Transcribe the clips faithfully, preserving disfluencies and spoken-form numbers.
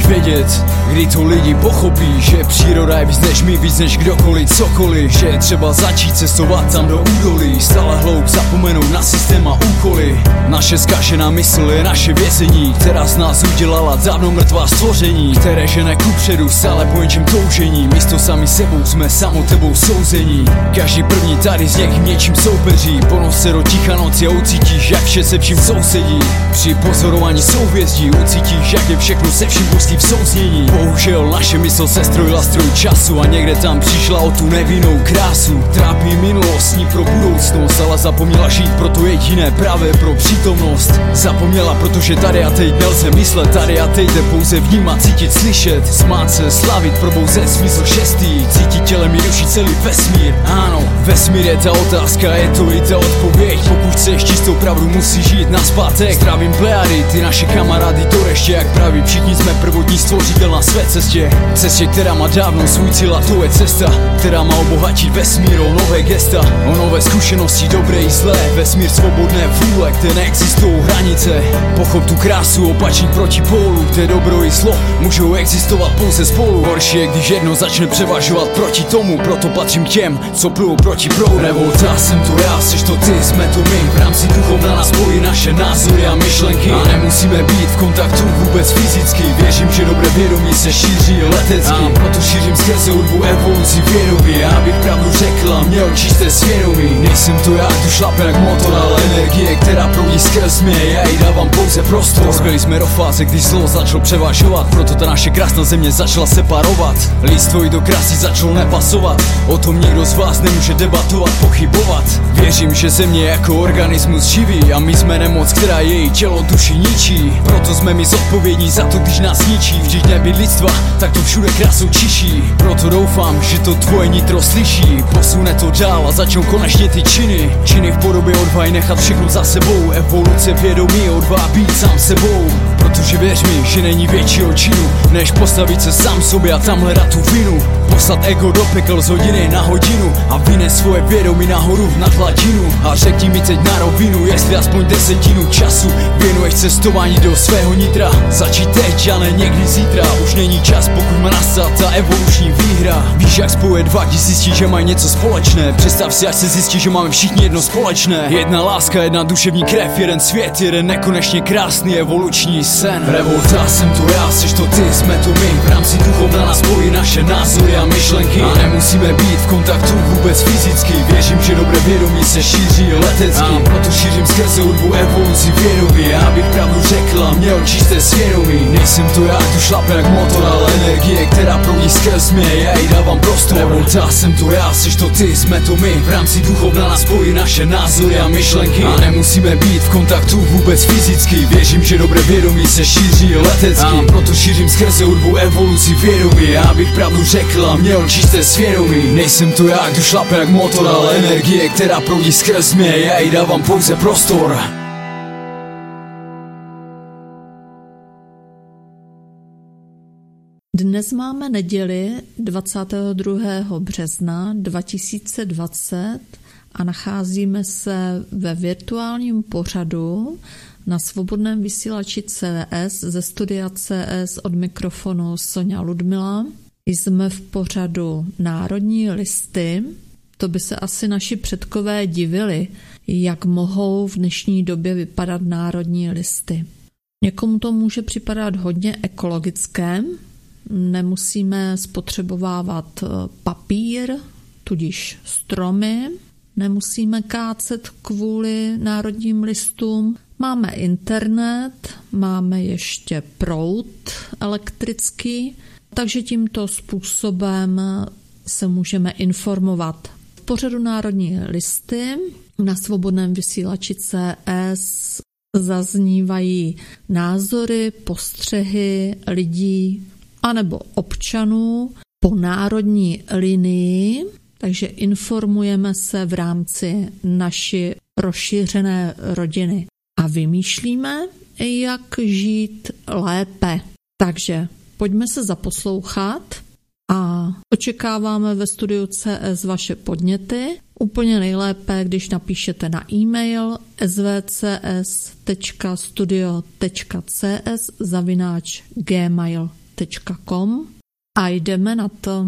musíš vědět, kdy to lidi pochopí, že příroda je víc než my, víc než kdokoliv, cokoliv. Že je třeba začít cestovat tam do údolí, stále hloub zapomenout na systém a úkoly. Naše zkažená mysl je naše vězení, která z nás udělala dávno mrtvá stvoření, které žene kupředu stále po něčem toužení. Místo sami sebou jsme samotebou souzení. Každý první tady z někým něčím soupeří, ponos se do ticha noci a ucítíš, jak vše se vším sousedí. Při pozorování souhvězdí ucítíš, jak je všechno se vším pustí v souznění. Bohužel naše mysl se strojila stroj času a někde tam přišla o tu nevinnou krásu. Trápí minulostní pro budoucnost, ale zapomněla žít pro to jediné právě pro přítomnost. Zapomněla, protože tady a teď nelze myslet, tady a teď jde pouze vnímat, cítit, slyšet, smát se, slavit, probouzet smysl šestý, cítit tělem i duší celý vesmír. Ano, vesmír je ta otázka, je to i ta odpověď. Pokud chceš čistou pravdu, musíš žít nazpátek. Zdravím Plejady, ty naše kamarády, to ještě jak praví, všichni jsme prvotní stvořitel na své cestě. Cestě, která má dávno svůj cíl a to je cesta, která má obohatit vesmír o nové gesta, o nové zkušenosti, dobré i zlé. Vesmír svobodné vůle, kde neexistují hranice. Pochop tu krásu opačných protipólů, kde dobro i zlo můžou existovat pouze spolu. Horší je, když jedno začne převažovat proti tomu, proto patřím k těm, co plujou proti proudu. Revolta, jsem to já, seš to ty, jsme to my. V rámci duchovna nás spojí naše názory a myšlenky a nemusíme být v kontaktu vůbec fyzicky. Věřím, že dobré vědomí se šíří letecky, a proto šířím skrze hudbu evoluci vědomí. Abych pravdu řekla, měl čisté svědomí. Nejsem to já, tu šlape jak motor, ale energie, která proudí skrz mě, já jí dávám pouze prostor. Dospěli jsme do fáze, kdy zlo začalo převažovat, proto ta naše krásná země začala separovat. Lidstvo i do krásy začalo nepasovat, o tom nikdo z vás nemůže debatovat, pochybovat. Věřím, že země jako organismus živí a my jsme nemoc, která její tělo duši ničí. Proto jsme my zodpovědní za to, když nás ničí. Vždyť nebyt lidstva, tak to všude krásou čiší. Proto doufám, že to tvoje nitro slyší, posune to dál a začnou konečně ty činy. Činy v podobě odvahy nechat všechno za sebou, evoluce vědomí, odvaha být sám sebou. Protože věř mi, že není většího činu, než postavit se sám sobě a tam hledat tu vinu. Poslat ego do pekel z hodiny na hodinu a vynes svoje vědomí nahoru nad hladinu. A řekni mi teď na rovinu, jestli aspoň desetinu času věnuješ cestování do svého nitra. Začít teď, ale někdy zítra, už není čas, pokud má nastat ta evoluční výhra. Víš, jak spojuje dva, když zjistí, že mají něco společné. Představ si, až se zjistí, že máme všichni jedno společné. Jedna láska, jedna duševní krev, jeden svět, jeden nekonečně krásný evoluční sen. Revolta, jsem to já, seš to ty, jsme to my. V rámci duchovna nás spojí naše názory a myšlenky a nemusíme být v kontaktu vůbec fyzicky. Věřím, že dobré vědomí se šíří letecky, a proto šířím skrze hudbu evoluci vědomí. Abych pravdu řekla, měl čisté svědomí. Nejsem to já, tu šlape jak motor, ale energie, která proudí skrz mě, já jí dávám prostor. Revolta, jsem to já, seš to ty, jsme to my. V rámci duchovna nás spojí naše názory a myšlenky a nemusíme být v kontaktu vůbec fyzicky. Věřím, že dobré vědomí se šíří letecky, a proto šířím skrze hudbu evoluci vědomí. Abych pravdu řekla, měl čisté svědomí. Nejsem to já, kdo šlape jak motor, ale energie, která proudí skrz mě, já jí dávám pouze prostor. Dnes máme neděli dvacátého druhého března dva tisíce dvacet a nacházíme se ve virtuálním pořadu na svobodném vysílači C S ze studia C S od mikrofonu Soňa Ludmila. Jsme v pořadu Národní listy. To by se asi naši předkové divili, jak mohou v dnešní době vypadat národní listy. Někomu to může připadat hodně ekologické, nemusíme spotřebovávat papír, tudíž stromy, nemusíme kácet kvůli národním listům, máme internet, máme ještě proud elektrický, takže tímto způsobem se můžeme informovat. V pořadu Národní listy na svobodném vysílači C S zaznívají názory, postřehy lidí anebo občanů po národní linii, takže informujeme se v rámci naší rozšířené rodiny a vymýšlíme, jak žít lépe. Takže pojďme se zaposlouchat a očekáváme ve studiu C S vaše podněty. Úplně nejlépe, když napíšete na e-mail s v c s tečka studio tečka c s zavináč gmail tečka com a jdeme na to.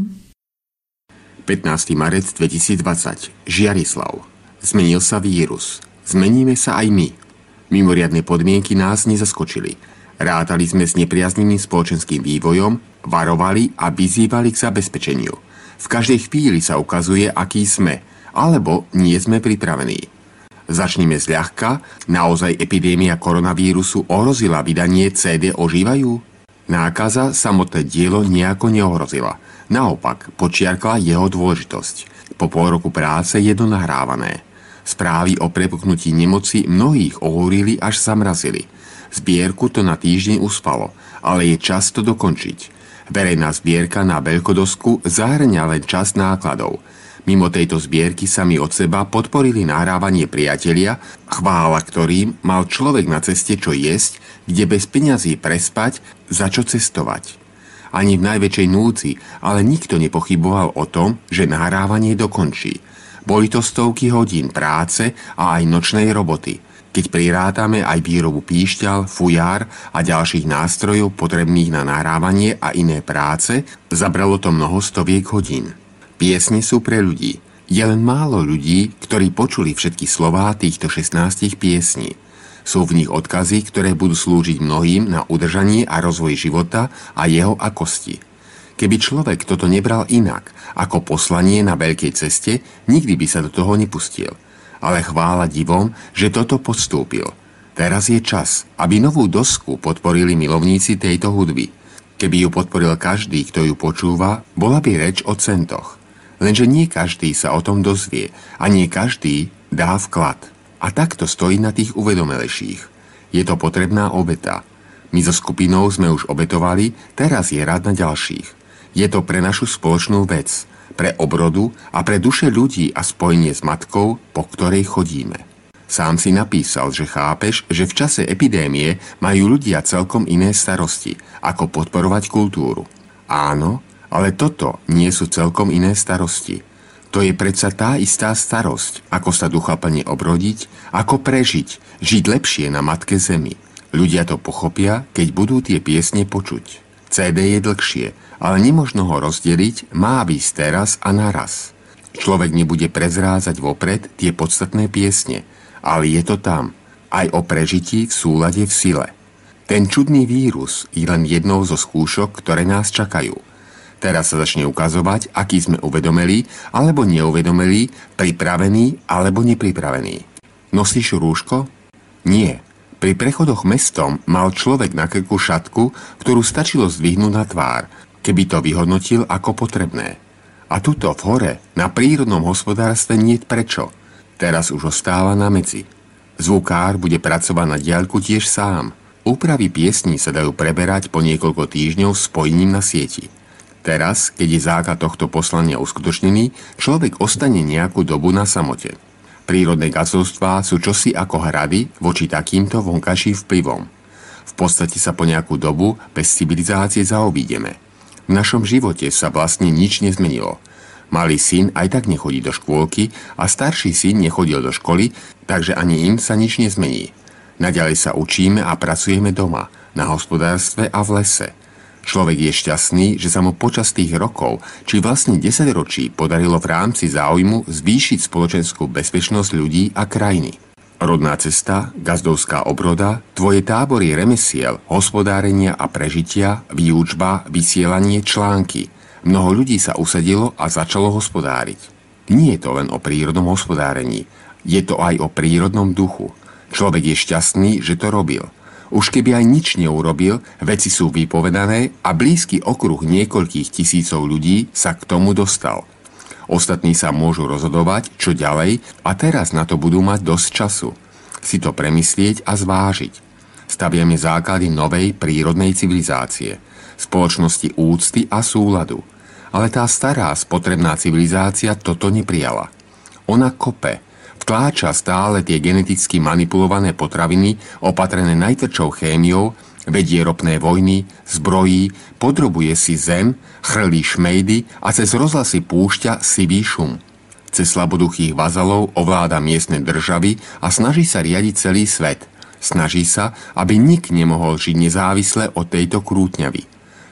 pätnásteho marca dvetisícdvadsať. Žiarislav. Zmenil sa vírus. Zmeníme sa aj my. Mimoriadne podmienky nás nezaskočili. Rátali sme s nepriaznivým spoločenským vývojom, varovali a vyzývali k zabezpečeniu. V každej chvíli sa ukazuje, aký sme, alebo nie sme pripravení. Začneme zľahka. Naozaj epidémia koronavírusu ohrozila vydanie cé dé Ožívajú? Nákaza samotné dielo nejako neohrozila. Naopak, podčiarkla jeho dôležitosť. Po pol roku práce je to nahrávané. Správy o prepuknutí nemoci mnohých ohúrili až zamrazili. Zbierku to na týždeň uspalo, ale je čas to dokončiť. Verejná zbierka na veľkodosku zahrňa len časť nákladov. Mimo tejto zbierky sami od seba podporili nahrávanie priatelia, chvála ktorým mal človek na ceste čo jesť, kde bez peňazí prespať, za čo cestovať. Ani v najväčšej núdzi, ale nikto nepochyboval o tom, že nahrávanie dokončí. Boli to stovky hodín práce a aj nočnej roboty. Keď prirátame aj výrobu píšťal, fujár a ďalších nástrojov potrebných na nahrávanie a iné práce, zabralo to mnoho stoviek hodín. Piesne sú pre ľudí. Je len málo ľudí, ktorí počuli všetky slová týchto šestnástich piesní. Sú v nich odkazy, ktoré budú slúžiť mnohým na udržanie a rozvoj života a jeho akosti. Keby človek toto nebral inak, ako poslanie na veľkej ceste, nikdy by sa do toho nepustil. Ale chvála divom, že toto podstúpil. Teraz je čas, aby novú dosku podporili milovníci tejto hudby. Keby ju podporil každý, kto ju počúva, bola by reč o centoch. Lenže nie každý sa o tom dozvie a nie každý dá vklad. A takto stojí na tých uvedomelejších. Je to potrebná obeta. My so skupinou sme už obetovali, teraz je rád na ďalších. Je to pre našu spoločnú vec, pre obrodu a pre duše ľudí a spojenie s matkou, po ktorej chodíme. Sám si napísal, že chápeš, že v čase epidémie majú ľudia celkom iné starosti, ako podporovať kultúru. Áno, ale toto nie sú celkom iné starosti. To je predsa tá istá starosť, ako sa duchaplne obrodiť, ako prežiť, žiť lepšie na matke zemi. Ľudia to pochopia, keď budú tie piesne počuť. cé dé je dlhšie, ale nemožno ho rozdeliť, má výsť teraz a naraz. Človek nebude prezrázať vopred tie podstatné piesne, ale je to tam, aj o prežití v súlade v sile. Ten čudný vírus je len jednou zo skúšok, ktoré nás čakajú. Teraz sa začne ukazovať, aký sme uvedomeli alebo neuvedomeli, pripravení alebo nepripravení. Nosíš rúško? Nie. Pri prechodoch mestom mal človek na krku šatku, ktorú stačilo zdvihnúť na tvár, keby to vyhodnotil ako potrebné. A tuto v hore, na prírodnom hospodárstve niet prečo. Teraz už ostáva na medzi. Zvukár bude pracovať na diaľku tiež sám. Úpravy piesní sa dajú preberať po niekoľko týždňov spojením na sieti. Teraz, keď je základ tohto poslania uskutočnený, človek ostane nejakú dobu na samote. Prírodné kazovstvá sú čosi ako hrady voči takýmto vonkajším vplyvom. V podstate sa po nejakú dobu bez civilizácie zaobídeme. V našom živote sa vlastne nič nezmenilo. Malý syn aj tak nechodí do škôlky a starší syn nechodil do školy, takže ani im sa nič nezmení. Naďalej sa učíme a pracujeme doma, na hospodárstve a v lese. Človek je šťastný, že sa mu počas tých rokov, či vlastne desaťročí, podarilo v rámci záujmu zvýšiť spoločenskú bezpečnosť ľudí a krajiny. Rodná cesta, gazdovská obroda, tvoje tábory remesiel, hospodárenia a prežitia, výučba, vysielanie, články. Mnoho ľudí sa usadilo a začalo hospodáriť. Nie je to len o prírodnom hospodárení, je to aj o prírodnom duchu. Človek je šťastný, že to robil. Už keby aj nič neurobil, veci sú vypovedané a blízky okruh niekoľkých tisícov ľudí sa k tomu dostal. Ostatní sa môžu rozhodovať, čo ďalej, a teraz na to budú mať dosť času. Si to premyslieť a zvážiť. Staviame základy novej prírodnej civilizácie, spoločnosti úcty a súladu. Ale tá stará spotrebná civilizácia toto neprijala. Ona kope, vtláča stále tie geneticky manipulované potraviny opatrené najtvrdšou chémiou, vedie ropné vojny, zbrojí, podrobuje si zem, chrlí šmejdy a cez rozhlasy púšťa sivý šum. Cez slaboduchých vazalov ovláda miestne državy a snaží sa riadiť celý svet. Snaží sa, aby nik nemohol žiť nezávisle od tejto krútňavy.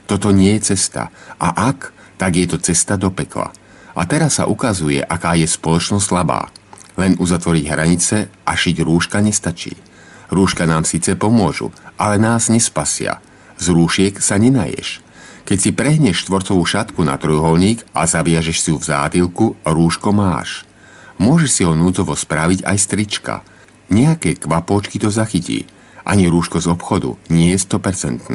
Toto nie je cesta. A ak, tak je to cesta do pekla. A teraz sa ukazuje, aká je spoločnosť slabá. Len uzatvoriť hranice a šiť rúška nestačí. Rúška nám síce pomôžu, ale nás nespasia. Z rúšiek sa nenaješ. Keď si prehneš štvorcovú šatku na trojuholník a zaviažeš si ju v zátylku, rúško máš. Môžeš si ho núdzovo spraviť aj z trička. Nejaké kvapôčky to zachytí. Ani rúško z obchodu nie je sto percent.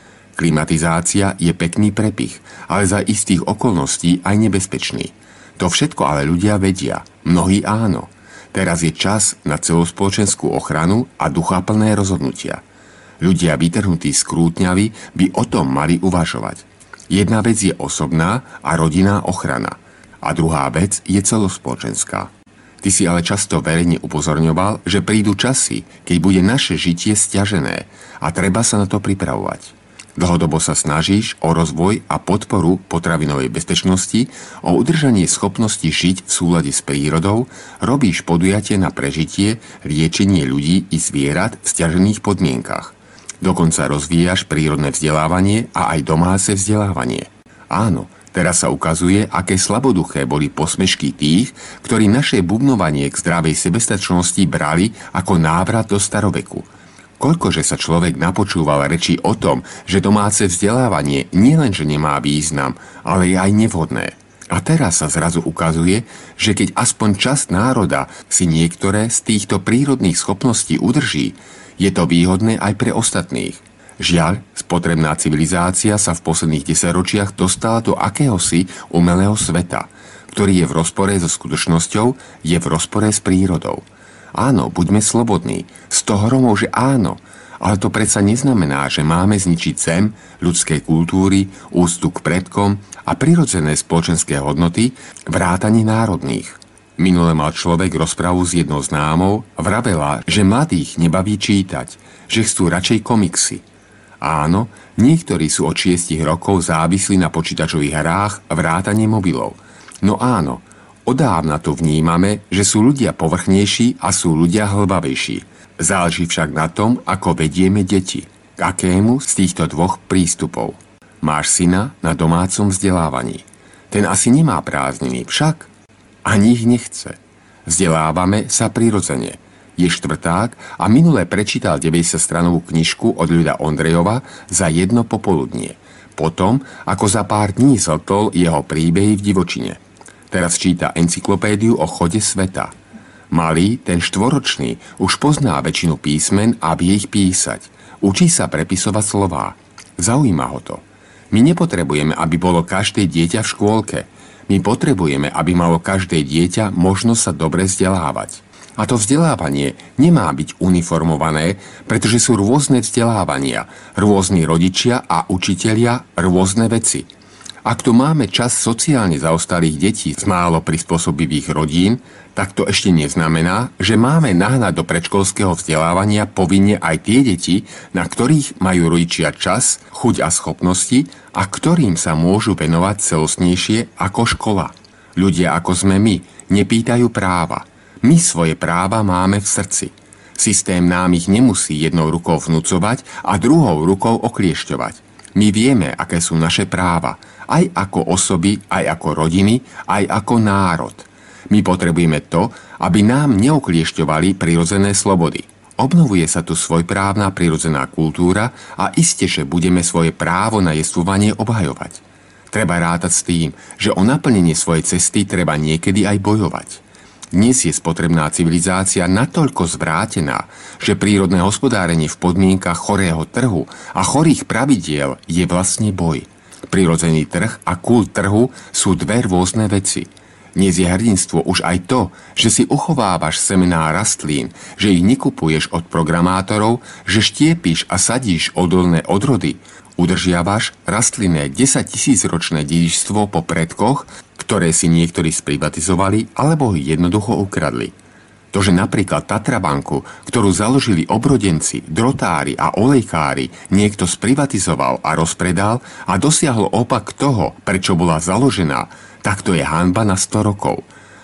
Klimatizácia je pekný prepich, ale za istých okolností aj nebezpečný. To všetko ale ľudia vedia, mnohí áno. Teraz je čas na celospoločenskú ochranu a duchaplné rozhodnutia. Ľudia vytrhnutí z krútňavy by o tom mali uvažovať. Jedna vec je osobná a rodinná ochrana. A druhá vec je celospoločenská. Ty si ale často verejne upozorňoval, že prídu časy, keď bude naše žitie sťažené a treba sa na to pripravovať. Dlhodobo sa snažíš o rozvoj a podporu potravinovej bezpečnosti, o udržanie schopnosti žiť v súlade s prírodou, robíš podujatie na prežitie, liečenie ľudí i zvierat v sťažených podmienkach. Dokonca rozvíjaš prírodné vzdelávanie a aj domáce vzdelávanie. Áno, teraz sa ukazuje, aké slaboduché boli posmešky tých, ktorí naše bubnovanie k zdravej sebestačnosti brali ako návrat do staroveku. Koľkože sa človek napočúval reči o tom, že domáce vzdelávanie nielenže nemá význam, ale je aj nevhodné. A teraz sa zrazu ukazuje, že keď aspoň časť národa si niektoré z týchto prírodných schopností udrží, je to výhodné aj pre ostatných. Žiaľ, spotrebná civilizácia sa v posledných desaťročiach dostala do akéhosi umelého sveta, ktorý je v rozpore so skutočnosťou, je v rozpore s prírodou. Áno, buďme slobodní, z toho hromov, že áno, ale to predsa neznamená, že máme zničiť zem, ľudské kultúry, úctu k predkom a prirodzené spoločenské hodnoty, vrátane národných. Minule mal človek rozpravu s jednou známou, vravela, že mladých nebaví čítať, že chcú radšej komiksy. Áno, niektorí sú od šiestich rokov závislí na počítačových hrách vrátane mobilov. No áno, odávna to vnímame, že sú ľudia povrchnejší a sú ľudia hlbavejší. Záleží však na tom, ako vedieme deti. K akému z týchto dvoch prístupov? Máš syna na domácom vzdelávaní. Ten asi nemá prázdniny, však ani ich nechce. Vzdelávame sa prirodzene. Je štvrták a minule prečítal deväťdesiatstranovú knižku od Ľuda Ondrejova za jedno popoludnie. Potom, ako za pár dní zhltol jeho príbehy v divočine. Teraz číta encyklopédiu o chode sveta. Malý, ten štvoročný, už pozná väčšinu písmen a vie ich písať. Učí sa prepisovať slová. Zaujíma ho to. My nepotrebujeme, aby bolo každé dieťa v škôlke. My potrebujeme, aby malo každé dieťa možnosť sa dobre vzdelávať. A to vzdelávanie nemá byť uniformované, pretože sú rôzne vzdelávania, rôzni rodičia a učitelia, rôzne veci. Ak tu máme čas sociálne zaostalých detí z málo prispôsobivých rodín, tak to ešte neznamená, že máme nahnať do predškolského vzdelávania povinne aj tie deti, na ktorých majú rodičia čas, chuť a schopnosti a ktorým sa môžu venovať celostnejšie ako škola. Ľudia ako sme my nepýtajú práva. My svoje práva máme v srdci. Systém nám ich nemusí jednou rukou vnúcovať a druhou rukou okliešťovať. My vieme, aké sú naše práva, aj ako osoby, aj ako rodiny, aj ako národ. My potrebujeme to, aby nám neokliešťovali prirodzené slobody. Obnovuje sa tu svojprávna prirodzená kultúra a iste, že budeme svoje právo na jestvovanie obhajovať. Treba rátať s tým, že o naplnenie svojej cesty treba niekedy aj bojovať. Dnes je spotrebná civilizácia natoľko zvrátená, že prírodné hospodárenie v podmienkach chorého trhu a chorých pravidiel je vlastne boj. Prirodzený trh a kult trhu sú dve rôzne veci. Dnes je hrdinstvo už aj to, že si uchovávaš semená rastlín, že ich nekupuješ od programátorov, že štiepíš a sadíš odolné odrody, udržiavaš rastlinné desaťtisícročné dedičstvo po predkoch, ktoré si niektorí sprivatizovali alebo ich jednoducho ukradli. To, že napríklad Tatrabanku, ktorú založili obrodenci, drotári a olejkári, niekto sprivatizoval a rozpredal a dosiahol opak toho, prečo bola založená, tak to je hanba na sto rokov.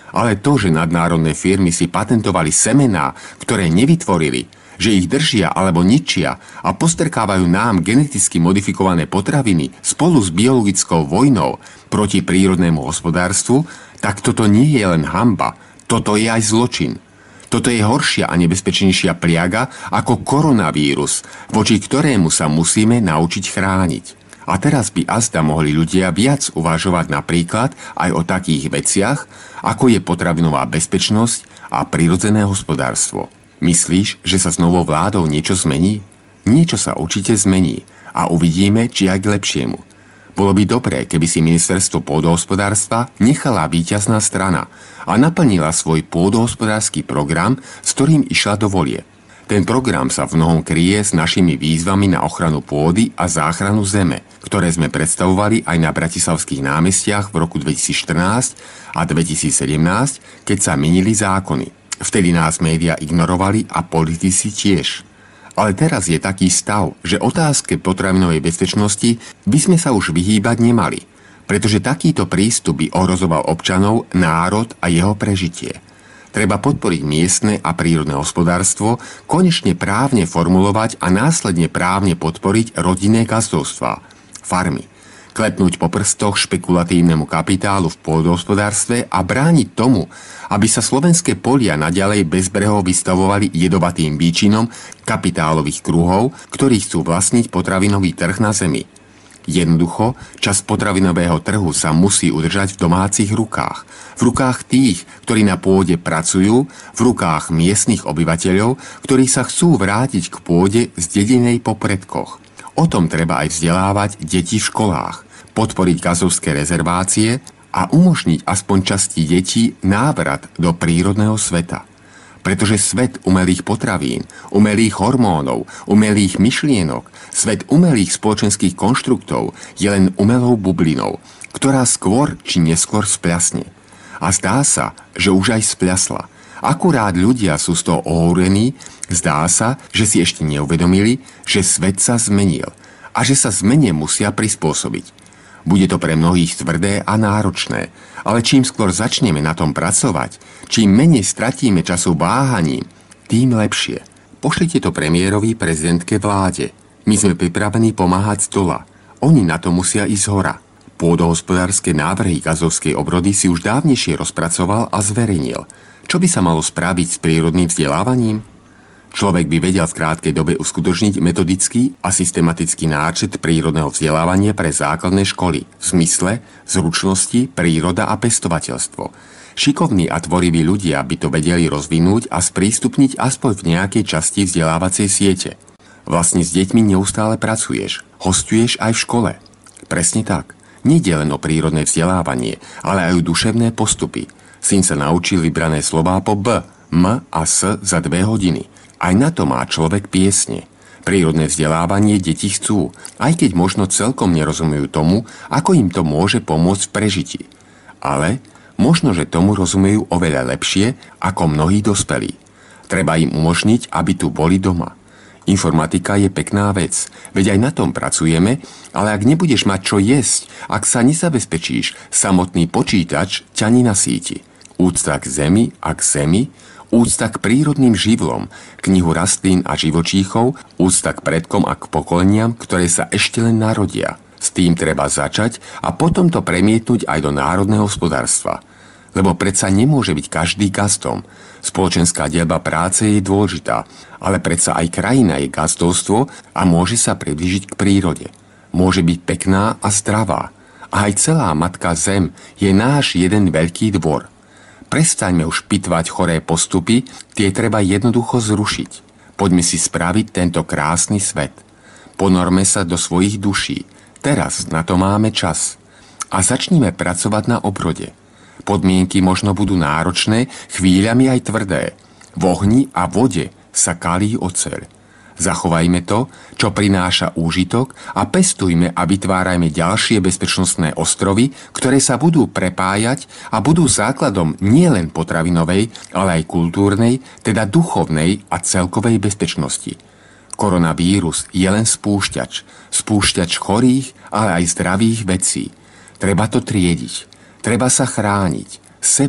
Ale to, že nadnárodné firmy si patentovali semená, ktoré nevytvorili, že ich držia alebo ničia a postrkávajú nám geneticky modifikované potraviny spolu s biologickou vojnou proti prírodnému hospodárstvu, tak toto nie je len hanba, toto je aj zločin. Toto je horšia a nebezpečnejšia pliaga ako koronavírus, voči ktorému sa musíme naučiť chrániť. A teraz by azda mohli ľudia viac uvažovať napríklad aj o takých veciach, ako je potravinová bezpečnosť a prirodzené hospodárstvo. Myslíš, že sa s novou vládou niečo zmení? Niečo sa určite zmení a uvidíme, či aj k lepšiemu. Bolo by dobré, keby si ministerstvo pôdohospodárstva nechala víťazná strana a naplnila svoj pôdohospodársky program, s ktorým išla do volie. Ten program sa v mnohom kryje s našimi výzvami na ochranu pôdy a záchranu zeme, ktoré sme predstavovali aj na bratislavských námestiach v roku dvetisícštrnásť a dvetisícsedemnásť, keď sa menili zákony. Vtedy nás médiá ignorovali a politici tiež. Ale teraz je taký stav, že otázke potravinovej bezpečnosti by sme sa už vyhýbať nemali, pretože takýto prístup by ohrozoval občanov, národ a jeho prežitie. Treba podporiť miestne a prírodné hospodárstvo, konečne právne formulovať a následne právne podporiť rodinné gazdovstvá, farmy. Klepnúť po prstoch špekulatívnemu kapitálu v pôdohospodárstve a brániť tomu, aby sa slovenské polia naďalej bezbreho vystavovali jedovatým výčinom kapitálových kruhov, ktorí chcú vlastniť potravinový trh na zemi. Jednoducho, časť potravinového trhu sa musí udržať v domácich rukách. V rukách tých, ktorí na pôde pracujú, v rukách miestnych obyvateľov, ktorí sa chcú vrátiť k pôde zdedenej po predkoch. O tom treba aj vzdelávať deti v školách, podporiť gazovské rezervácie a umožniť aspoň časti detí návrat do prírodného sveta. Pretože svet umelých potravín, umelých hormónov, umelých myšlienok, svet umelých spoločenských konštruktov je len umelou bublinou, ktorá skôr či neskôr spľasne. A zdá sa, že už aj spľasla. Akurát ľudia sú z toho ohúrení, zdá sa, že si ešte neuvedomili, že svet sa zmenil a že sa zmene musia prispôsobiť. Bude to pre mnohých tvrdé a náročné, ale čím skôr začneme na tom pracovať, čím menej stratíme času váhaním, tým lepšie. Pošlite to premiérovi, prezidentke, vláde. My sme pripravení pomáhať z dola. Oni na to musia ísť hora. Pôdohospodárske návrhy gazovskej obrody si už dávnejšie rozpracoval a zverejnil. Čo by sa malo spraviť s prírodným vzdelávaním? Človek by vedel v krátkej dobe uskutočniť metodický a systematický náčrt prírodného vzdelávania pre základné školy v zmysle zručnosti, príroda a pestovateľstvo. Šikovní a tvoriví ľudia by to vedeli rozvinúť a sprístupniť aspoň v nejakej časti vzdelávacej siete. Vlastne s deťmi neustále pracuješ, hostuješ aj v škole. Presne tak. Nejde len o prírodné vzdelávanie, ale aj o duševné postupy. Syn sa naučil vybrané slová po B, M a S za dve hodiny. Aj na to má človek piesne. Prírodné vzdelávanie deti chcú, aj keď možno celkom nerozumujú tomu, ako im to môže pomôcť v prežití. Ale možno, že tomu rozumejú oveľa lepšie ako mnohí dospelí. Treba im umožniť, aby tu boli doma. Informatika je pekná vec, veď aj na tom pracujeme, ale ak nebudeš mať čo jesť, ak sa nezabezpečíš, samotný počítač ťa nenasíti. Úcta k zemi a k zemi, úcta k prírodným živlom, knihu rastlín a živočíchov, úcta k predkom a k pokoleniam, ktoré sa ešte len narodia. S tým treba začať a potom to premietnúť aj do národného hospodárstva. Lebo predsa nemôže byť každý gazdom. Spoločenská dielba práce je dôležitá, ale predsa aj krajina je gazdovstvo a môže sa priblížiť k prírode. Môže byť pekná a zdravá. A aj celá matka zem je náš jeden veľký dvor. Prestaňme už pitvať choré postupy, tie treba jednoducho zrušiť. Poďme si spraviť tento krásny svet. Ponorme sa do svojich duší. Teraz na to máme čas. A začnime pracovať na obrode. Podmienky možno budú náročné, chvíľami aj tvrdé. V ohni a vode sa kalí oceľ. Zachovajme to, čo prináša úžitok a pestujme a vytvárajme ďalšie bezpečnostné ostrovy, ktoré sa budú prepájať a budú základom nielen potravinovej, ale aj kultúrnej, teda duchovnej a celkovej bezpečnosti. Koronavírus je len spúšťač. Spúšťač chorých, ale aj zdravých vecí. Treba to triediť. Treba sa chrániť. Seba,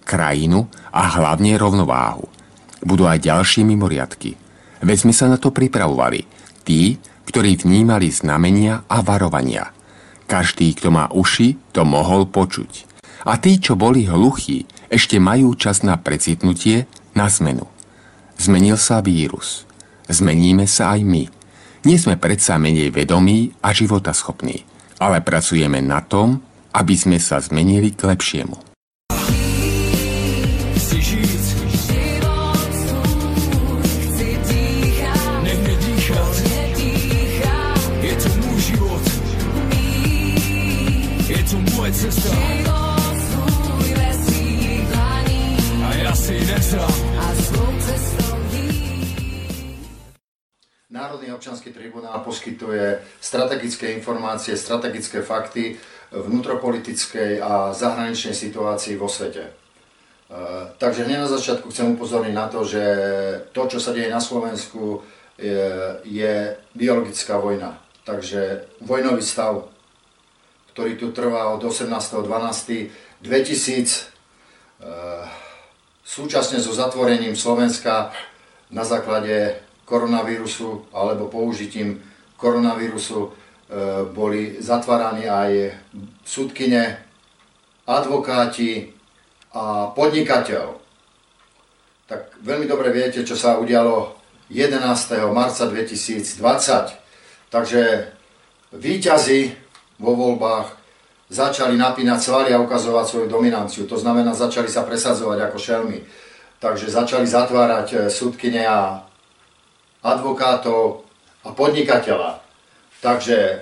krajinu a hlavne rovnováhu. Budú aj ďalšie mimoriadky. Veď sme sa na to pripravovali. Tí, ktorí vnímali znamenia a varovania. Každý, kto má uši, to mohol počuť. A tí, čo boli hluchí, ešte majú čas na precitnutie, na zmenu. Zmenil sa vírus. Zmeníme sa aj my. Nie sme predsa menej vedomí a životaschopní, ale pracujeme na tom, aby sme sa zmenili k lepšiemu. Cesta. A ja si nesám. Národný občiansky tribunál poskytuje strategické informácie, strategické fakty vnútropolitickej a zahraničnej situácii vo svete. Takže hneď na začiatku chcem upozorniť na to, že to, čo sa deje na Slovensku, je, je biologická vojna. Takže vojnový stav, ktorý tu trvá od osemnásteho decembra dvetisíc, e, súčasne so zatvorením Slovenska na základe koronavírusu alebo použitím koronavírusu e, boli zatváraní aj sudkyne, advokáti a podnikateľ. Tak veľmi dobre viete, čo sa udialo jedenásteho marca dvetisícdvadsať. Takže víťazi vo voľbách začali napínať svaly a ukazovať svoju dominanciu. To znamená, začali sa presadzovať ako šelmy. Takže začali zatvárať sudkyne a advokátov a podnikateľa. Takže e,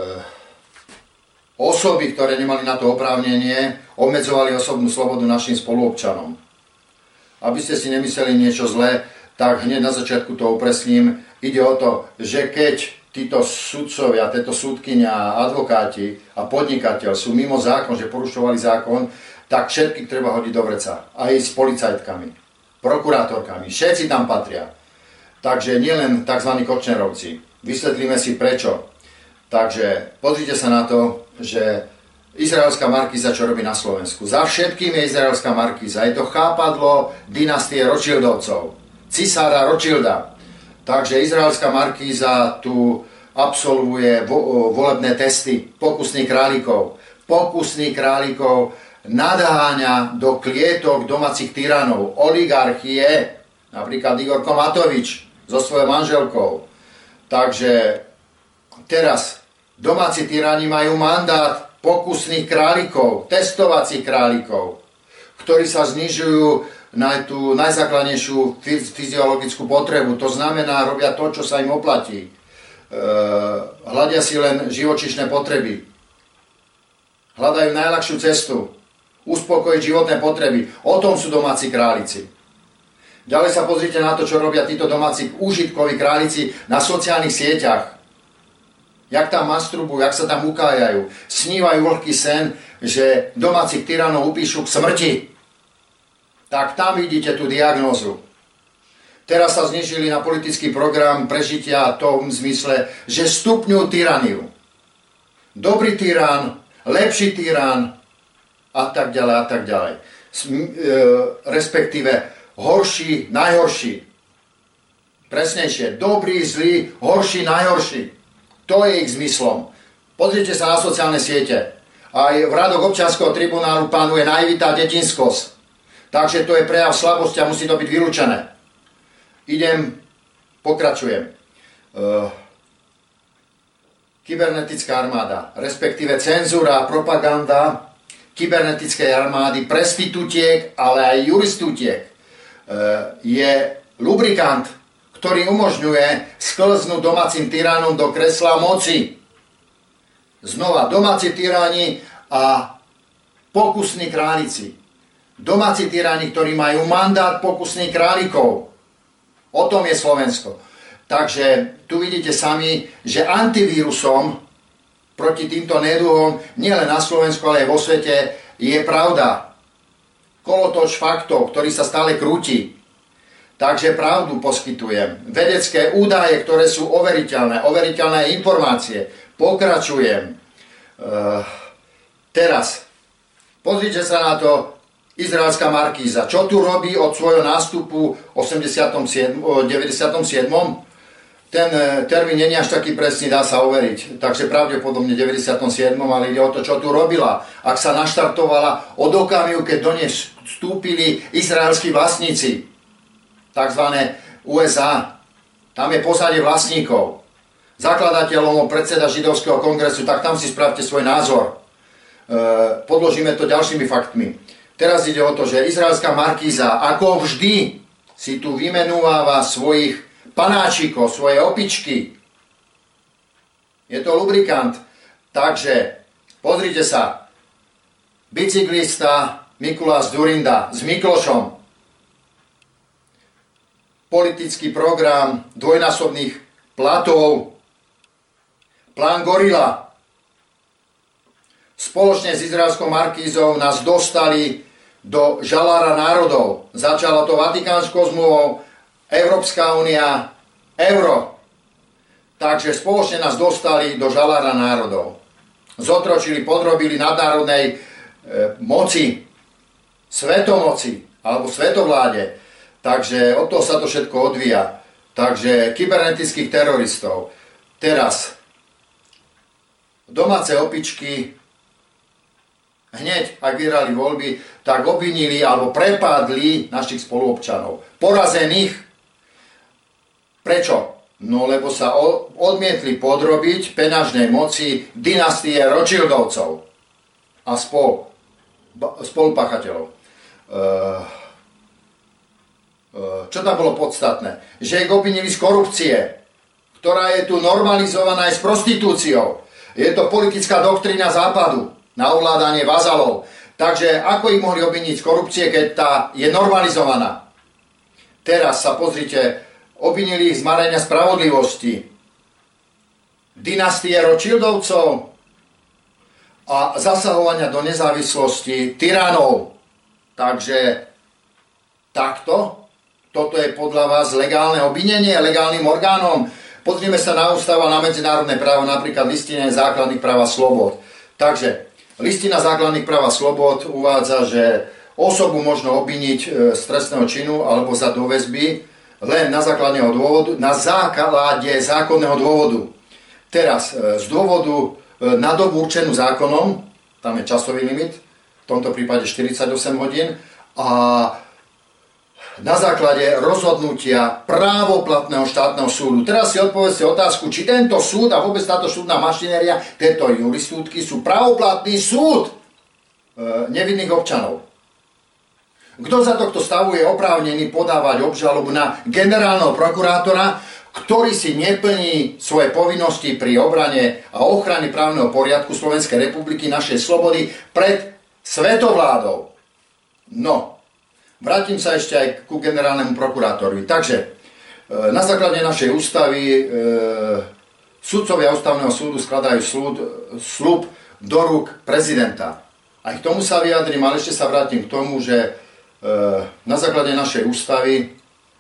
osoby, ktoré nemali na to oprávnenie, obmedzovali osobnú slobodu našim spoluobčanom. Aby ste si nemysleli niečo zlé, tak hneď na začiatku to upresním. Ide o to, že keď títo sudcovia, tieto súdkyňa, advokáti a podnikateľ sú mimo zákon, že porušovali zákon, tak všetkých treba hodiť do vreca. Aj s policajtkami, prokurátorkami, všetci tam patria. Takže nielen tzv. Kočnerovci. Vysvetlíme si prečo. Takže pozrite sa na to, že izraelská markíza, čo robí na Slovensku. Za všetkým je izraelská markíza. Je to chápadlo dynastie Rothschildovcov, cisára Rothschilda. Takže izraelská markíza tu absolvuje vo, volebné testy pokusných králikov. Pokusných králikov nadháňa do klietok domácich tyranov, oligarchie, napríklad Igor Matovič so svojou manželkou. Takže teraz domáci tyrani majú mandát pokusných králikov, testovacích králikov, ktorí sa znižujú na tú najzákladnejšiu fyziologickú potrebu. To znamená, robia to, čo sa im oplatí. E, hľadia si len živočíšne potreby. Hľadajú najľahšiu cestu. Uspokojiť životné potreby. O tom sú domáci králici. Ďalej sa pozrite na to, čo robia títo domáci úžitkoví králici na sociálnych sieťach. Jak tam masturbujú, jak sa tam ukájajú. Snívajú vlhký sen, že domácich tyranov upíšu k smrti. Tak tam vidíte tú diagnózu. Teraz sa znižili na politický program prežitia v tom zmysle, že stupňujú tyraniu. Dobrý tyran, lepší tyran a tak ďalej a tak ďalej. Respektíve horší, najhorší. Presnejšie, dobrý, zlý, horší, najhorší. To je ich zmyslom. Pozrite sa na sociálne siete. Aj v radoch občianskeho tribunálu panuje naivita a detinskosť. Takže to je prejav slabosti a musí to byť vylúčené. Idem, pokračujem. Uh, kybernetická armáda, respektíve cenzúra a propaganda kybernetickej armády, prestitutiek, ale aj juristutiek, uh, je lubrikant, ktorý umožňuje sklznúť domácim tyranom do kresla moci. Znova, domáci tyrani a pokusní králici. Domáci tyrani, ktorí majú mandát pokusných králikov. O tom je Slovensko. Takže tu vidíte sami, že antivírusom proti týmto neduhom nielen na Slovensku, ale aj vo svete je pravda. Kolotoč faktov, ktorý sa stále krúti. Takže pravdu poskytujem. Vedecké údaje, ktoré sú overiteľné, overiteľné informácie. Pokračujem. Uh, teraz, pozrite sa na to. izraelská markíza. Čo tu robí od svojho nástupu v deväťdesiatom siedmom? Ten termín nie je až taký presný, dá sa overiť. Takže pravdepodobne v deväťdesiatom siedmom, ale ide o to, čo tu robila. Ak sa naštartovala od okamihu, keď do nej vstúpili izraelskí vlastníci, takzvané U S A. Tam je pozadie vlastníkov. Zakladateľom, predseda židovského kongresu, tak tam si spravte svoj názor. E, podložíme to ďalšími faktmi. Teraz ide o to, že izraelská markíza, ako vždy, si tu vymenúváva svojich panáčikov, svoje opičky. Je to lubrikant. Takže, pozrite sa. Bicyklista Mikuláš Dzurinda s Miklošom. Politický program dvojnásobných platov. Plán Gorila. Spoločne s izraelskou markízou nás dostali do žalára národov. Začalo to Vatikánskou zmluvou, Európska únia, euro. Takže spoločne nás dostali do žalára národov. Zotročili, podrobili nadnárodnej e, moci, svetomoci alebo svetovláde. Takže od toho sa to všetko odvíja. Takže kybernetických teroristov. Teraz domáce opičky hneď, ak vyhrali voľby, tak obvinili alebo prepadli našich spoluobčanov. Porazených. Prečo? No lebo sa odmietli podrobiť peňažnej moci dynastie Rothschildovcov a spol, spolupachateľov. Čo tam bolo podstatné? Že ich obvinili z korupcie, ktorá je tu normalizovaná aj s prostitúciou. Je to politická doktrína západu na ovládanie vazalov. Takže ako ich mohli obviniť z korupcie, keď tá je normalizovaná? Teraz sa pozrite, obvinili ich z marenia spravodlivosti, dynastie Rothschildovcov a zasahovania do nezávislosti tyranov. Takže takto, toto je podľa vás legálne obvinenie legálnym orgánom. Pozrime sa na ústavu a na medzinárodné právo, napríklad listina základných práv a slobod. Takže listina základných práv a slobod uvádza, že osobu možno obviniť z trestného činu alebo za doväzby len na základného dôvodu, na základe zákonného dôvodu. Teraz z dôvodu na dobu určenú zákonom, tam je časový limit, v tomto prípade štyridsaťosem hodín, a na základe rozhodnutia právoplatného štátneho súdu. Teraz si odpovedzte otázku, či tento súd a vôbec táto súdna mašinéria, tieto jurisdútky sú právoplatný súd e, nevinných občanov. Kto za tohto stavu je oprávnený podávať obžalobu na generálneho prokurátora, ktorý si neplní svoje povinnosti pri obrane a ochrane právneho poriadku Slovenskej republiky, našej slobody pred svetovládou? No, vrátim sa ešte aj ku generálnemu prokurátorovi. Takže na základe našej ústavy e, sudcovia ústavného súdu skladajú slúd, sľub do rúk prezidenta. Aj k tomu sa vyjadrím, ale ešte sa vrátim k tomu, že na základe našej ústavy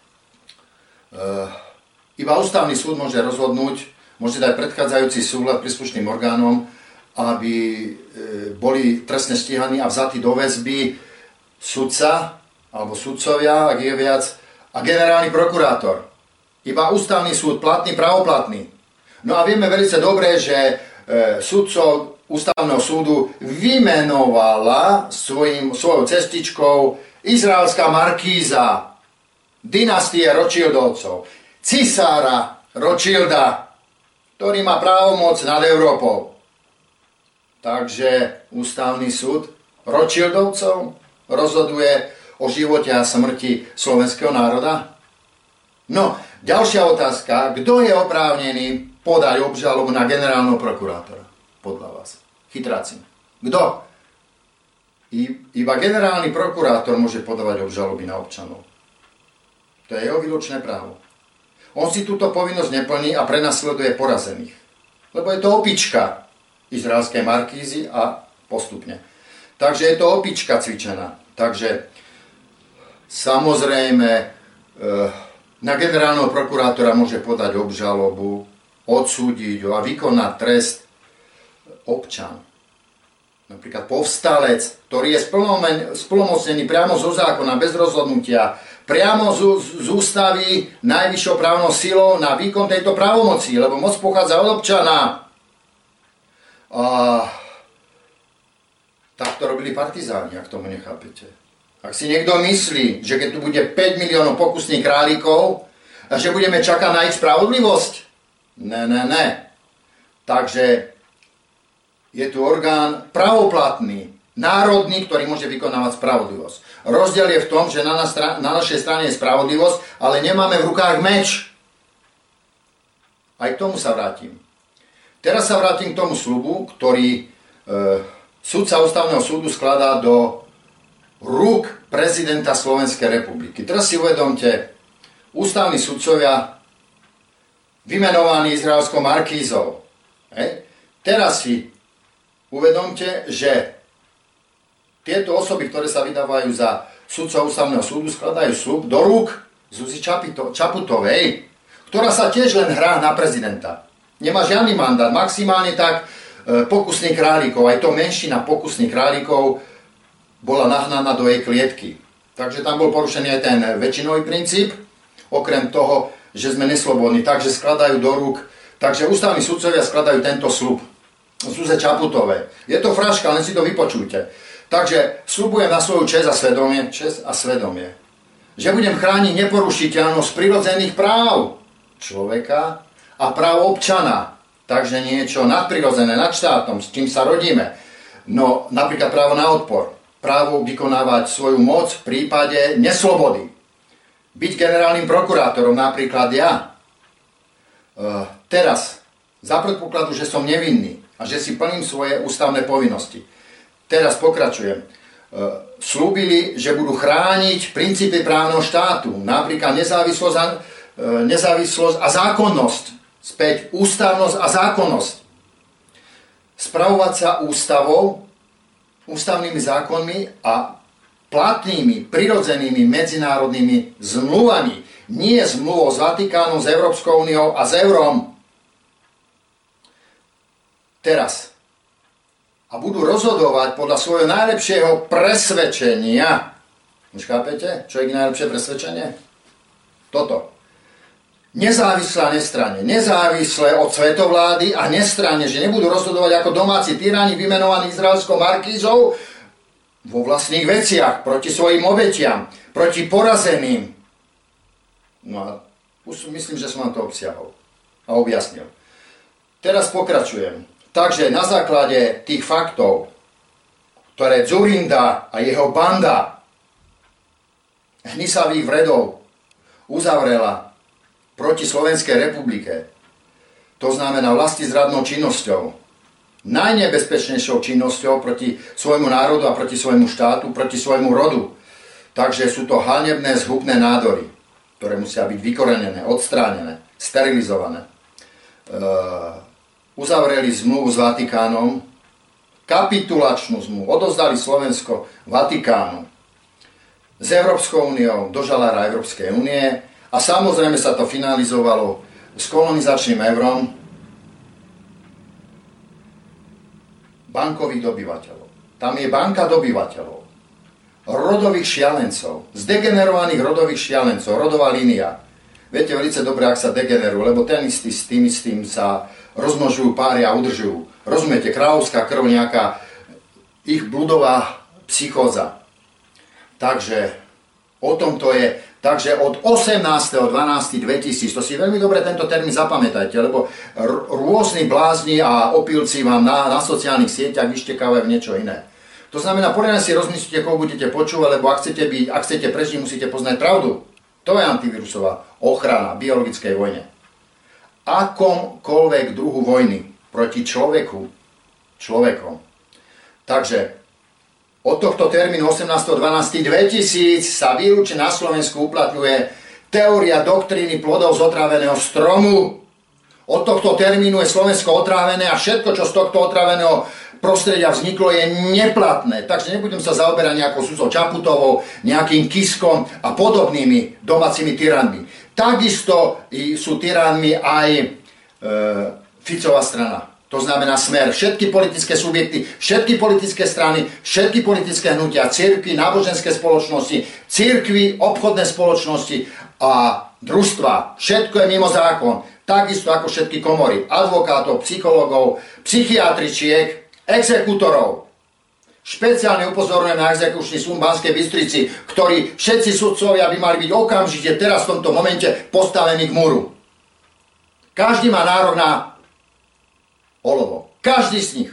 iba ústavný súd môže rozhodnúť, môže dať predchádzajúci súhlas príslušným orgánom, aby boli trestne stíhaní a vzatí do väzby sudca alebo sudcovia, ak je viac, a generálny prokurátor. Iba ústavný súd, platný, pravoplatný. No a vieme veľmi dobre, že sudcov ústavného súdu vymenovala svojim, svojou cestičkou izraelská markíza, dynastie Rothschildovcov, cisára Rothschilda, ktorý má právomoc nad Európou. Takže ústavný súd Rothschildovcov rozhoduje o živote a smrti slovenského národa? No, ďalšia otázka. Kto je oprávnený podať obžalobu na generálneho prokurátora? Podľa vás. Chytráci. Kto? Iba generálny prokurátor môže podávať obžaloby na občanov. To je jeho výlučné právo. On si túto povinnosť neplní a prenasleduje porazených. Lebo je to opička izraelskej markízy a postupne. Takže je to opička cvičená. Takže samozrejme na generálneho prokurátora môže podať obžalobu, odsúdiť ho a vykonať trest občan. napríklad povstalec, ktorý je splnomocnený priamo zo zákona, bez rozhodnutia, priamo z, z ústavy najvyššou právnou silou na výkon tejto právomoci, lebo moc pochádza od občana. A tak to robili partizáni, ak tomu nechápete. Ak si niekto myslí, že keď tu bude päť miliónov pokusných králikov, a že budeme čakať na ich spravodlivosť? Ne, ne, ne. Takže je tu orgán pravoplatný, národný, ktorý môže vykonávať spravodlivosť. Rozdiel je v tom, že na, na, na našej strane je spravodlivosť, ale nemáme v rukách meč. Aj k tomu sa vrátim. Teraz sa vrátim k tomu sľubu, ktorý e, sudca Ústavného súdu skladá do rúk prezidenta Slovenskej republiky. Teraz si uvedomte, ústavní sudcovia vymenovaní izraelskou markízou. Hej. Teraz si uvedomte, že tieto osoby, ktoré sa vydávajú za sudcov Ústavného súdu, skladajú sľub do rúk Zuzi Čaputovej, ktorá sa tiež len hrá na prezidenta. Nemá žiadny mandát, maximálne tak e, pokusných králikov, aj to menšina pokusných králikov bola nahnaná do jej klietky. Takže tam bol porušený aj ten väčšinový princíp, okrem toho, že sme neslobodní, takže skladajú do rúk, takže ústavní sudcovia skladajú tento sľub Zuze Čaputovej. Je to fraška, len si to vypočujte. Takže sľubujem na svoju česť a svedomie, česť a svedomie, že budem chrániť neporušiteľnosť prirodzených práv človeka a práv občana. Takže niečo nadprirodzené, nad štátom, s čím sa rodíme. No napríklad právo na odpor, právo vykonávať svoju moc v prípade neslobody. Byť generálnym prokurátorom, napríklad ja. E, teraz, za predpokladu, že som nevinný a že si plním svoje ústavné povinnosti. Teraz pokračujem. E, slúbili, že budú chrániť princípy právneho štátu, napríklad nezávislosť a, e, nezávislosť a zákonnosť. Späť ústavnosť a zákonnosť. Spravovať sa ústavou, ústavnými zákonmi a platnými, prirodzenými medzinárodnými zmluvami. Nie zmluvou s Vatikánom, s Európskou úniou a s eurom. Teraz. A budú rozhodovať podľa svojho najlepšieho presvedčenia. Už chápete, čo je ich najlepšie presvedčenie? Toto. Nezávislé a nestranne. Nezávislé od svetovlády a nestranne, že nebudú rozhodovať ako domáci tyráni vymenovaní izraelskou markízou vo vlastných veciach, proti svojim obetiam, proti porazeným. No a už myslím, že som vám to obsiahol a objasnil. Teraz pokračujem. Takže na základe tých faktov, ktoré Dzurinda a jeho banda hnisavých vredov uzavrela proti Slovenskej republike, to znamená vlastizradnou činnosťou, najnebezpečnejšou činnosťou proti svojmu národu a proti svojmu štátu, proti svojmu rodu. Takže sú to hanebné, zhubné nádory, ktoré musia byť vykorenené, odstránené, sterilizované. E, uzavreli zmluvu s Vatikánom, kapitulačnú zmluvu, odovzdali Slovensko Vatikánu, s Európskou úniou do žalára Európskej únie a samozrejme sa to finalizovalo s kolonizačným eurom bankových dobyvateľov. Tam je banka dobyvateľov, rodových šialencov, zdegenerovaných rodových šialencov, rodová línia. Viete veľmi dobre, ak sa degenerujú, lebo ten istý s tým istým sa rozmnožujú, pária a udržujú. Rozumiete, kráľovská krv, nejaká ich bludová psychóza. Takže o tom to je. Takže od osemnásteho decembra dvetisíc, to si veľmi dobre tento termín zapamätajte, lebo r- rôzni blázni a opilci vám na, na sociálnych sieťach vyštekávajú niečo iné. To znamená, poriadne si rozmyslíte, koho budete počúvať, lebo ak chcete, byť, ak chcete prežiť, musíte poznať pravdu. To je antivírusová ochrana v biologickej vojne. Akomkoľvek druhu vojny proti človeku, človekom. Takže od tohto termínu osemnásteho decembra dvetisíc sa výlučne na Slovensku uplatňuje teória doktríny plodov z otráveného stromu. Od tohto termínu je Slovensko otrávené a všetko, čo z tohto otráveného prostredia vzniklo, je neplatné. Takže nebudem sa zaoberať nejakou Zuzou Čaputovou, nejakým Kiskom a podobnými domácimi tyranmi. Takisto sú tyranmi aj e, Ficová strana. to znamená Smer, všetky politické subjekty, všetky politické strany, všetky politické hnutia, cirkvi, náboženské spoločnosti, cirkvi, obchodné spoločnosti a družstva. Všetko je mimo zákon. Takisto ako všetky komory, advokátov, psychológov, psychiatričiek, exekútorov. Špeciálne upozorňujem na exekučný súd v Banskej Bystrici, ktorí všetci sudcovia by mali byť okamžite teraz v tomto momente postavení k múru. Každý má nárok na olovo. Každý z nich.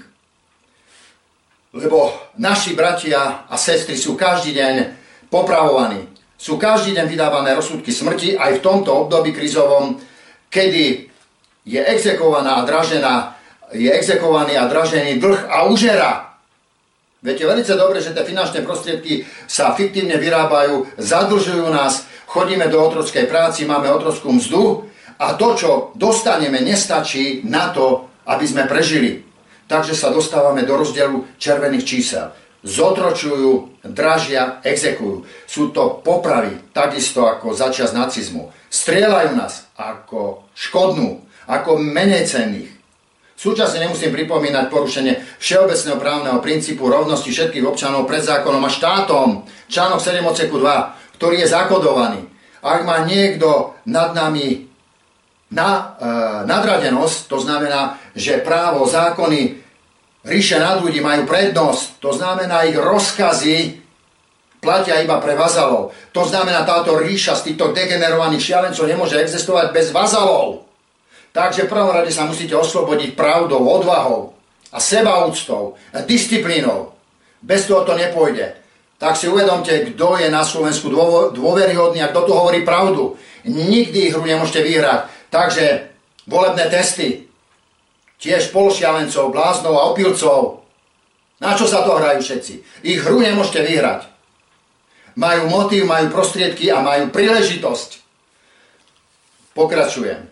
Lebo naši bratia a sestry sú každý deň popravovaní. Sú každý deň vydávané rozsudky smrti aj v tomto období krizovom, kedy je exekovaná a dražená, je exekovaný a dražený dlh a užera. Viete veľmi dobre, že tie finančné prostriedky sa fiktívne vyrábajú, zadlžujú nás, chodíme do otrockej práci, máme otrockú mzdu a to, čo dostaneme, nestačí na to, aby sme prežili. Takže sa dostávame do rozdielu červených čísel. Zotročujú, dražia, exekujú. Sú to popravy, takisto ako začias nacizmu. Strieľajú nás ako škodnú, ako menej cenných. Súčasne nemusím pripomínať porušenie všeobecného právneho princípu rovnosti všetkých občanov pred zákonom a štátom. Článok sedem odseku dva, ktorý je zakodovaný. Ak má niekto nad nami Na, e, nadradenosť, to znamená, že právo, zákony ríše nad ľudí majú prednosť, to znamená, ich rozkazy platia iba pre vazalov. To znamená, táto ríša z týchto degenerovaných šialencov nemôže existovať bez vazalov. Takže v prvom rade sa musíte oslobodiť pravdou, odvahou a sebaúctou a disciplínou. Bez toho to nepôjde. Tak si uvedomte, kto je na Slovensku dôveryhodný a kto tu hovorí pravdu. Nikdy hru nemôžete vyhrať. Takže volebné testy, tiež pološialencov, bláznov a opilcov. Na čo sa to hrajú všetci? Ich hru nemôžete vyhrať. Majú motív, majú prostriedky a majú príležitosť. Pokračujem.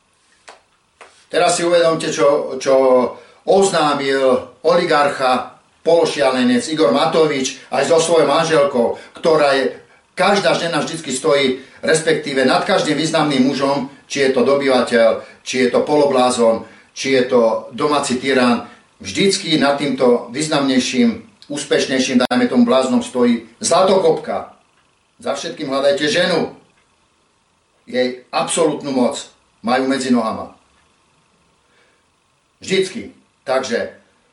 Teraz si uvedomte, čo, čo oznámil oligarcha, pološialenec Igor Matovič aj so svojou manželkou, ktorá je, každá žena vždycky stojí, respektíve nad každým významným mužom, či je to dobyvateľ, či je to poloblázon, či je to domáci tyran, vždycky nad týmto významnejším, úspešnejším, dajme tomu bláznom, stojí zlatokopka. Za všetkým hľadajte ženu. Jej absolútnu moc majú medzi nohama. Vždycky. Takže,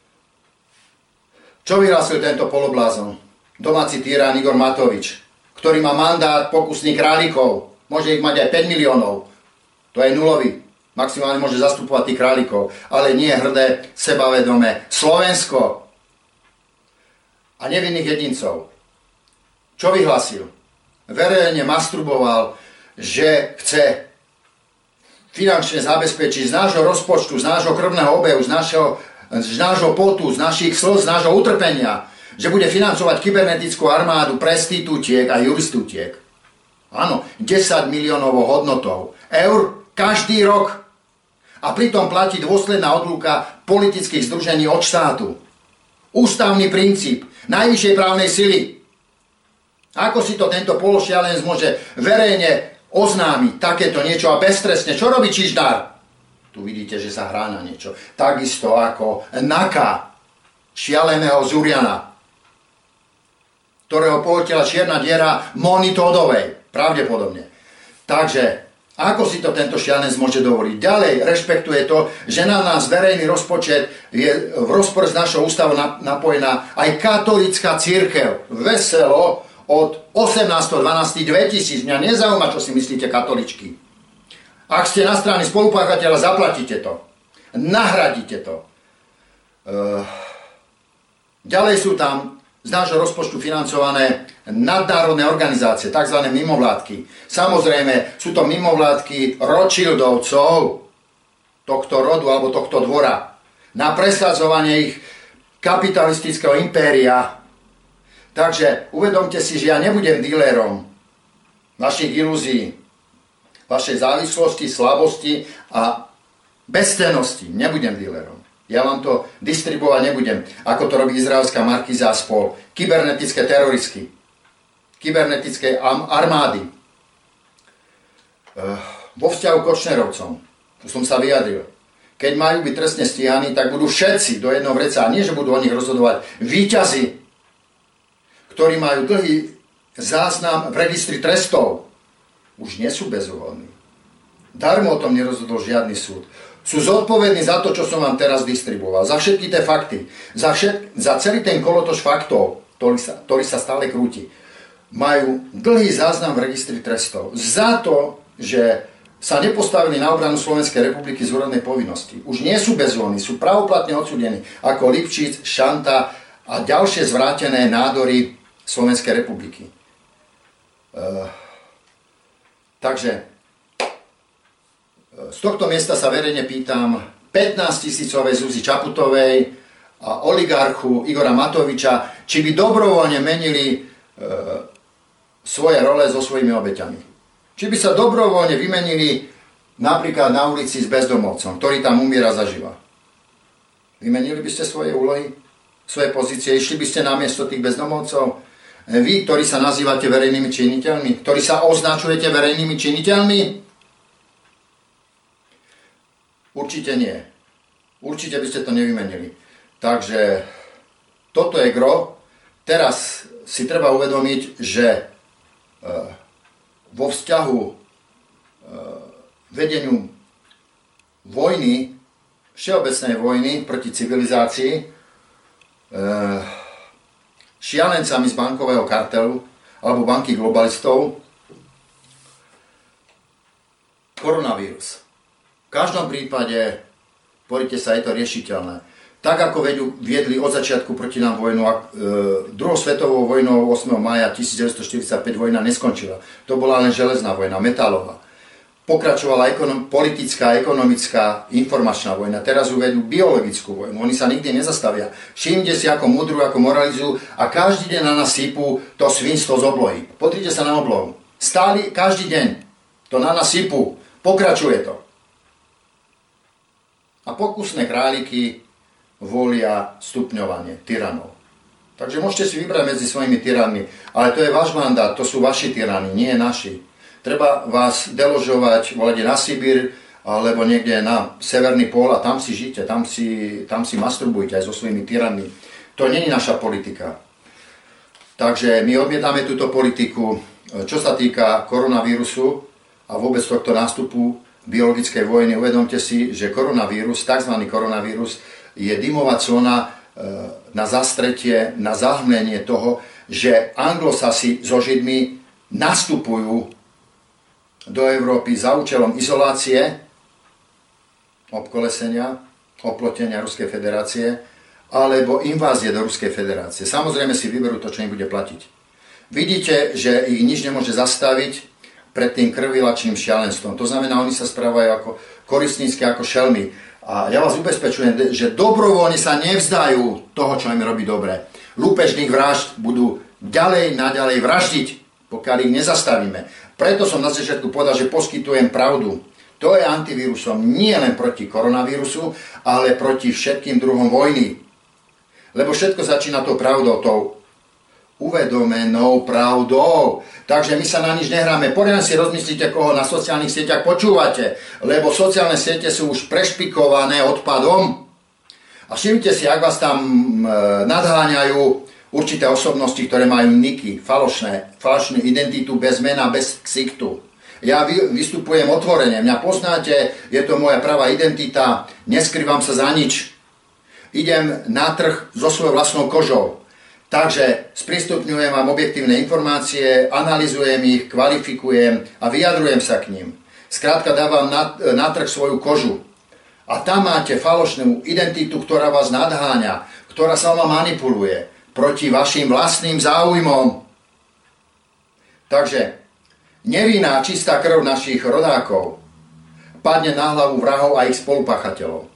čo vyhlásil tento poloblázon? Domáci tyran Igor Matovič, ktorý má mandát pokusných králikov. Môže ich mať aj päť miliónov. To je nulový. Maximálne môže zastupovať tých králikov. Ale nie hrdé, sebavedomé Slovensko. A nevinných jedincov. Čo vyhlasil? Verejne masturboval, že chce finančne zabezpečiť z nášho rozpočtu, z nášho krvného obehu, z nášho, z nášho potu, z našich slz, z nášho utrpenia, že bude financovať kybernetickú armádu prestitútiek a juristútiek. Áno, desať miliónovou hodnotou eur každý rok. A pritom platí dôsledná odlúka politických združení od štátu. Ústavný princíp najvyššej právnej sily. Ako si to tento pološialenec môže verejne oznámiť takéto niečo a beztrestne? Čo robí Čižnár? Tu vidíte, že sa hrá na niečo. Takisto ako Naka, šialeného Zuriana, ktorého pohltila čierna diera Moni Todovej. Pravdepodobne. Takže, ako si to tento šialenec môže dovoliť? Ďalej rešpektuje to, že na nás verejný rozpočet je v rozpore s našou ústavou napojená aj katolícka cirkev. Veselo od osemnásteho dvanásteho dvetisíc. Mňa nezaujíma, čo si myslíte katoličky. Ak ste na strane spolupáchateľa, zaplatíte to. Nahradíte to. Uh, ďalej sú tam z nášho rozpočtu financované nadnárodné organizácie, tzv. Mimovládky. Samozrejme, sú to mimovládky Rothschildovcov, tohto rodu alebo tohto dvora, na presadzovanie ich kapitalistického impéria. Takže uvedomte si, že ja nebudem dílerom vašich ilúzií, vašej závislosti, slabosti a bezcennosti. Nebudem dílerom. Ja vám to distribuovať nebudem, ako to robí izraelská markíza a spol. Kybernetické teroristky, kybernetické armády. Vo vzťahu k Kočnerovcom, tu som sa vyjadril. keď majú byť trestne stíhaní, tak budú všetci do jedného vreca. A nie, že budú o nich rozhodovať víťazi, ktorí majú dlhý záznam v registri trestov. Už nie sú bezúhonní. Darmo o tom nerozhodol žiadny súd. Sú zodpovední za to, čo som vám teraz distribuoval. Za všetky tie fakty. Za, všet, za celý ten kolotoč faktov, ktorý sa, ktorý sa stále krúti. Majú dlhý záznam v registri trestov. Za to, že sa nepostavili na obranu Slovenskej republiky z úradnej povinnosti. Už nie sú bezúhonní, sú pravoplatne odsúdení ako Lipšic, Šanta a ďalšie zvrátené nádory Slovenskej republiky. Uh, takže z tohto miesta sa verejne pýtam pätnásťtisícovej Zuzi Čaputovej a oligarchu Igora Matoviča, či by dobrovoľne menili uh, svoje role so svojimi obeťami. Či by sa dobrovoľne vymenili napríklad na ulici s bezdomovcom, ktorý tam umiera zaživa. Vymenili by ste svoje úlohy, svoje pozície, išli by ste namiesto tých bezdomovcov? Vy, ktorí sa nazývate verejnými činiteľmi, ktorí sa označujete verejnými činiteľmi? Určite nie. Určite by ste to nevymenili. Takže toto je gro. Teraz si treba uvedomiť, že vo vzťahu e, vedeniu vojny, všeobecnej vojny proti civilizácii, e, šialencami z bankového kartelu alebo banky globalistov, koronavírus. V každom prípade, poďte sa, je to riešiteľné. Tak ako viedli od začiatku proti nám vojnu, a e, druhou svetovou vojnou ôsmeho mája devätnásťstoštyridsaťpäť vojna neskončila. To bola len železná vojna, metalová. Pokračovala ekonom, politická, ekonomická, informačná vojna. Teraz uvedú biologickú vojnu. Oni sa nikdy nezastavia. Všimnite si, ako mudrujú, ako moralizujú a každý deň na nás sypú to svinstvo z oblohy. Pozrite sa na oblohu. Stáli každý deň. To na nás sypú. Pokračuje to. A pokusné králiky volia stupňovanie tyranov. Takže môžete si vybrať medzi svojimi tyranmi, ale to je váš mandát, to sú vaši tyrani, nie naši. Treba vás deložovať, volať na Sibír, alebo niekde na severný pól a tam si žite, tam si, tam si masturbujte aj so svojimi tyranmi. To nie je naša politika. Takže my odmietame túto politiku. Čo sa týka koronavírusu a vôbec tohto nástupu biologickej vojny, uvedomte si, že koronavírus, tzv. Koronavírus, je dymová zóna na zastretie, na zahmlenie toho, že Anglosasi so Židmi nastupujú do Európy za účelom izolácie, obkolesenia, oplotenia Ruskej federácie, alebo invázie do Ruskej federácie. Samozrejme si vyberú to, čo im bude platiť. Vidíte, že ich nič nemôže zastaviť pred tým krvilačným šialenstvom. To znamená, oni sa správajú ako koristnícky, ako šelmy. A ja vás ubezpečujem, že dobrovoľne sa nevzdajú toho, čo im robí dobre. Lúpežných vražd budú ďalej, naďalej vraždiť, pokiaľ ich nezastavíme. Preto som na začiatku povedal, že poskytujem pravdu. To je antivírusom nie len proti koronavírusu, ale proti všetkým druhom vojny. Lebo všetko začína tou pravdou, tou uvedomenou pravdou. Takže my sa na nič nehráme. Poriadne si rozmyslíte, koho na sociálnych sieťach počúvate, lebo sociálne siete sú už prešpikované odpadom. A všimnite si, ak vás tam e, nadháňajú určité osobnosti, ktoré majú niky, falošné, falošnú identitu bez mena, bez ksichtu. Ja vy, vystupujem otvorene, mňa poznáte, je to moja pravá identita, neskrývam sa za nič. Idem na trh so svojou vlastnou kožou. Takže sprístupňujem vám objektívne informácie, analyzujem ich, kvalifikujem a vyjadrujem sa k ním. Skrátka dávam na, na trh svoju kožu. A tam máte falošnú identitu, ktorá vás nadháňa, ktorá sa vám manipuluje proti vašim vlastným záujmom. Takže nevinná čistá krv našich rodákov padne na hlavu vrahov a ich spolupáchateľov.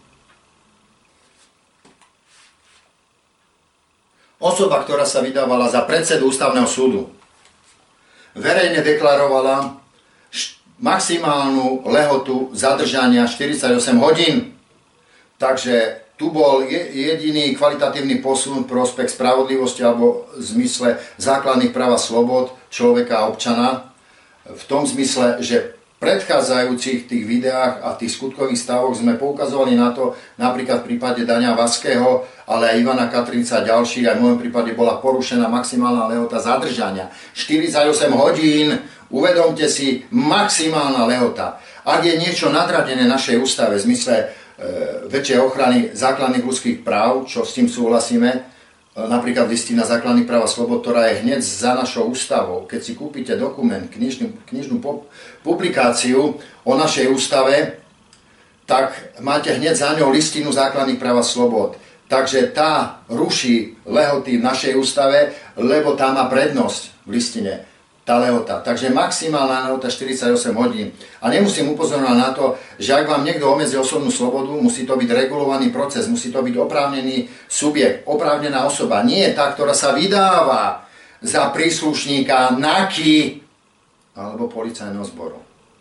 Osoba, ktorá sa vydávala za predsedu ústavného súdu, verejne deklarovala maximálnu lehotu zadržania štyridsaťosem hodín. Takže tu bol jediný kvalitatívny posun v prospech spravodlivosti alebo v zmysle základných práv a slobod človeka a občana. V tom zmysle, že predchádzajúcich tých videách a tých skutkových stavoch sme poukazovali na to, napríklad v prípade Daňa Vaského, ale aj Ivana Katrinca a ďalších, aj v môjom prípade bola porušená maximálna lehota zadržania. štyridsaťosem hodín, uvedomte si, maximálna lehota. Ak je niečo nadradené našej ústave v zmysle e, väčšej ochrany základných ľudských práv, čo s tým súhlasíme, napríklad listina základných práv a slobod, ktorá je hneď za našou ústavou. Keď si kúpite dokument, knižnú, knižnú publikáciu o našej ústave, tak máte hneď za ňou listinu základných práv a slobod. Takže tá ruší lehoty v našej ústave, lebo tá má prednosť v listine, tá lehota. Takže maximálna lehota štyridsaťosem hodín. A nemusím upozorňovať na to, že ak vám niekto obmedzí osobnú slobodu, musí to byť regulovaný proces, musí to byť oprávnený subjekt, oprávnená osoba. Nie tá, ktorá sa vydáva za príslušníka NAKY alebo policajného zboru.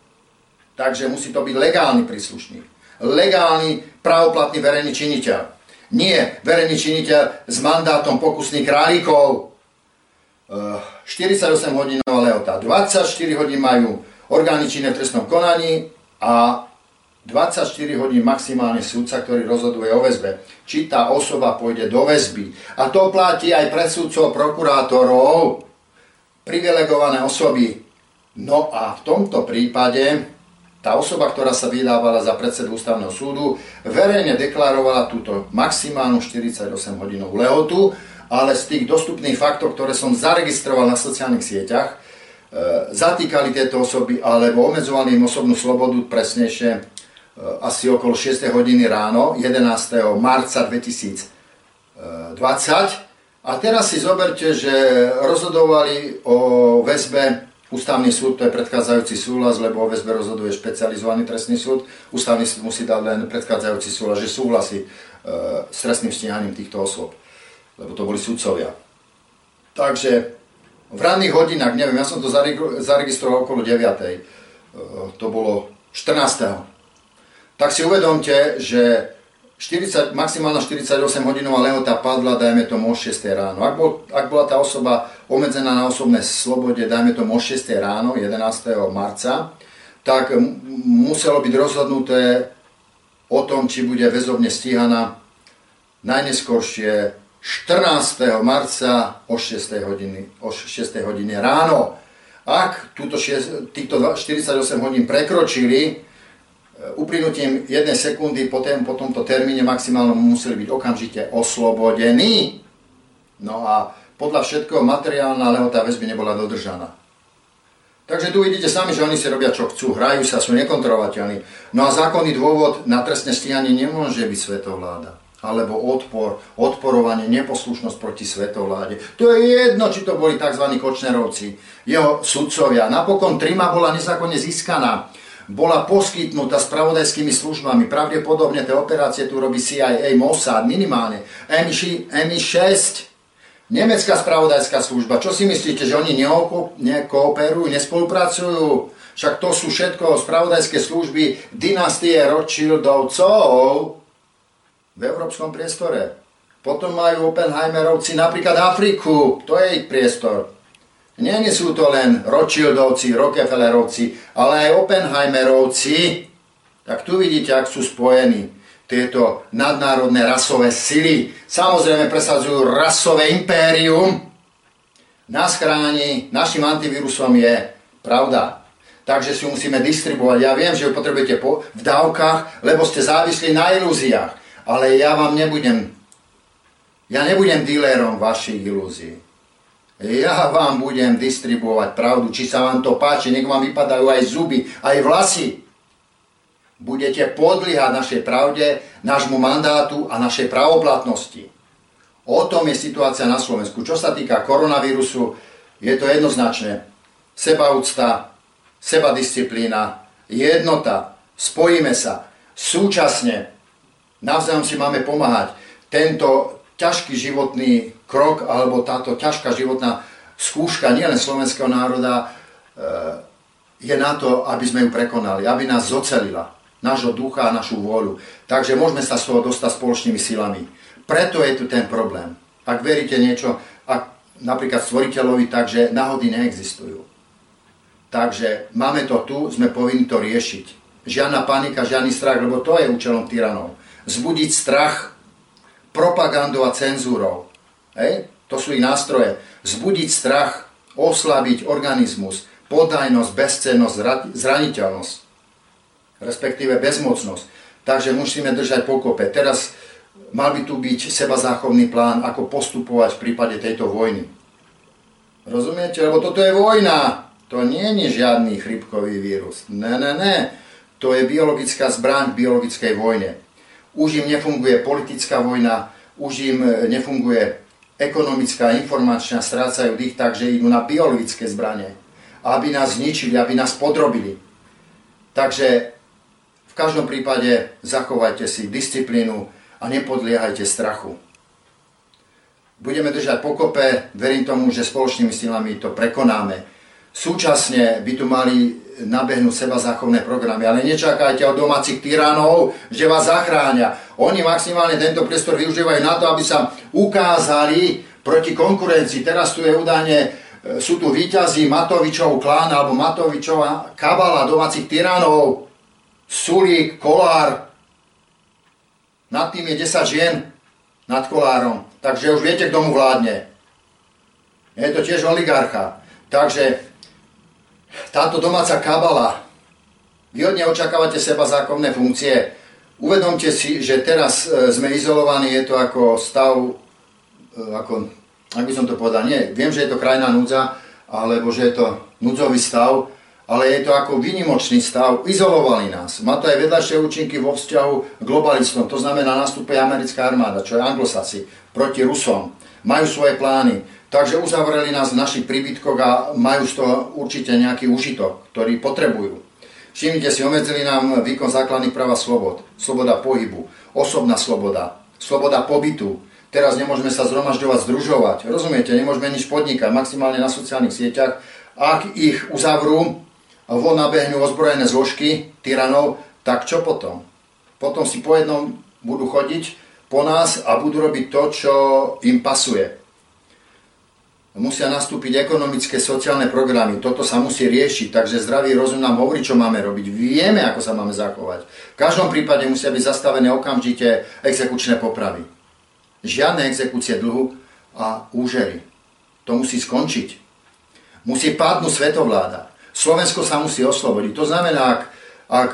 Takže musí to byť legálny príslušník. Legálny, právoplatný verejný činiteľ. Nie verejný činiteľ s mandátom pokusných králikov. štyridsaťosem hodinová lehota. dvadsaťštyri hodín majú orgány činné v trestnom konaní a dvadsaťštyri hodín maximálne súdca, ktorý rozhoduje o väzbe. Či tá osoba pôjde do väzby. A to platí aj pre súdcov, prokurátorov, privilegované osoby. No a v tomto prípade tá osoba, ktorá sa vydávala za predsedu ústavného súdu, verejne deklarovala túto maximálnu štyridsaťosem hodinovú lehotu, ale z tých dostupných faktov, ktoré som zaregistroval na sociálnych sieťach, e, zatýkali tieto osoby alebo obmedzovali im osobnú slobodu presnejšie e, asi okolo šiestej hodiny ráno, jedenásteho marca dvetisícdvadsať. A teraz si zoberte, že rozhodovali o väzbe Ústavný súd, to je predchádzajúci súhlas, lebo o väzbe rozhoduje špecializovaný trestný súd. Ústavný súd musí dať len predchádzajúci súhlas, že súhlasí e, s trestným stíhaním týchto osôb, lebo to boli sudcovia. Takže v ranných hodinách, neviem, ja som to zaregistroval okolo deviatej, to bolo štrnásteho Tak si uvedomte, že štyridsať, maximálna štyridsaťosem hodinová lehota padla, dajme tomu o šiestej ráno. Ak, bol, ak bola tá osoba obmedzená na osobnej slobode, dajme tomu o šiestej ráno, jedenásteho marca, tak muselo byť rozhodnuté o tom, či bude väzobne stíhaná najneskôršie štrnásteho marca o šiestej hodiny, o šiestej hodine ráno. Ak túto šesť, týchto štyridsaťosem hodín prekročili, uplynutím jednej sekundy po, tém, po tomto termíne maximálnom museli byť okamžite oslobodení. No a podľa všetkého materiálna lehota väzby nebola dodržaná. Takže tu vidíte sami, že oni si robia čo chcú, hrajú sa, sú nekontrolovateľní. No a zákonný dôvod na trestné stíhanie nemôže byť svetovláda. Alebo odpor, odporovanie, neposlušnosť proti svetovláde. To je jedno, či to boli tzv. Kočnerovci, jeho sudcovia. Napokon Trima bola nezákonne získaná. Bola poskytnutá spravodajskými službami. Pravdepodobne tie operácie tu robí C I A, Mossad, minimálne. M I šesť, nemecká spravodajská služba. Čo si myslíte, že oni nekooperujú, nespolupracujú? Však to sú všetko spravodajské služby dynastie Rothschildovcov v európskom priestore. Potom majú Oppenheimerovci napríklad Afriku, to je ich priestor. Nie, nie sú to len Rothschildovci, Rockefellerovci, ale aj Oppenheimerovci. Tak tu vidíte, ak sú spojení tieto nadnárodné rasové sily. Samozrejme presadzujú rasové impérium. Nás chráni, našim antivírusom je pravda. Takže si ju musíme distribuovať. Ja viem, že ju potrebujete po, v dávkach, lebo ste závislí na ilúziách. Ale ja vám nebudem, ja nebudem dílerom vašich ilúzií. Ja vám budem distribuovať pravdu, či sa vám to páči, nech vám vypadajú aj zuby, aj vlasy. Budete podliehať našej pravde, nášmu mandátu a našej pravoplatnosti. O tom je situácia na Slovensku. Čo sa týka koronavírusu, je to jednoznačné. Sebaúcta, sebadisciplína, jednota, spojíme sa. Súčasne navzájom si máme pomáhať. Tento ťažký životný krok alebo táto ťažká životná skúška nielen slovenského národa je na to, aby sme ju prekonali, aby nás zocelila, nášho ducha a našu vôľu. Takže môžeme sa z toho dostať spoločnými silami. Preto je tu ten problém. Ak veríte niečo, ak napríklad stvoriteľovi, takže náhody neexistujú. Takže máme to tu, sme povinni to riešiť. Žiadna panika, žiadny strach, lebo to je účelom tyranov. Vzbudiť strach propagandou a cenzúrou. Hej? To sú ich nástroje. Vzbudiť strach, oslabiť organizmus, podajnosť, bezcennosť, zraniteľnosť, respektíve bezmocnosť. Takže musíme držať pokope. Teraz mal by tu byť sebazáchovný plán, ako postupovať v prípade tejto vojny. Rozumiete? Lebo toto je vojna. To nie je žiadny chrípkový vírus. Ne, ne, ne. To je biologická zbraň v biologickej vojne. Už im nefunguje politická vojna, už im nefunguje ekonomická, informačná, strácajú dých, takže idú na biologické zbranie. Aby nás zničili, aby nás podrobili. Takže v každom prípade zachovajte si disciplínu a nepodliehajte strachu. Budeme držať pokope, verím tomu, že spoločnými silami to prekonáme. Súčasne by tu mali nabehnúť sebazáchovné programy, ale nečakajte od domácich tyranov, že vás zachránia. Oni maximálne tento priestor využívajú na to, aby sa ukázali proti konkurencii. Teraz tu je údajne, sú tu víťazí Matovičov klán alebo Matovičova kabala domácich tyranov, Sulík, Kolár. Nad tým je desať žien nad Kolárom. Takže už viete, kto mu vládne. Je to tiež oligarcha. Takže táto domáca kabala, vy od nej očakávate sebazákonné funkcie. Uvedomte si, že teraz sme izolovaní, je to ako stav, ako, ak by som to povedal, nie, viem, že je to krajná núdza, alebo že je to núdzový stav, ale je to ako výnimočný stav, izolovali nás. Má to aj vedľajšie účinky vo vzťahu k globalistom, to znamená, nastupuje americká armáda, čo je anglosasi, proti Rusom, majú svoje plány. Takže uzavreli nás v našich príbytkoch a majú z toho určite nejaký užitok, ktorý potrebujú. Všimnite si, obmedzili nám výkon základných práv a slobod. Sloboda pohybu, osobná sloboda, sloboda pobytu. Teraz nemôžeme sa zhromažďovať, združovať. Rozumiete, nemôžeme nič podnikať, maximálne na sociálnych sieťach. Ak ich uzavrú, von nabehnú ozbrojené zložky tyranov, tak čo potom? Potom si po jednom budú chodiť po nás a budú robiť to, čo im pasuje. Musia nastúpiť ekonomické, sociálne programy. Toto sa musí riešiť, takže zdravý rozum nám hovorí, čo máme robiť. Vieme, ako sa máme zachovať. V každom prípade musia byť zastavené okamžite exekučné popravy. Žiadne exekúcie dlhu a úžery. To musí skončiť. Musí padnúť svetovláda. Slovensko sa musí oslobodiť. To znamená, ak, ak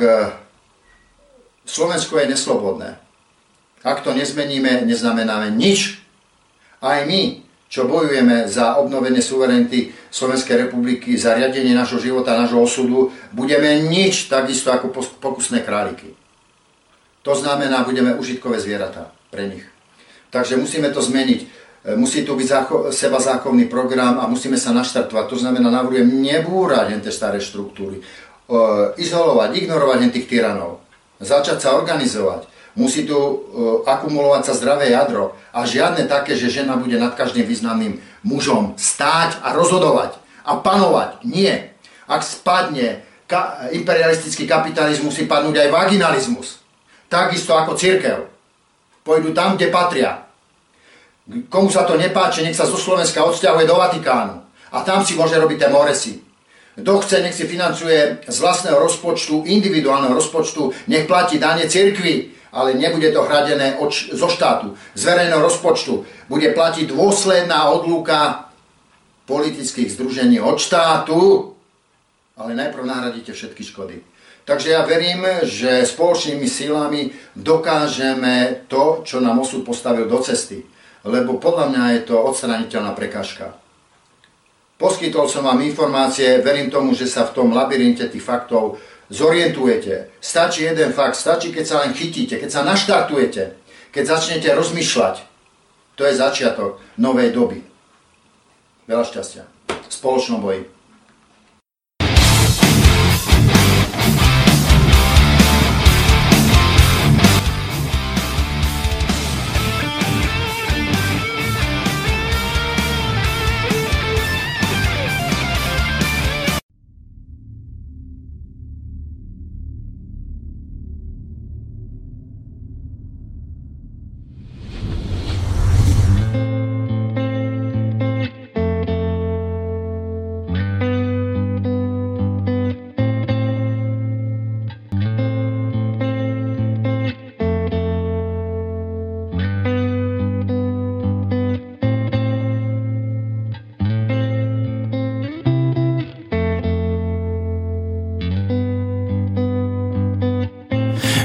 Slovensko je neslobodné, ak to nezmeníme, neznamenáme nič. Aj my, čo bojujeme za obnovenie suverenity Slovenskej republiky, za riadenie nášho života, nášho osudu, budeme nič takisto ako pokusné králiky. To znamená, budeme užitkové zvieratá pre nich. Takže musíme to zmeniť. Musí tu byť sebazákonný program a musíme sa naštartovať. To znamená, navrhujem nebúrať tie staré štruktúry, izolovať, ignorovať tých tyranov, začať sa organizovať. Musí tu akumulovať sa zdravé jadro a žiadne také, že žena bude nad každým významným mužom stáť a rozhodovať a panovať. Nie. Ak spadne ka- imperialistický kapitalizmus, musí padnúť aj vaginalizmus. Takisto ako cirkev. Pôjdu tam, kde patria. Komu sa to nepáči, nech sa zo Slovenska odsťahuje do Vatikánu. A tam si môže robiť tie moresy. Kto chce, nech si financuje z vlastného rozpočtu, individuálneho rozpočtu, nech platí dane cirkvi, ale nebude to hradené od, zo štátu, z verejného rozpočtu. Bude platiť dôsledná odlúka politických združení od štátu, ale najprv nahradíte všetky škody. Takže ja verím, že spoločnými silami dokážeme to, čo nám osud postavil do cesty. Lebo podľa mňa je to odstraniteľná prekážka. Poskytol som vám informácie, verím tomu, že sa v tom labyrinte tých faktov zorientujete. Stačí jeden fakt, stačí, keď sa len chytíte, keď sa naštartujete, keď začnete rozmýšľať. To je začiatok novej doby. Veľa šťastia. V spoločnom boji.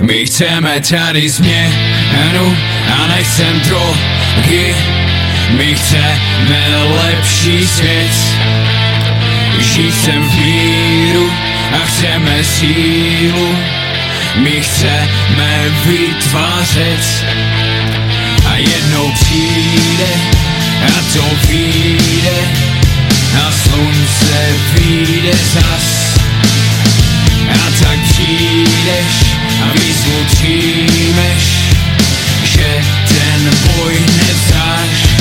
My chceme tady změnu a nechcem drogy. My chceme lepší svět. Žít sem v míru a chceme sílu. My chceme vytvářet a jednou přijde a to vyjde a slunce vyjde zas. A tak přijdeš a výzvu přijmeš, že ten boj nevzdáš.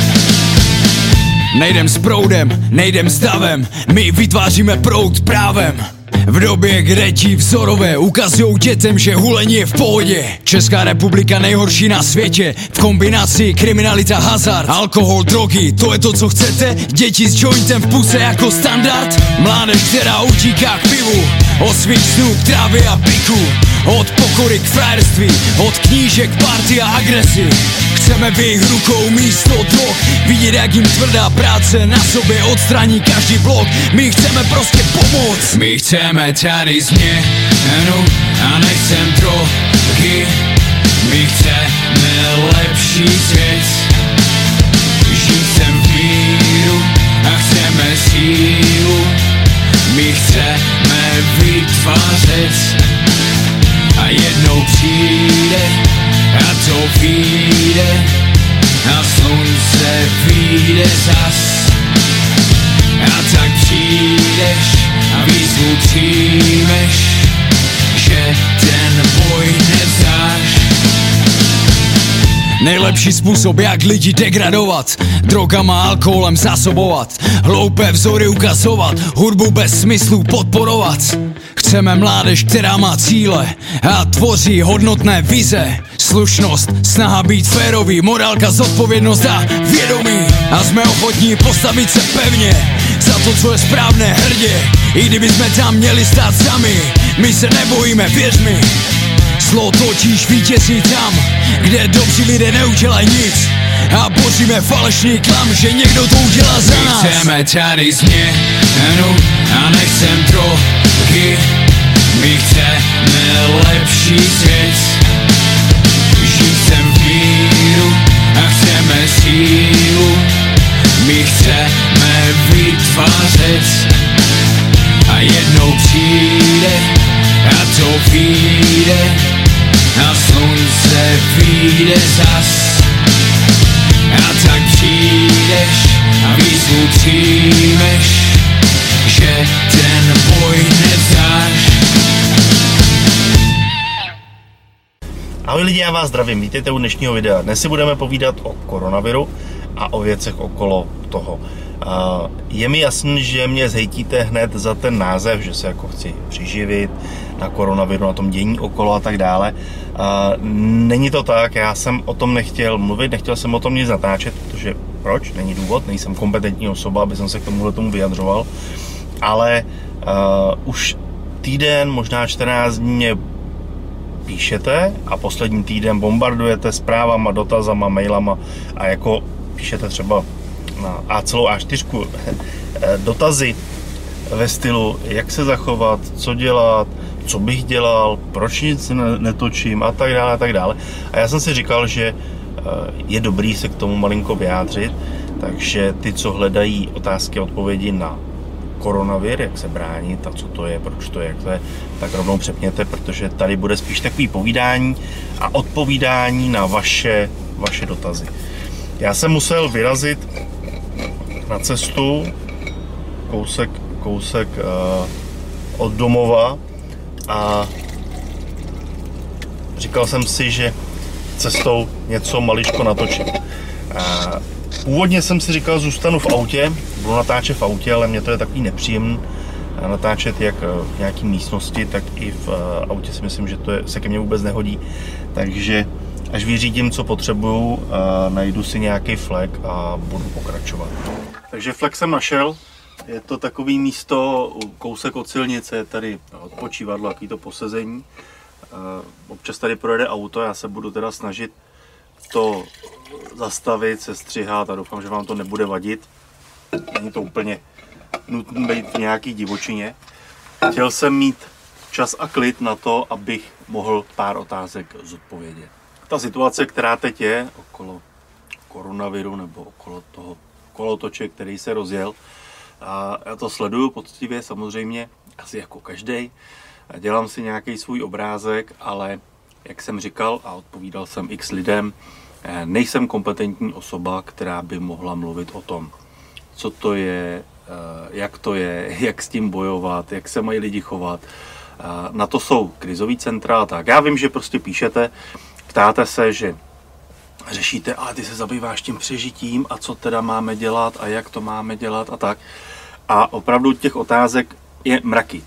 Nejdem s proudem, nejdem s davem, my vytváříme proud právem. V době, kde ti vzorové ukazujou dětem, že hulení je v pohodě. Česká republika nejhorší na světě. V kombinaci kriminalita, hazard, alkohol, drogy. To je to, co chcete? Děti s jointem v puse jako standard? Mládež, která utíká k pivu, od svých snů k trávě a piku. Od pokory k frajerství, od knížek k party a agresi. Chceme v jejich rukou místo drog, vidět, jak jim tvrdá práce na sobě odstraní každý blok. My chceme prostě pomoct. My chceme tady změnu a nechcem drogy. My chceme lepší svět. Žít sem v míru a chceme sílu. My chceme vytvářet a jednou přijde a to vyjde a slunce vyjde zas. A tak přijdeš a výzvu přijmeš, že ten boj nevzdáš. Nejlepší způsob, jak lidi degradovat, drogama, alkoholem zásobovat, hloupé vzory ukazovat, hudbu bez smyslu podporovat. Chceme mládež, která má cíle a tvoří hodnotné vize. Slušnost, snaha být férový, morálka, zodpovědnost a vědomí. A jsme ochotní postavit se pevně za to, co je správné, hrdě. I kdyby jsme tam měli stát sami, my se nebojíme, věř mi. Zlo totiž vítězí tam, kde dobří lidé neudělají nic. A boříme falešný klam, že někdo to udělá za nás. My chceme tady změnu a nechcem drogy. My chceme lepší svět. Žít sem v míru a chceme sílu. My chceme vytvářet a jednou přijde a to vyjde a slunce vyjde zas. A tak přijdeš a výzvu přijmeš, že ten boj nevzdáš. Ahoj lidi, já vás zdravím, vítejte u dnešního videa. Dnes si budeme povídat o koronaviru a o věcech okolo toho. Je mi jasný, že mě zhejtíte hned za ten název, že se jako chci přiživit na koronaviru, na tom dění okolo a tak dále. Není to tak, já jsem o tom nechtěl mluvit, nechtěl jsem o tom nic natáčet, protože proč? Není důvod, nejsem kompetentní osoba, aby jsem se k tomuhle tomu vyjadřoval. Ale uh, už týden, možná čtrnáct dní mě píšete a poslední týden bombardujete zprávama, dotazama, mailama a jako píšete třeba na A celou á čtyři dotazy ve stylu, jak se zachovat, co dělat, co bych dělal, proč nic netočím a tak dále a tak dále. A já jsem si říkal, že je dobrý se k tomu malinko vyjádřit, takže ty, co hledají otázky a odpovědi na koronavir, jak se bránit a co to je, proč to je, jak to je, tak rovnou přepněte, protože tady bude spíš takový povídání a odpovídání na vaše, vaše dotazy. Já jsem musel vyrazit na cestu kousek, kousek uh, od domova a říkal jsem si, že cestou něco maličko natočím. Uh, původně jsem si říkal, zůstanu v autě, budu natáčet v autě, ale mě to je takový nepříjemný natáčet jak v nějaké místnosti, tak i v autě si myslím, že to je, se ke mně vůbec nehodí. Takže až vyřídím, co potřebuju, najdu si nějaký flek a budu pokračovat. Takže flek jsem našel, je to takový místo, kousek od silnice, je tady odpočívadlo, jaký to posezení. Občas tady projede auto, já se budu teda snažit to zastavit, sestřihat a doufám, že vám to nebude vadit. Není to úplně nutné být v nějaký divočině. Chtěl jsem mít čas a klid na to, abych mohl pár otázek zodpovědět. Ta situace, která teď je okolo koronaviru nebo okolo toho kolotoče, který se rozjel, a já to sleduju poctivě samozřejmě, asi jako každej. Dělám si nějaký svůj obrázek, ale jak jsem říkal a odpovídal jsem x lidem, nejsem kompetentní osoba, která by mohla mluvit o tom, co to je, jak to je, jak s tím bojovat, jak se mají lidi chovat. Na to jsou krizový centra a tak. Já vím, že prostě píšete, ptáte se, že řešíte, ale ty se zabýváš tím přežitím a co teda máme dělat a jak to máme dělat a tak. A opravdu těch otázek je mraky.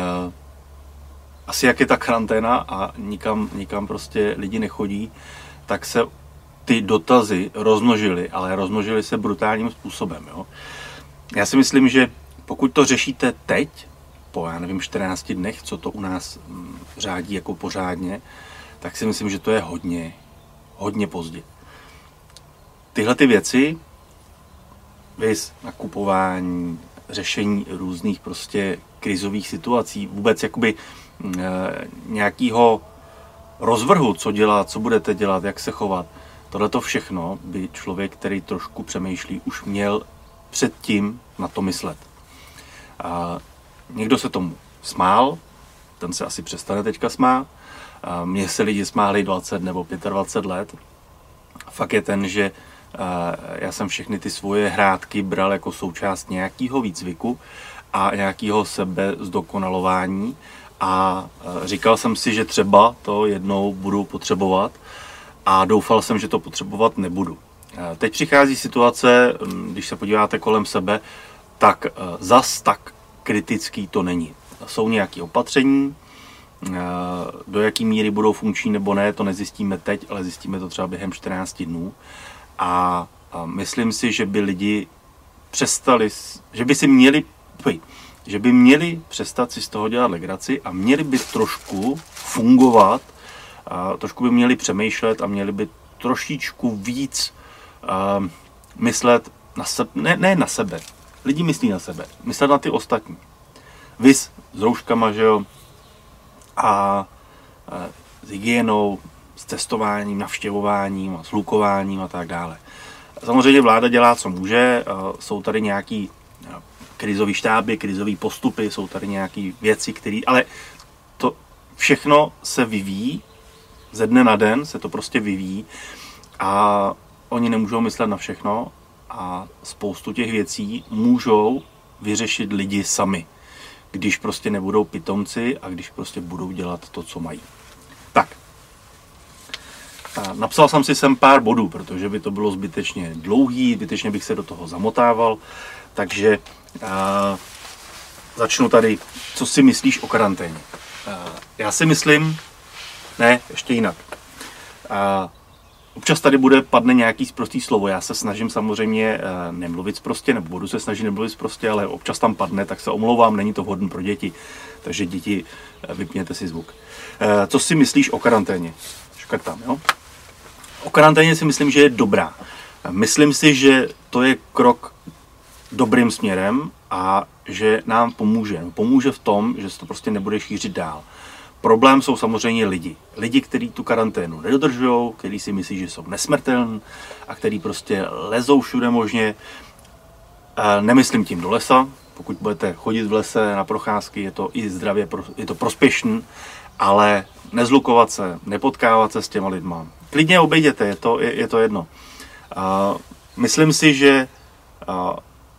Asi jak je ta karanténa a nikam, nikam prostě lidi nechodí, tak se ty dotazy rozmnožily, ale rozmnožily se brutálním způsobem. Jo? Já si myslím, že pokud to řešíte teď, po já nevím čtrnácti dnech, co to u nás řádí jako pořádně, tak si myslím, že to je hodně, hodně pozdě. Tyhle ty věci, viz nakupování, řešení různých prostě krizových situací, vůbec jakoby e, nějakého rozvrhu, co dělat, co budete dělat, jak se chovat, tohle to všechno by člověk, který trošku přemýšlí, už měl předtím na to myslet. A někdo se tomu smál, ten se asi přestane teďka smát. A mně se lidi smáli dvacet nebo dvacet pět let. Fakt je ten, že já jsem všechny ty svoje hrátky bral jako součást nějakého výcviku a nějakého sebe zdokonalování a říkal jsem si, že třeba to jednou budu potřebovat a doufal jsem, že to potřebovat nebudu. Teď přichází situace, když se podíváte kolem sebe, tak zas tak kritický to není. Jsou nějaké opatření, do jaký míry budou funkční nebo ne, to nezjistíme teď, ale zjistíme to třeba během čtrnácti dnů. A myslím si, že by lidi přestali, že by si měli, že by měli přestat si z toho dělat legraci a měli by trošku fungovat, a trošku by měli přemýšlet a měli by trošičku víc uh, myslet na sebe, ne, ne na sebe, lidi myslí na sebe, myslet na ty ostatní. Vys s rouškama, že jo, a uh, s hygienou, s testováním, navštěvováním a s hlukováním a tak dále. Samozřejmě vláda dělá, co může, jsou tady nějaký krizový štáby, krizový postupy, jsou tady nějaké věci, které, ale to všechno se vyvíjí, ze dne na den se to prostě vyvíjí a oni nemůžou myslet na všechno a spoustu těch věcí můžou vyřešit lidi sami, když prostě nebudou pitomci a když prostě budou dělat to, co mají. Tak. Napsal jsem si sem pár bodů, protože by to bylo zbytečně dlouhý, zbytečně bych se do toho zamotával, takže a, začnu tady, co si myslíš o karanténě. A, já si myslím, ne, ještě jinak. A, občas tady bude, padne nějaký sprostý slovo, já se snažím samozřejmě nemluvit sprostě, nebo budu se snažit nemluvit sprostě, ale občas tam padne, tak se omlouvám, není to vhodné pro děti, takže děti, vypněte si zvuk. A, co si myslíš o karanténě? Škrtám, jo? O karanténě si myslím, že je dobrá. Myslím si, že to je krok dobrým směrem a že nám pomůže. Pomůže v tom, že se to prostě nebude šířit dál. Problém jsou samozřejmě lidi. Lidi, kteří tu karanténu nedodržují, kteří si myslí, že jsou nesmrtelní a kteří prostě lezou všude možně. Nemyslím tím do lesa. Pokud budete chodit v lese na procházky, je to i zdravě, je to prospěšný, ale nezlukovat se, nepotkávat se s těma lidma. Klidně obejděte, je to, je, je to jedno. Uh, myslím si, že uh,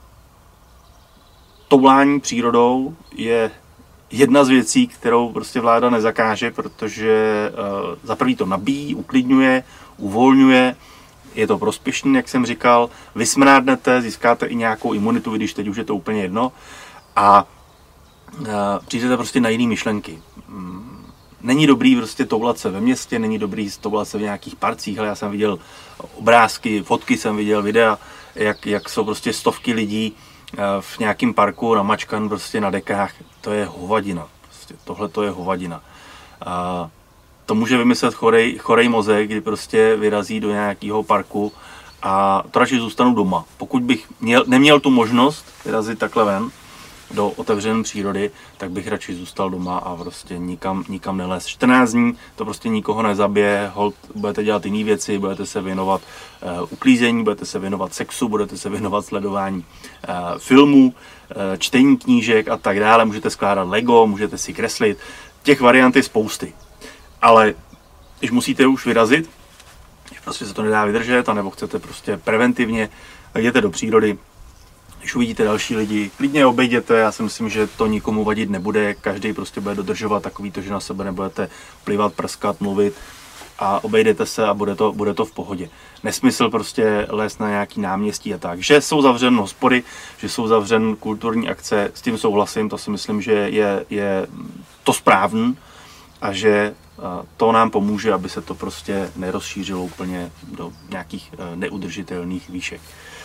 toulání přírodou je jedna z věcí, kterou prostě vláda nezakáže, protože uh, za prvý to nabíjí, uklidňuje, uvolňuje, je to prospěšný, jak jsem říkal, vysmrádnete, získáte i nějakou imunitu, když teď už je to úplně jedno a uh, přijdete prostě na jiné myšlenky. Um, Není dobrý prostě toulat se ve městě, není dobrý toulat se v nějakých parcích, ale já jsem viděl obrázky, fotky jsem viděl, videa, jak, jak jsou prostě stovky lidí v nějakém parku namačkan prostě na dekách. To je hovadina. Prostě tohle to je hovadina. A to může vymyslet chorej, chorej mozek, kdy prostě vyrazí do nějakého parku a to radši zůstanu doma. Pokud bych měl, neměl tu možnost vyrazit takhle ven, do otevřené přírody, tak bych radši zůstal doma a prostě nikam, nikam nelez. čtrnáct dní to prostě nikoho nezabije, hold, budete dělat jiné věci, budete se věnovat uh, uklízení, budete se věnovat sexu, budete se věnovat sledování uh, filmů, uh, čtení knížek a tak dále, můžete skládat Lego, můžete si kreslit, těch variant je spousty. Ale když musíte už vyrazit, když prostě se to nedá vydržet, anebo chcete prostě preventivně, tak jděte do přírody. Když uvidíte další lidi, klidně obejděte, já si myslím, že to nikomu vadit nebude, každý prostě bude dodržovat takový to, že na sebe nebudete plivat, prskat, mluvit a obejdete se a bude to, bude to v pohodě. Nesmysl prostě lézt na nějaký náměstí a tak. Že jsou zavřen hospody, že jsou zavřen kulturní akce, s tím souhlasím, to si myslím, že je, je to správný a že to nám pomůže, aby se to prostě nerozšířilo úplně do nějakých neudržitelných výšek.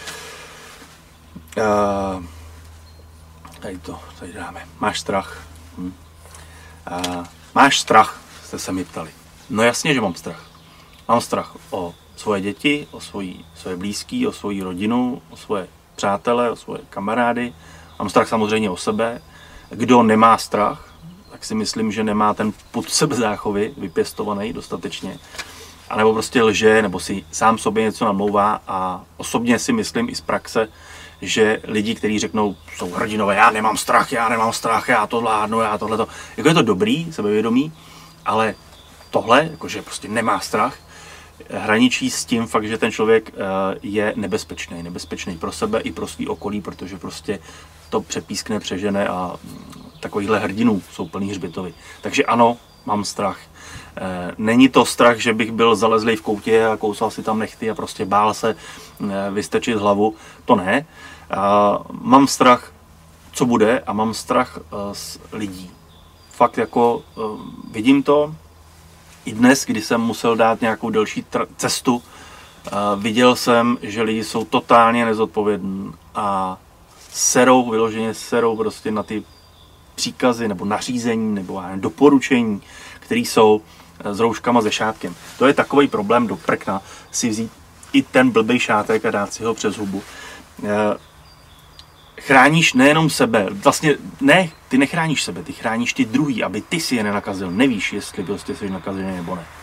Uh, tady to, tady dáme. Máš strach? Hm. Uh, máš strach? Jste se mi ptali. No jasně, že mám strach. Mám strach o svoje děti, o svoji, svoje blízký, o svoji rodinu, o svoje přátele, o svoje kamarády. Mám strach samozřejmě o sebe. Kdo nemá strach, tak si myslím, že nemá ten pud sebezáchovy vypěstovaný dostatečně. A nebo prostě lže, nebo si sám sobě něco namlouvá a osobně si myslím i z praxe, že lidi, kteří řeknou, jsou hrdinové, já nemám strach, já nemám strach, já to zvládnu, já tohleto. Jako je to dobrý, sebevědomí, ale tohle, jakože prostě nemá strach, hraničí s tím fakt, že ten člověk je nebezpečný. Nebezpečný pro sebe i pro svý okolí, protože prostě to přepískne, přežene a takovýchhle hrdinů jsou plný hřbitovy. Takže ano, mám strach. Není to strach, že bych byl zalezlý v koutě a kousal si tam nechty a prostě bál se vystrčit hlavu. To ne. Mám strach, co bude, a mám strach z lidí. Fakt jako vidím to. I dnes, kdy jsem musel dát nějakou delší cestu, viděl jsem, že lidi jsou totálně nezodpovědní a serou, vyloženě serou prostě na ty příkazy nebo nařízení nebo doporučení, které jsou s rouškama se šátkem. To je takový problém do prkna si vzít i ten blbej šátek a dát si ho přes hubu. Chráníš nejenom sebe, vlastně ne, ty nechráníš sebe, ty chráníš ty druhý, aby ty si je nenakazil. Nevíš, jestli prostě jsi nakazený nebo ne.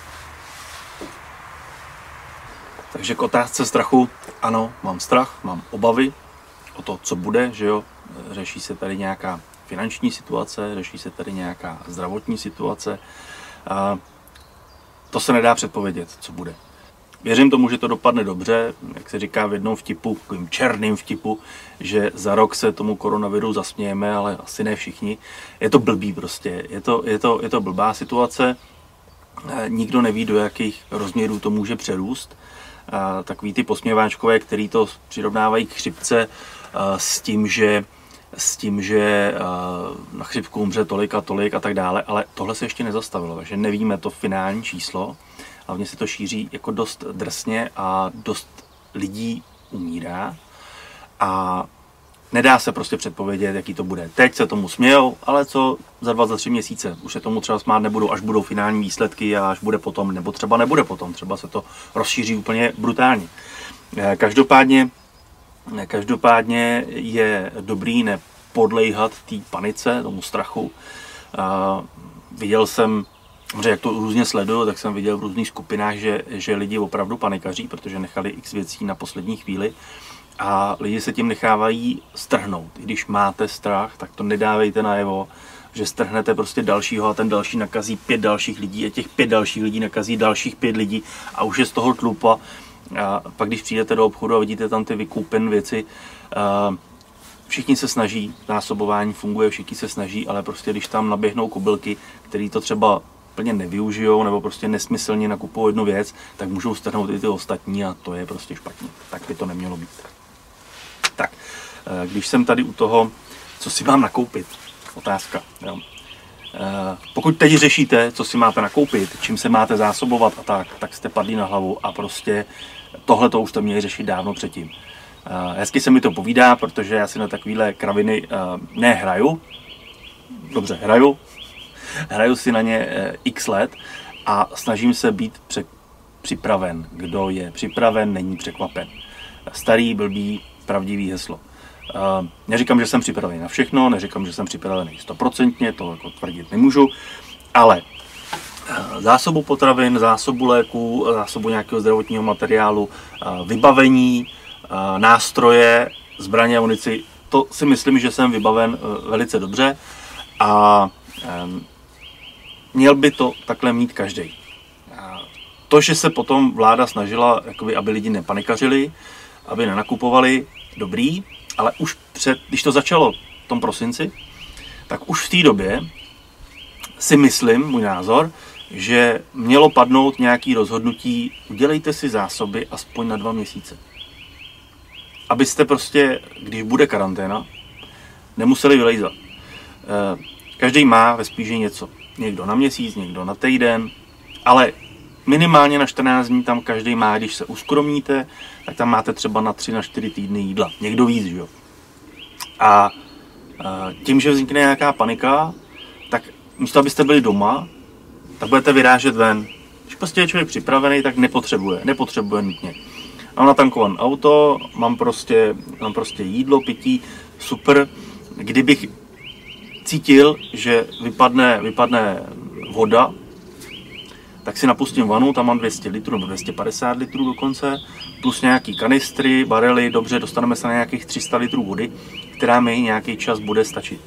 Takže k otázce strachu, ano, mám strach, mám obavy o to, co bude, že jo, řeší se tady nějaká finanční situace, řeší se tady nějaká zdravotní situace. A to se nedá předpovědět, co bude. Věřím tomu, že to dopadne dobře, jak se říká v jednom vtipu, takovým černým vtipu, že za rok se tomu koronaviru zasmějeme, ale asi ne všichni. Je to blbý prostě, je to, je to, je to blbá situace, nikdo neví, do jakých rozměrů to může přerůst. A takový ty posměváčkové, který to přirovnávají k chřipce s tím, že s tím, že na chřipku umře tolik a tolik a tak dále, ale tohle se ještě nezastavilo, takže nevíme to finální číslo. Hlavně se to šíří jako dost drsně a dost lidí umírá a nedá se prostě předpovědět, jaký to bude. Teď se tomu smějou, ale co za dva, za tři měsíce? Už se tomu třeba smát nebudou, až budou finální výsledky a až bude potom, nebo třeba nebude potom, třeba se to rozšíří úplně brutálně. Každopádně Každopádně je dobrý nepodléhat té panice, tomu strachu. Uh, viděl jsem, jak to různě sleduju, tak jsem viděl v různých skupinách, že, že lidi opravdu panikaří, protože nechali x věcí na poslední chvíli a lidi se tím nechávají strhnout. I když máte strach, tak to nedávejte najevo, že strhnete prostě dalšího a ten další nakazí pět dalších lidí a těch pět dalších lidí nakazí dalších pět lidí a už je z toho tlupa. A pak, když přijdete do obchodu a vidíte tam ty vykoupen věci, všichni se snaží, zásobování funguje, všichni se snaží, ale prostě když tam naběhnou kobylky, který to třeba plně nevyužijou nebo prostě nesmyslně nakupují jednu věc, tak můžou strhnout i ty ostatní a to je prostě špatně. Tak by to nemělo být. Tak, když jsem tady u toho, co si mám nakoupit, otázka. Jo. Pokud teď řešíte, co si máte nakoupit, čím se máte zásobovat a tak, tak jste padli na hlavu a prostě tohle to už jste měli řešit dávno předtím. Hezky se mi to povídá, protože já si na takovéhle kraviny nehraju. Dobře, hraju. Hraju si na ně x let a snažím se být pře- připraven. Kdo je připraven, není překvapen. Starý, blbý, pravdivý heslo. Neříkám, že jsem připravený na všechno, neříkám, že jsem připravený stoprocentně, to jako tvrdit nemůžu, ale zásobu potravin, zásobu léků, zásobu nějakého zdravotního materiálu, vybavení, nástroje, zbraně a munici, to si myslím, že jsem vybaven velice dobře a měl by to takhle mít každý. To, že se potom vláda snažila, jakoby, aby lidi nepanikařili, aby nenakupovali, dobrý, ale už před, když to začalo v tom prosinci, tak už v té době si myslím, můj názor, že mělo padnout nějaké rozhodnutí, udělejte si zásoby aspoň na dva měsíce. Abyste prostě, když bude karanténa, nemuseli vylejzat. Každý má ve spíži něco. Někdo na měsíc, někdo na týden, ale minimálně na čtrnáct dní tam každý má, když se uskromníte, tak tam máte třeba na tři, na čtyři týdny jídla. Někdo víc, že jo. A tím, že vznikne nějaká panika, tak místo abyste byli doma, tak budete vyrážet ven. Když prostě je člověk připravený, tak nepotřebuje, nepotřebuje nutně. Mám natankované auto, mám prostě, mám prostě jídlo, pití, super. Kdybych cítil, že vypadne, vypadne voda, tak si napustím vanu, tam mám dvě stě litrů nebo dvě stě padesát litrů dokonce, plus nějaký kanistry, barely, dobře, dostaneme se na nějakých tři sta litrů vody, která mi nějaký čas bude stačit.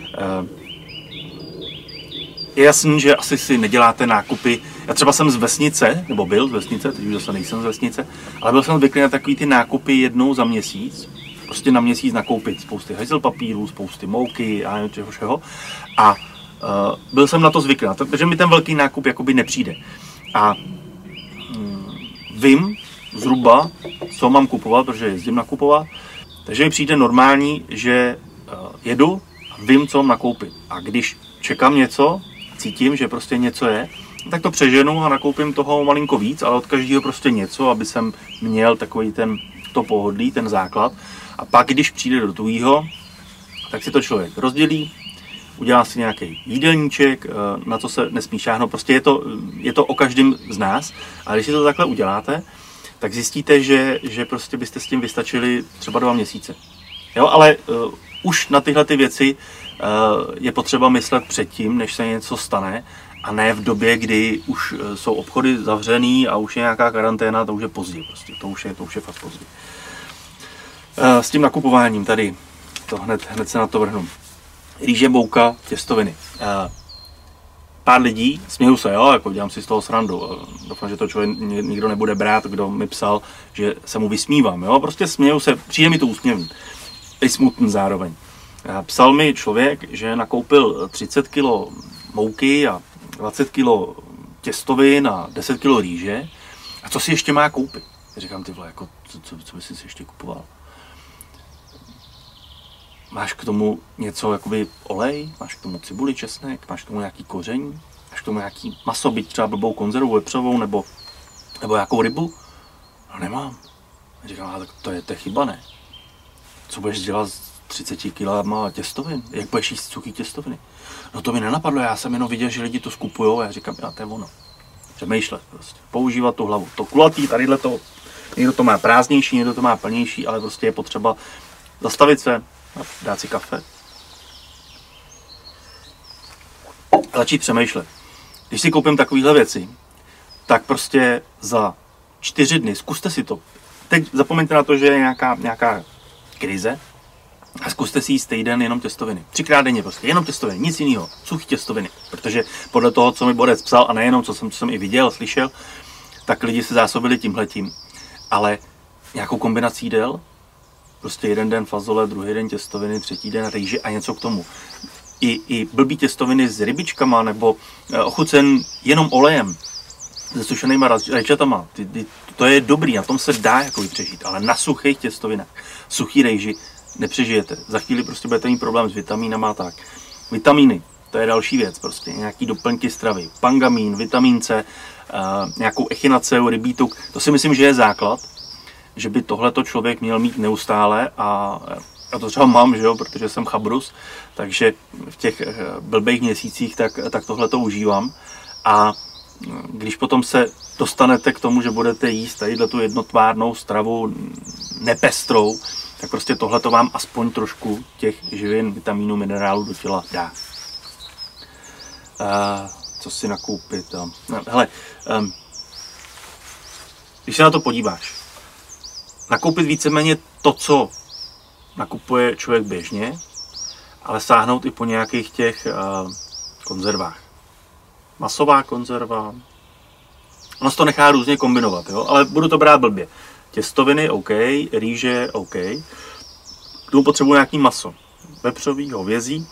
Je jasný, že asi si neděláte nákupy. Já třeba jsem z vesnice, nebo byl z vesnice, teď už zase nejsem z vesnice, ale byl jsem zvyklý na takový ty nákupy jednou za měsíc. Prostě na měsíc nakoupit spousty hajzel papíru, spousty mouky a nevím čeho všeho. A uh, byl jsem na to zvyklý, protože mi ten velký nákup jakoby nepřijde. A um, vím zhruba, co mám kupovat, protože jezdím nakupovat. Takže mi přijde normální, že uh, jedu a vím, co mám nakoupit. A když čekám něco, cítím, že prostě něco je, tak to přeženu a nakoupím toho malinko víc, ale od každého prostě něco, aby jsem měl takový ten to pohodlí, ten základ. A pak, když přijde do tuhýho, tak si to člověk rozdělí, udělá si nějaký jídelníček, na co se nesmí šáhnout. Prostě je to, je to o každém z nás. A když si to takhle uděláte, tak zjistíte, že, že prostě byste s tím vystačili třeba dva měsíce. Jo, ale uh, už na tyhle ty věci uh, je potřeba myslet předtím, než se něco stane, a ne v době, kdy už uh, jsou obchody zavřený a už je nějaká karanténa, to už je pozdě prostě, to už je, to už je fakt pozdě. Uh, s tím nakupováním tady, to hned, hned se na to vrhnu. Rýže, mouka, těstoviny. Uh, pár lidí, směju se, jo, jako dělám si z toho srandu. Uh, doufám, že to člověk nikdo nebude brát, kdo mi psal, že se mu vysmívám, jo, prostě směju se, přijde mi to úsměvný. I smutný zároveň. Psal mi člověk, že nakoupil třicet kilo mouky a dvacet kilo těstovin a deset kilo rýže. A co si ještě má koupit? Já říkám, ty vole, jako, co, co, co by si ještě kupoval? Máš k tomu něco, jakoby olej? Máš k tomu cibuli, česnek? Máš k tomu nějaký koření? Máš k tomu nějaký maso, byť třeba blbou konzervu vepřovou nebo, nebo nějakou rybu? No nemám. Já říkám, ale tak to je, to je chyba, ne? Co budeš dělat s třicet kilama těstovin? Jak budeš jíst suchý těstoviny? No to mi nenapadlo, já jsem jenom viděl, že lidi to skupujou a já říkám, já to je ono. Přemýšlet prostě, používat tu hlavu. To kulatý, tadyhle to, někdo to má prázdnější, někdo to má plnější, ale prostě je potřeba zastavit se, dát si kafe. A začít přemýšlet. Když si koupím takovéhle věci, tak prostě za čtyři dny, zkuste si to. Teď zapomeňte na to, že je nějaká, nějaká krize a zkuste si jíst týden jenom těstoviny. Třikrát denně prostě, jenom těstoviny, nic jiného, suchý těstoviny. Protože podle toho, co mi Borec psal, a nejenom, co jsem, co jsem i viděl, slyšel, tak lidi se zásobili tímhletím. Ale nějakou kombinací jídel, prostě jeden den fazole, druhý den těstoviny, třetí den rýže a něco k tomu. I, i blbý těstoviny s rybičkama nebo ochucen jenom olejem, se sušenýma rajčatama, ty, ty, to je dobrý, na tom se dá jako přežít, ale na suchých těstovinách, suchý rejži nepřežijete. Za chvíli prostě budete mít problém s vitamínama a tak. Vitamíny, to je další věc prostě, nějaký doplňky stravy, pangamín, vitamín C, uh, nějakou echinaceu, rybítuk, to si myslím, že je základ, že by tohleto člověk měl mít neustále a já to třeba mám, že jo, protože jsem chabrus, takže v těch blbých měsících tak, tak tohleto užívám a když potom se dostanete k tomu, že budete jíst tadyhle tu jednotvárnou stravu nepestrou, tak prostě tohle to vám aspoň trošku těch živin, vitamínů, minerálů do těla dá. Uh, co si nakoupit? No, hele, um, když se na to podíváš, nakoupit víceméně to, co nakupuje člověk běžně, ale sáhnout i po nějakých těch uh, konzervách. Masová konzerva, ono se to nechá různě kombinovat, jo? Ale budu to brát blbě. Těstoviny, OK, rýže, OK. K tomu potřebuji nějaký maso. Vepřový, hovězí,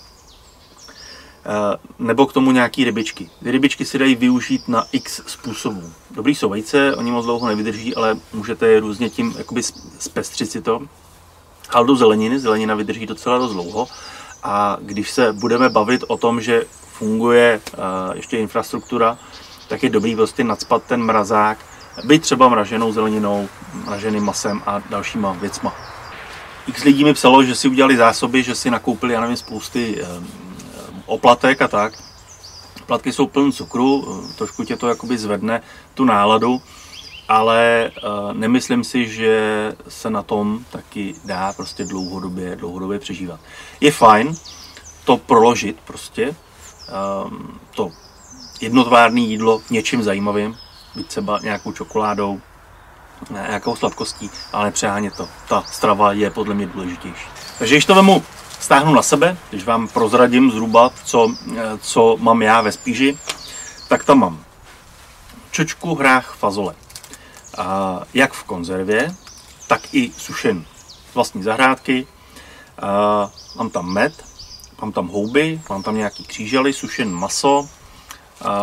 nebo k tomu nějaký rybičky. Ty rybičky si dají využít na x způsobů. Dobrý jsou vejce, oni moc dlouho nevydrží, ale můžete je různě tím jakoby zpestřit si to. Ale do zeleniny, zelenina vydrží docela dost dlouho. A když se budeme bavit o tom, že funguje uh, ještě infrastruktura, tak je dobrý prostě nacpat ten mrazák, byť třeba mraženou zeleninou, mraženým masem a dalšíma věcma. X lidí mi psalo, že si udělali zásoby, že si nakoupili, já nevím, spousty um, oplatek a tak. Oplatky jsou plné cukru, trošku tě to jakoby zvedne tu náladu, ale uh, nemyslím si, že se na tom taky dá prostě dlouhodobě, dlouhodobě přežívat. Je fajn to proložit prostě, um, to jednotvárné jídlo něčím zajímavým, byť třeba nějakou čokoládou, nějakou sladkostí, ale nepřehánět to. Ta strava je podle mě důležitější. Takže když to vemu, stáhnu na sebe, když vám prozradím zhruba, co, co mám já ve spíži, tak tam mám čočku, hrách, fazole. A jak v konzervě, tak i sušen. Vlastní zahrádky, a mám tam med, mám tam houby, mám tam nějaký křížely, sušen maso, a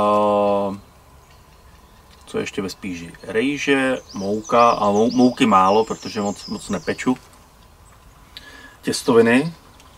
co ještě ve spíži? Rejže, mouka a mou, mouky málo, protože moc, moc nepeču. Těstoviny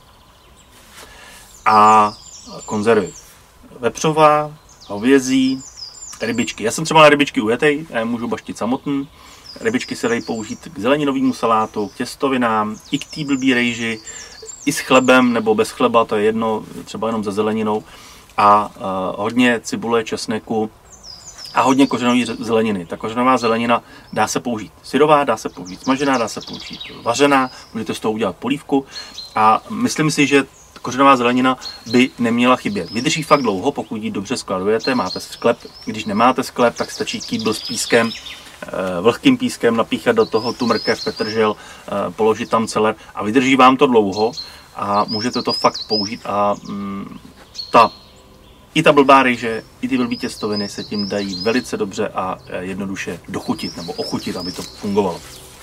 a konzervy. Vepřová, hovězí, rybičky. Já jsem třeba na rybičky ujetej, já je můžu baštit samotný. Rybičky se dají použít k zeleninovému salátu, k těstovinám, i k té blbý rejži, i s chlebem nebo bez chleba, to je jedno, třeba jenom se zeleninou. A uh, hodně cibule, česneku a hodně kořenové zeleniny. Ta kořenová zelenina dá se použít syrová, dá se použít smažená, dá se použít vařená, můžete z toho udělat polívku a myslím si, že kořenová zelenina by neměla chybět. Vydrží fakt dlouho, pokud ji dobře skladujete, máte sklep. Když nemáte sklep, tak stačí kýbl s pískem, vlhkým pískem, napíchat do toho tu mrkev, petržel, položit tam celer a vydrží vám to dlouho a můžete to fakt použít a mm, ta I ta blbá rejže, i ty blbý těstoviny se tím dají velice dobře a jednoduše dochutit nebo ochutit, aby to fungovalo.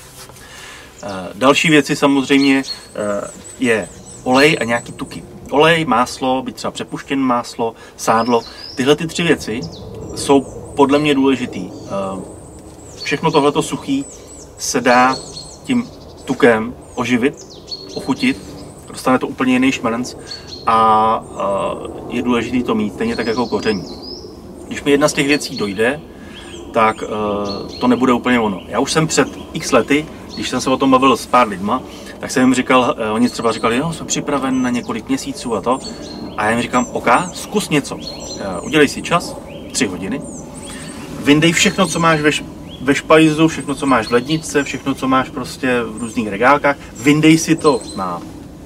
Další věci samozřejmě je olej a nějaký tuky. Olej, máslo, byť třeba přepuštěné máslo, sádlo. Tyhle ty tři věci jsou podle mě důležitý. Všechno tohleto suchý se dá tím tukem oživit, ochutit, dostane to úplně jiný šmrnc a je důležité to mít, stejně tak jako koření. Když mi jedna z těch věcí dojde, tak to nebude úplně ono. Já už jsem před x lety, když jsem se o tom bavil s pár lidma, tak jsem jim říkal, oni třeba říkali, no, jsem připraven na několik měsíců a to. A já jim říkám, OK, zkus něco. Udělej si čas, tři hodiny, vyndej všechno, co máš ve, ve špajzu, všechno, co máš v ledničce, všechno, co máš prostě v různých regálkách, vyndej si to na,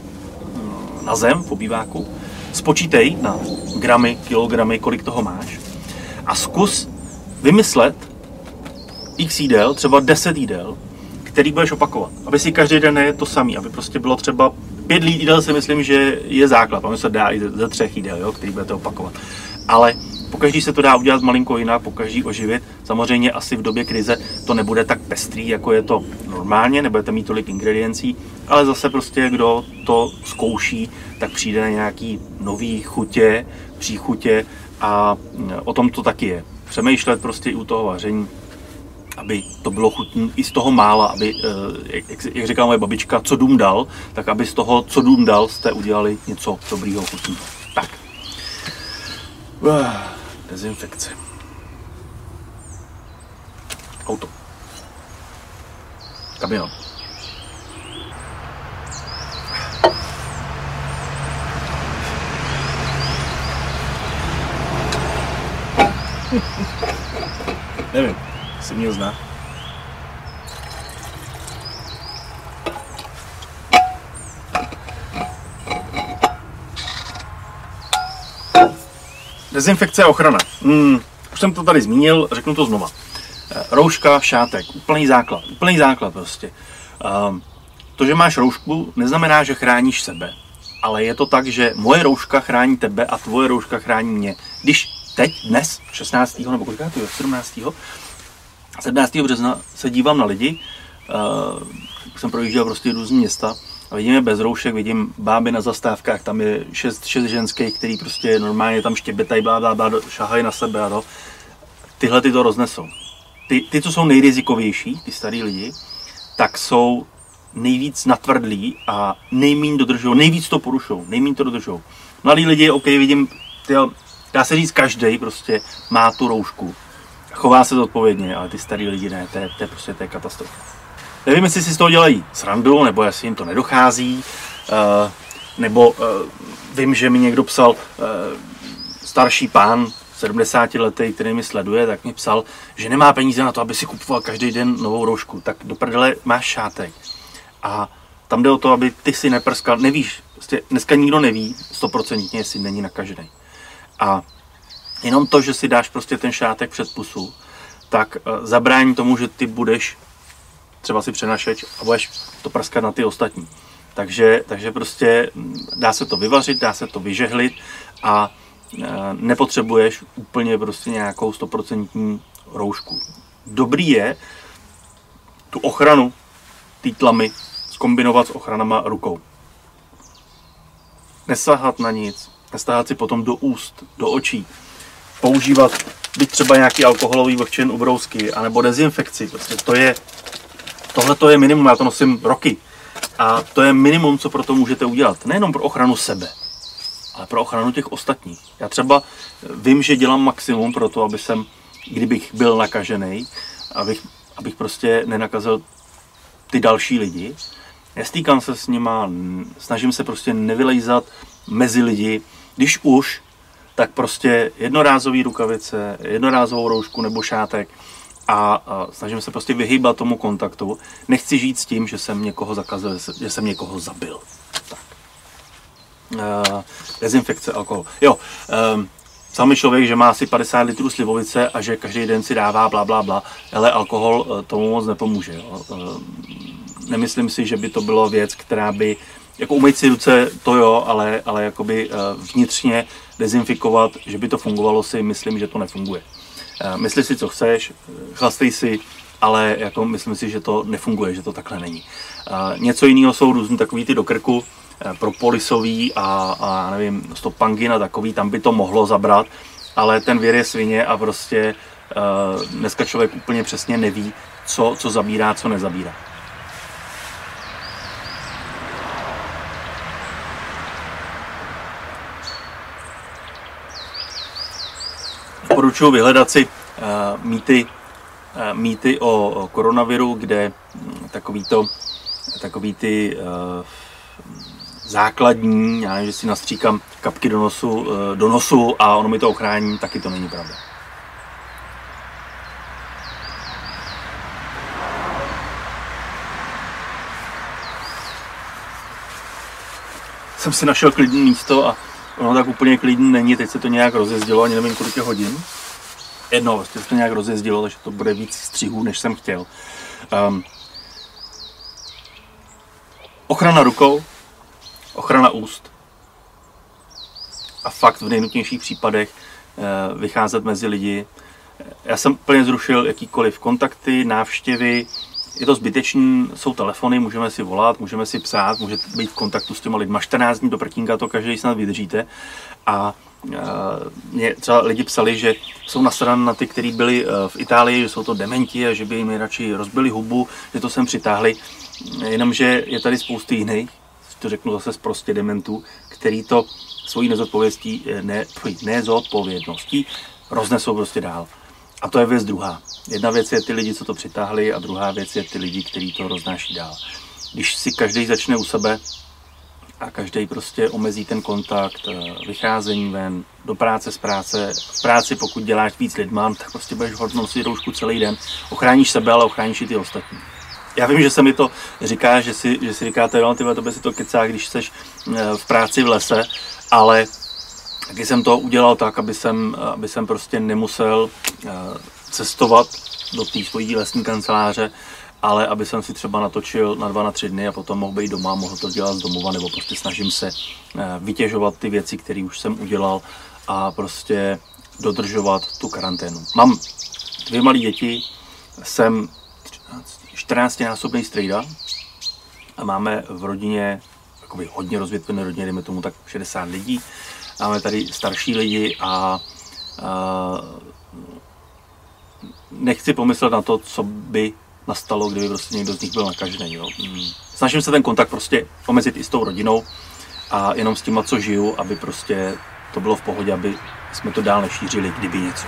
na zem v obýváku, spočítej na gramy, kilogramy, kolik toho máš a zkus vymyslet x jídel, třeba deset jídel, který budeš opakovat, aby si každý den nejedl to samý, aby prostě bylo třeba pět jídel, si myslím, že je základ, ono se dá i ze třech jídel, jo, který budete opakovat, ale pokaždý se to dá udělat malinko jinak, pokaždý oživit, samozřejmě asi v době krize to nebude tak pestrý, jako je to normálně, nebudete mít tolik ingrediencí, ale zase prostě kdo to zkouší, tak přijde na nějaký nový chutě, příchutě a o tom to taky je. Přemýšlet prostě i u toho vaření, aby to bylo chutné i z toho mála, aby, jak, jak říkala moje babička, co dům dal, tak aby z toho, co dům dal, jste udělali něco dobrýho, chutného. Tak. Dezinfekce. Auto. Kamion. Nevím, jestli mě zná. Dezinfekce a ochrana. Hmm, už jsem to tady zmínil, řeknu to znova. Rouška, šátek, úplný základ, úplný základ prostě. To, že máš roušku, neznamená, že chráníš sebe, ale je to tak, že moje rouška chrání tebe a tvoje rouška chrání mě. Když teď, dnes, šestnáctého nebo kolikátého, sedmnáctého sedmnáctého března se dívám na lidi, uh, jsem projížděl prostě různý města a vidím je bez roušek, vidím báby na zastávkách, tam je šest, šest ženských, který prostě normálně tam štěbetají, blá, blá, blá, šahají na sebe a to. Tyhle ty to roznesou. Ty, ty, co jsou nejrizikovější, ty starý lidi, tak jsou nejvíc natvrdlí a nejméně dodržou, nejvíc to porušou, nejméně to dodržou. Mladí lidi, ok, vidím, tyjo, dá se říct, každej prostě má tu roušku. Chová se zodpovědně, ale ty starý lidi ne, to je, to je prostě to je katastrofa. Nevím, jestli si z toho dělají srandu, nebo jestli jim to nedochází, uh, nebo uh, vím, že mi někdo psal, uh, starší pán, sedmdesátiletý, který mi sleduje, tak mi psal, že nemá peníze na to, aby si kupoval každý den novou roušku. Tak do prdele máš šátek. A tam jde o to, aby ty si neprskal, nevíš, prostě dneska nikdo neví stoprocentně, jestli není nakažený. A jenom to, že si dáš prostě ten šátek před pusu, tak uh, zabrání tomu, že ty budeš třeba si přenašeč a budeš to prskat na ty ostatní. Takže, takže prostě dá se to vyvařit, dá se to vyžehlit a uh, nepotřebuješ úplně prostě nějakou stoprocentní roušku. Dobrý je tu ochranu té tlamy zkombinovat s ochranama rukou. Nesahat na nic, nestahat si potom do úst, do očí, používat byť třeba nějaký alkoholový vlhčen ubrousky, anebo dezinfekci. Prostě to je, tohle to je minimum, já to nosím roky. A to je minimum, co pro to můžete udělat. Nejenom pro ochranu sebe, ale pro ochranu těch ostatních. Já třeba vím, že dělám maximum pro to, aby jsem, kdybych byl nakažený, abych, abych prostě nenakazil ty další lidi. Nestýkám se s nima, snažím se prostě nevylejzat mezi lidi. Když už, tak prostě jednorázový rukavice, jednorázovou roušku nebo šátek a, a snažím se prostě vyhýbat tomu kontaktu. Nechci žít s tím, že jsem někoho zakazil, že jsem někoho zabil. Tak. E, dezinfekce, alkohol. Jo, e, sami člověk, že má asi padesát litrů slivovice a že každý den si dává bla, bla, bla, ale alkohol tomu moc nepomůže. Jo. E, nemyslím si, že by to bylo věc, která by jako umýt si ruce, to jo, ale, ale jakoby vnitřně dezinfikovat, že by to fungovalo, si myslím, že to nefunguje. Mysli si, co chceš, chlastej si, ale jako myslím si, že to nefunguje, že to takhle není. Něco jiného jsou různý takový ty do krku, propolisový a, a nevím, stopangin a takový, tam by to mohlo zabrat, ale ten věr je svině a prostě dneska člověk úplně přesně neví, co, co zabírá, co nezabírá. Doporučuji vyhledat si uh, mýty, uh, mýty o, o koronaviru, kde um, takový, to, takový ty uh, základní, já nevím, že si nastříkám kapky do nosu, uh, do nosu a ono mi to ochrání, taky to není pravda. Jsem si našel klidné místo a ono tak úplně klidný není, teď se to nějak rozjezdilo, ani nevím, kolik je hodin. Jedno, vlastně se to nějak rozjezdilo, takže to bude víc střihů, než jsem chtěl. Um, ochrana rukou, ochrana úst a fakt v nejnutnějších případech uh, vycházet mezi lidi. Já jsem úplně zrušil jakýkoliv kontakty, návštěvy, je to zbytečný, jsou telefony, můžeme si volat, můžeme si psát, můžete být v kontaktu s těma lidma čtrnáct dní do prkínka, to každý snad vydržíte. A uh, mě třeba lidi psali, že jsou nasraní na ty, kteří byli uh, v Itálii, že jsou to dementi a že by jim radši rozbili hubu, že to sem přitáhli. Jenomže je tady spousty jiných, to řeknu zase prostě dementů, který to svojí nezodpovědností, ne, nezodpovědností roznesou prostě dál. A to je věc druhá. Jedna věc je ty lidi, co to přitáhli, a druhá věc je ty lidi, kteří to roznáší dál. Když si každý začne u sebe a každý prostě omezí ten kontakt, vycházení ven, do práce, z práce, v práci pokud děláš víc lidma, tak prostě budeš hodně nosit roušku celý den. Ochráníš sebe, ale ochráníš i ty ostatní. Já vím, že se mi to říká, že si, že si říkáte, no tyhle, to by si to kecá, když jsi v práci v lese, ale taky jsem to udělal tak, aby jsem, aby jsem prostě nemusel cestovat do té svojí lesní kanceláře, ale aby jsem si třeba natočil na dva, na tři dny a potom mohl být doma, mohl to dělat z domova, nebo prostě snažím se vytěžovat ty věci, které už jsem udělal a prostě dodržovat tu karanténu. Mám dvě malé děti, jsem čtrnáctinásobný strejda a máme v rodině jakoby hodně rozvětvené rodině, dejme tomu tak šedesát lidí. Máme tady starší lidi a, a nechci pomyslet na to, co by nastalo, kdyby prostě někdo z nich byl nakažený. Jo. Snažím se ten kontakt prostě omezit i s tou rodinou a jenom s tím, co žiju, aby prostě to bylo v pohodě, aby jsme to dál nešířili, kdyby něco.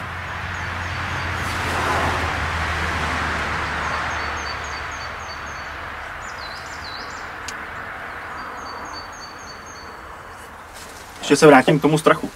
Ještě se vrátím k tomu strachu.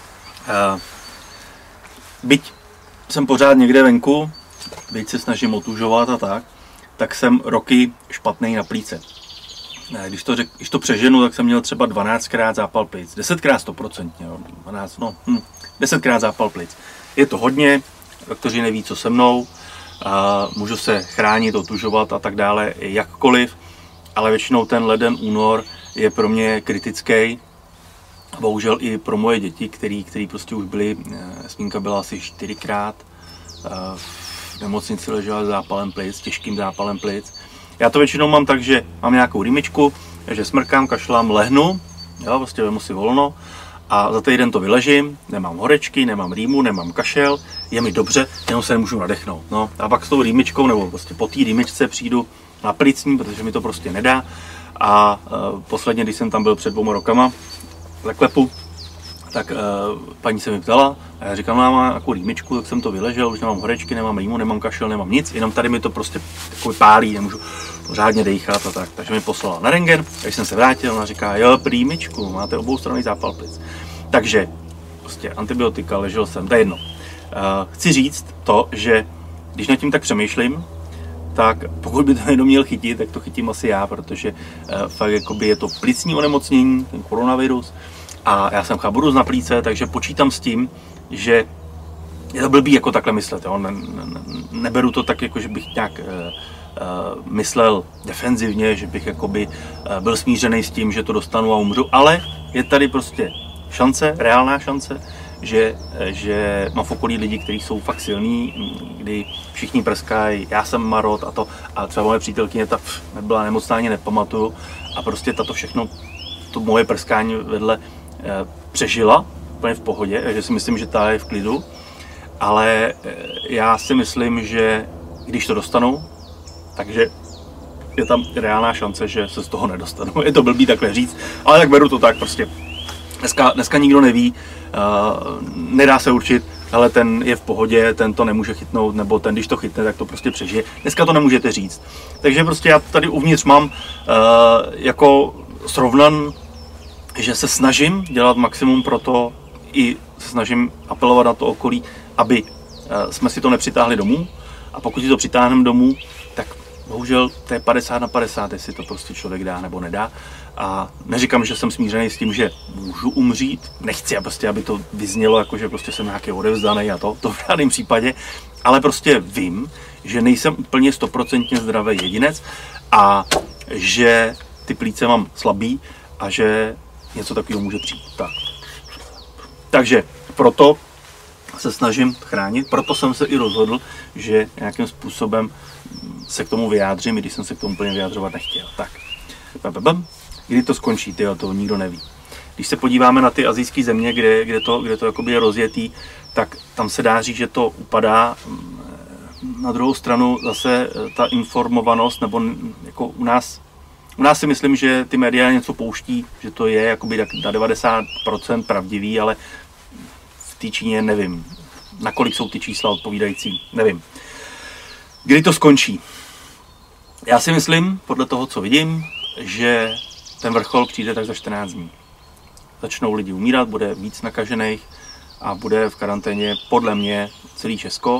Byť jsem pořád někde venku, byť se snažím otužovat a tak, tak jsem roky špatný na plíce. Když to, řek, když to přeženu, tak jsem měl třeba dvanáctkrát zápal plic, desetkrát stoprocentně, dvanáct, no, hm, desetkrát zápal plic. Je to hodně, doktoři neví, co se mnou, a můžu se chránit, otužovat a tak dále, jakkoliv, ale většinou ten leden, únor je pro mě kritický. Bohužel i pro moje děti, který, který prostě už byly, Smínka byla asi čtyřikrát v nemocnici, ležela s zápalem plic, těžkým zápalem plic. Já to většinou mám tak, že mám nějakou rýmičku, že smrkám, kašlám, lehnu, jo, prostě vemu si volno a za týden to vyležím, nemám horečky, nemám rýmu, nemám kašel, je mi dobře, jenom se nemůžu nadechnout. No. A pak s tou rýmičkou nebo prostě po té rýmičce přijdu na plicní, protože mi to prostě nedá. A uh, posledně, když jsem tam byl před dvouma rokama, Leklepu, tak uh, paní se mi ptala a já říkám, mám nějakou rýmičku, tak jsem to vyležel, už nemám horečky, nemám rýmu, nemám kašel, nemám nic, jenom tady mi to prostě takový pálí, nemůžu pořádně dejchat a tak. Takže mi poslala na rentgen, když jsem se vrátil, ona říká, jo, rýmičku, máte oboustranný zápal plic. Takže prostě antibiotika, ležel jsem, to je jedno. Uh, chci říct to, že když nad tím tak přemýšlím, tak pokud by to někdo měl chytit, tak to chytím asi já, protože uh, fakt jakoby je to plicní onemocnění, ten koronavirus, a já jsem chaburus na plíce, takže počítám s tím, že je to blbý jako takhle myslet. Jo? Ne, ne, neberu to tak, jako, že bych nějak uh, uh, myslel defenzivně, že bych jakoby, uh, byl smířený s tím, že to dostanu a umřu, ale je tady prostě šance, reálná šance, že, že mám v okolí lidi, kteří jsou fakt silní, kdy všichni prskají, já jsem marot a to, a třeba moje přítelkyně ta pff, nebyla nemocná, ani nepamatuju, a prostě tato všechno, to moje prskání vedle eh, přežila úplně v pohodě, takže si myslím, že ta je v klidu, ale eh, já si myslím, že když to dostanu, takže je tam reálná šance, že se z toho nedostanu. Je to blbý takhle říct, ale tak beru to tak prostě. Dneska, dneska nikdo neví, uh, nedá se určit, ale ten je v pohodě, ten to nemůže chytnout, nebo ten, když to chytne, tak to prostě přežije. Dneska to nemůžete říct. Takže prostě já tady uvnitř mám uh, jako srovnan, že se snažím dělat maximum pro to, i se snažím apelovat na to okolí, aby uh, jsme si to nepřitáhli domů. A pokud si to přitáhneme domů, tak bohužel to je padesát na padesát, jestli to prostě člověk dá nebo nedá. A neříkám, že jsem smířený s tím, že můžu umřít, nechci, prostě, aby to vyznělo, jako že prostě jsem nějaký odevzdaný a to, to v žádném případě, ale prostě vím, že nejsem úplně stoprocentně zdravý jedinec a že ty plíce mám slabý a že něco takového může přijít. Tak. Takže proto se snažím chránit, proto jsem se i rozhodl, že nějakým způsobem se k tomu vyjádřím, i když jsem se k tomu úplně vyjádřovat nechtěl. Tak. Kdy to skončí, tyjo, to nikdo neví. Když se podíváme na ty asijské země, kde, kde to, kde to jakoby je rozjetý, tak tam se dá říct, že to upadá. Na druhou stranu zase ta informovanost, nebo jako u nás, u nás si myslím, že ty média něco pouští, že to je jakoby tak na devadesát procent pravdivý, ale v té Číně nevím. Nakolik jsou ty čísla odpovídající, nevím. Kdy to skončí? Já si myslím, podle toho, co vidím, že ten vrchol přijde tak za čtrnáct dní. Začnou lidi umírat, bude víc nakažených a bude v karanténě podle mě celý Česko.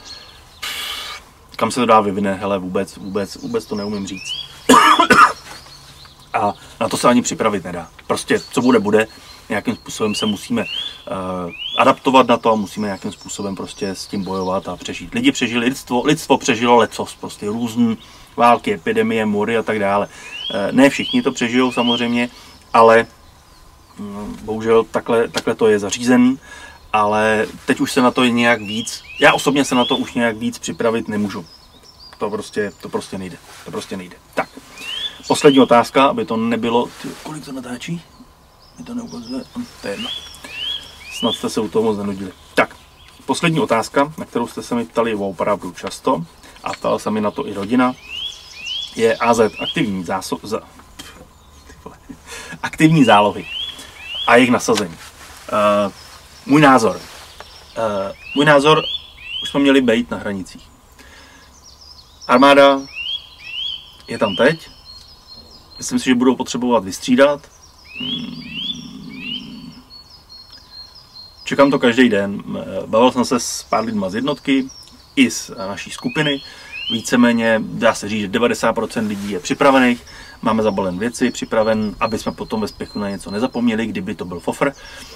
Kam se to dá vyvine, hele, vůbec, vůbec, vůbec to neumím říct. A na to se ani připravit nedá. Prostě, co bude, bude. nějakým způsobem se musíme uh, adaptovat na to a musíme nějakým způsobem prostě s tím bojovat a přežít. Lidi přežili, lidstvo, lidstvo přežilo lecos, prostě různý války, epidemie, mory a tak dále. Uh, ne všichni to přežijou samozřejmě, ale um, bohužel takhle, takhle to je zařízen, ale teď už se na to nějak víc, já osobně se na to už nějak víc připravit nemůžu. To prostě, to prostě nejde, to prostě nejde. Tak, poslední otázka, aby to nebylo, ty, kolik to natáčí? Mi to neukazuje, to je jedno. Snad jste se u toho moc nenudili. Tak, poslední otázka, na kterou jste se mi ptali opravdu často, a ptala se mi na to i rodina, je A Z aktivní, záso- za- aktivní zálohy a jejich nasazení. Uh, můj názor. Uh, můj názor, už jsme měli být na hranicích. Armáda je tam teď. Myslím si, že budou potřebovat vystřídat. Čekám to každý den. Bavil jsem se s pár lidma z jednotky i z naší skupiny. Víceméně dá se říct, že devadesát procent lidí je připravených. Máme zabalen věci, připraven, aby jsme potom ve spěchu na něco nezapomněli, kdyby to byl fofr.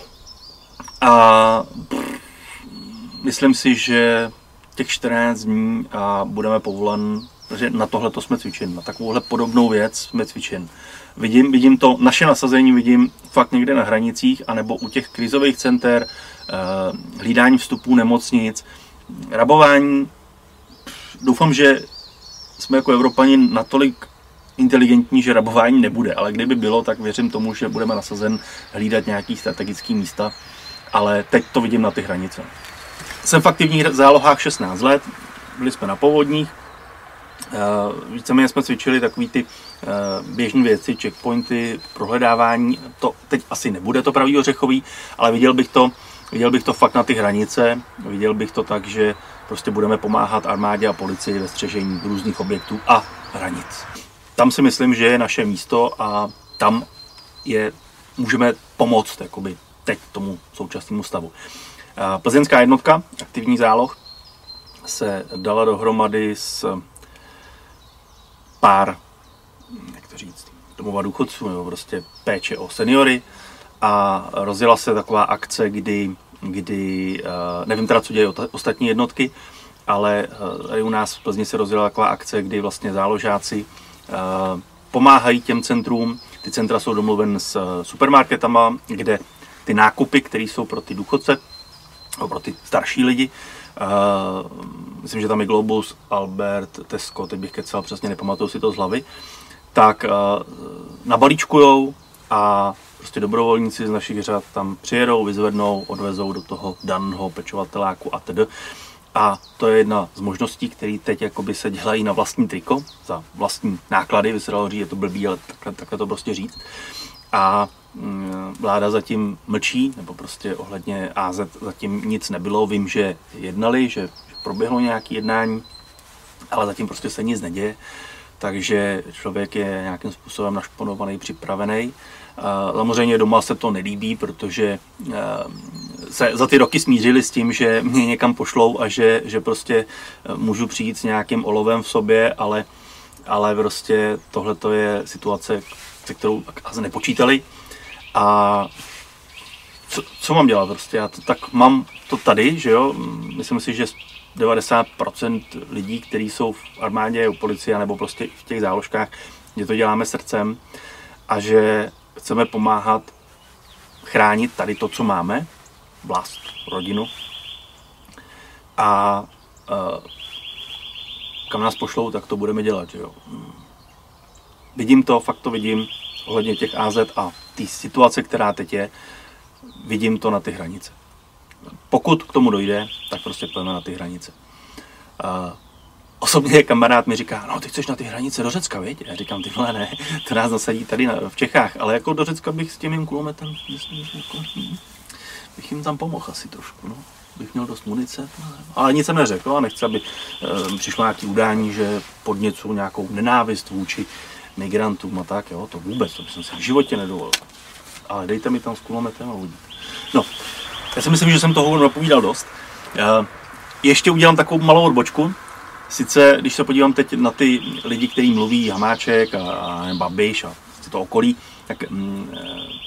A pff, myslím si, že těch čtrnáct dní a budeme povolen, že na tohle to jsme cvičen, na takovouhle podobnou věc jsme cvičen. Vidím, vidím to, naše nasazení vidím fakt někde na hranicích, anebo u těch krizových center, hlídání vstupů nemocnic, rabování. Doufám, že jsme jako Evropani natolik inteligentní, že rabování nebude, ale kdyby bylo, tak věřím tomu, že budeme nasazen hlídat nějaký strategický místa, ale teď to vidím na ty hranice. Jsem v aktivních zálohách šestnáct let, byli jsme na povodních, víceméně jsme cvičili takový ty běžné věci, checkpointy, prohledávání, to teď asi nebude to pravý ořechový, ale viděl bych to, viděl bych to fakt na ty hranice, viděl bych to tak, že prostě budeme pomáhat armádě a policii ve střežení různých objektů a hranic. Tam si myslím, že je naše místo a tam je, můžeme pomoct jakoby teď tomu současnému stavu. Plzeňská jednotka, aktivní záloh, se dala dohromady s pár, jak to říct, domova důchodců, nebo prostě péče o seniory a rozjela se taková akce, kdy, kdy nevím teda, co dělají ostatní jednotky, ale tady u nás v Plzni se rozjela taková akce, kdy vlastně záložáci pomáhají těm centrům. Ty centra jsou domluven s supermarketama, kde ty nákupy, které jsou pro ty důchodce, pro ty starší lidi, uh, myslím, že tam je Globus, Albert, Tesco, teď bych kecal, přesně nepamatuju si to z hlavy, tak uh, nabalíčkujou a prostě dobrovolníci z našich řad tam přijedou, vyzvednou, odvezou do toho daného pečovateláku a tedy. A to je jedna z možností, které teď jakoby se dělají na vlastní triko, za vlastní náklady, by se dalo říct, je to blbý, ale takhle, takhle to prostě říct. A vláda zatím mlčí, nebo prostě ohledně A Z zatím nic nebylo. Vím, že jednali, že proběhlo nějaké jednání, ale zatím prostě se nic neděje, takže člověk je nějakým způsobem našponovaný, připravený. Samozřejmě doma se to nelíbí, protože se za ty roky smířili s tím, že mě někam pošlou a že, že prostě můžu přijít s nějakým olovem v sobě, ale, ale prostě tohle je situace, se kterou asi nepočítali. A co, co mám dělat prostě? Já to, tak mám to tady, že jo? Myslím si, že devadesát procent lidí, kteří jsou v armádě, u policie nebo prostě v těch záložkách, že to děláme srdcem a že chceme pomáhat chránit tady to, co máme, vlast, rodinu a uh, kam nás pošlou, tak to budeme dělat, že jo? Vidím to, fakt to vidím ohledně těch A Z a té situace, která teď je, vidím to na ty hranice. Pokud k tomu dojde, tak prostě pojďme na ty hranice. Uh, osobně kamarád mi říká, no ty chceš na ty hranice do Řecka, viď? Já říkám, ty vole, ne, to nás zasadí tady na, v Čechách, ale jako do Řecka bych s tím mým kulometem, myslím, jako, hm, bych jim tam pomohl asi trošku, no. Bych měl dost munice, ale nic jsem neřekl a nechci, aby uh, přišlo nějaké udání, že podněcuju nějakou nenávist vůči migrantům a tak, jo, to vůbec, to bych si v životě nedovolil. Ale dejte mi tam s kulometem a uvidím. No, já si myslím, že jsem toho napovídal dost. Uh, ještě udělám takovou malou odbočku. Sice, když se podívám teď na ty lidi, kteří mluví, Hamáček a, a Babiš a to okolí, tak mm,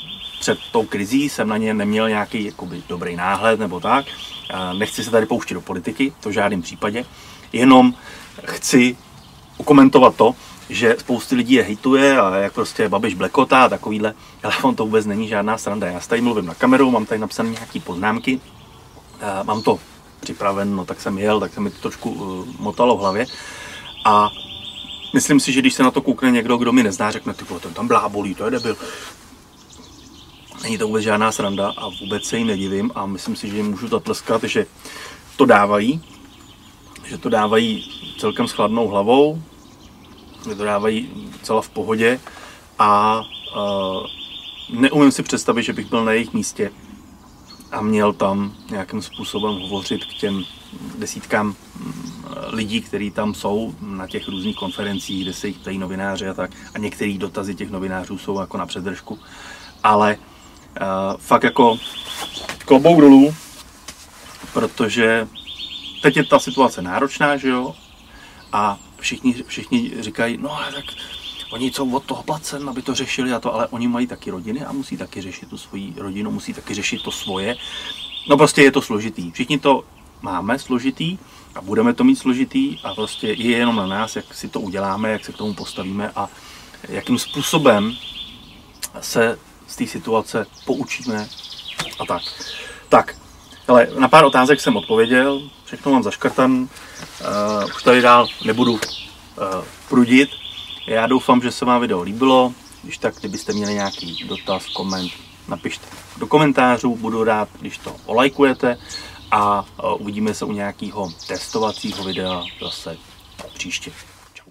před tou krizí jsem na ně neměl nějaký jakoby dobrý náhled nebo tak. Nechci se tady pouštět do politiky, to v žádném případě. Jenom chci komentovat to, že spousty lidí je hejtuje a jak prostě Babiš blekotá a takovýhle, ale on to vůbec není žádná sranda. Já tady mluvím na kameru, mám tady napsané nějaké poznámky, mám to připraven, no tak jsem jel, tak se mi to trošku uh, motalo v hlavě a myslím si, že když se na to koukne někdo, kdo mi nezná, řekne, ty ten tam blábolí, to je debil. Není to vůbec žádná sranda a vůbec se jim nedivím a myslím si, že jim můžu zatleskat, že to dávají, že to dávají celkem s chladnou hlavou, že to dávají celá v pohodě a uh, neumím si představit, že bych byl na jejich místě a měl tam nějakým způsobem hovořit k těm desítkám lidí, kteří tam jsou na těch různých konferencích, kde se jich ptají novináři a tak. A některé dotazy těch novinářů jsou jako na předržku. Ale uh, fakt jako klobouk dolů, protože teď je ta situace náročná, že jo? A všichni, všichni říkají, no ale tak oni jsou od toho placen, aby to řešili a to, ale oni mají taky rodiny a musí taky řešit tu svoji rodinu, musí taky řešit to svoje. No prostě je to složitý. Všichni to máme složitý a budeme to mít složitý a prostě je jenom na nás, jak si to uděláme, jak se k tomu postavíme a jakým způsobem se z té situace poučíme a tak. Tak, ale na pár otázek jsem odpověděl, všechno mám zaškrtan, uh, už tady dál nebudu uh, prudit. Já doufám, že se vám video líbilo, když tak, kdybyste měli nějaký dotaz, koment, napište do komentářů, budu rád, když to olajkujete a uh, uvidíme se u nějakého testovacího videa zase příště. Čau.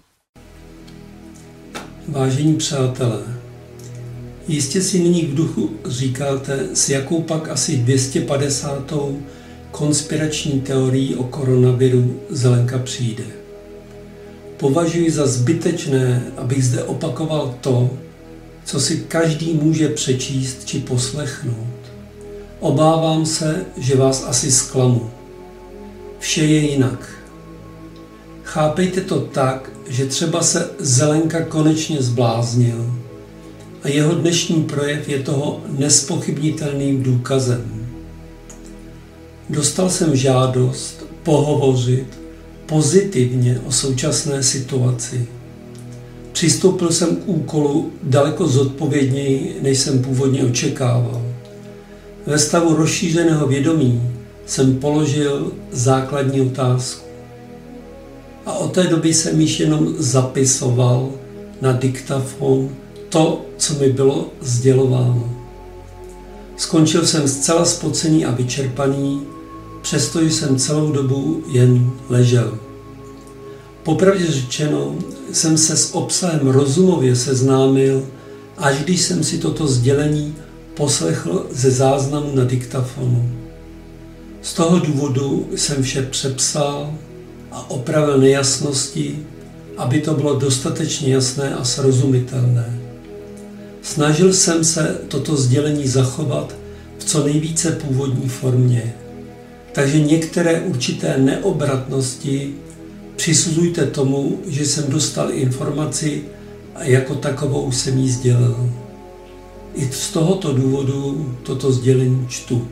Vážení přátelé, jistě si nyní v duchu říkáte, s jakou pak asi dvě stě padesátou konspirační teorií o koronaviru Zelenka přijde. Považuji za zbytečné, abych zde opakoval to, co si každý může přečíst či poslechnout. Obávám se, že vás asi zklamu. Vše je jinak. Chápejte to tak, že třeba se Zelenka konečně zbláznil a jeho dnešní projev je toho nespochybnitelným důkazem. Dostal jsem žádost pohovořit pozitivně o současné situaci. Přistoupil jsem k úkolu daleko zodpovědněji, než jsem původně očekával. Ve stavu rozšířeného vědomí jsem položil základní otázku. A od té doby jsem již jenom zapisoval na diktafon to, co mi bylo sdělováno. Skončil jsem zcela spocený a vyčerpaný, přestože jsem celou dobu jen ležel. Popravdě řečeno, jsem se s obsahem rozumově seznámil, až když jsem si toto sdělení poslechl ze záznamu na diktafonu. Z toho důvodu jsem vše přepsal a opravil nejasnosti, aby to bylo dostatečně jasné a srozumitelné. Snažil jsem se toto sdělení zachovat v co nejvíce původní formě. Takže některé určité neobratnosti přisuzujte tomu, že jsem dostal informaci a jako takovou jsem ji sdělil. I z tohoto důvodu toto sdělení čtu.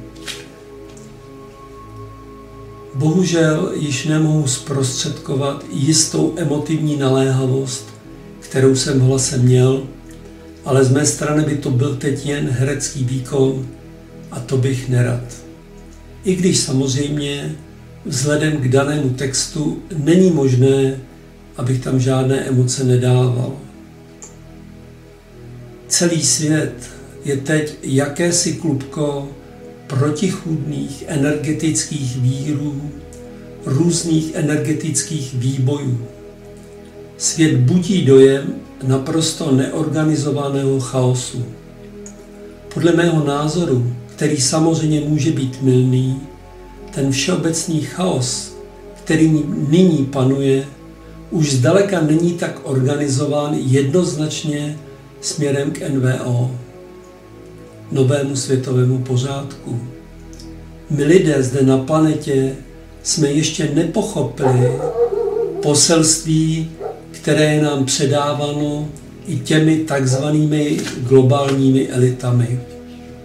Bohužel již nemohu zprostředkovat jistou emotivní naléhavost, kterou jsem v hlase měl, ale z mé strany by to byl teď jen herecký výkon a to bych nerad. I když samozřejmě vzhledem k danému textu není možné, abych tam žádné emoce nedával. Celý svět je teď jakési klubko protichůdných energetických vírů, různých energetických výbojů. Svět budí dojem naprosto neorganizovaného chaosu. Podle mého názoru, který samozřejmě může být mylný, ten všeobecný chaos, který nyní panuje, už zdaleka není tak organizován jednoznačně směrem k N V O, novému světovému pořádku. My lidé zde na planetě jsme ještě nepochopili poselství, které je nám předáváno i těmi takzvanými globálními elitami.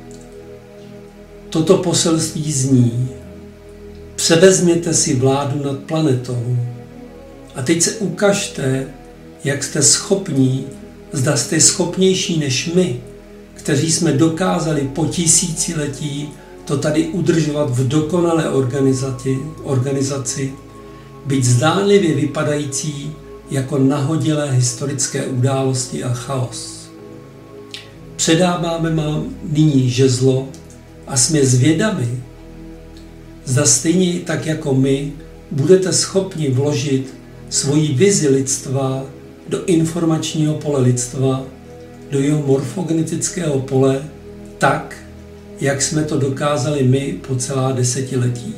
Toto poselství zní: převezměte si vládu nad planetou. A teď se ukažte, jak jste schopní, zda jste schopnější než my, kteří jsme dokázali po tisíciletí to tady udržovat v dokonalé organizaci, organizaci byť zdánlivě vypadající jako nahodilé historické události a chaos. Předáváme vám nyní žezlo a jsme zvědavi, zda stejně tak jako my budete schopni vložit svoji vizi lidstva do informačního pole lidstva, do jeho morfogenetického pole, tak, jak jsme to dokázali my po celá desetiletí.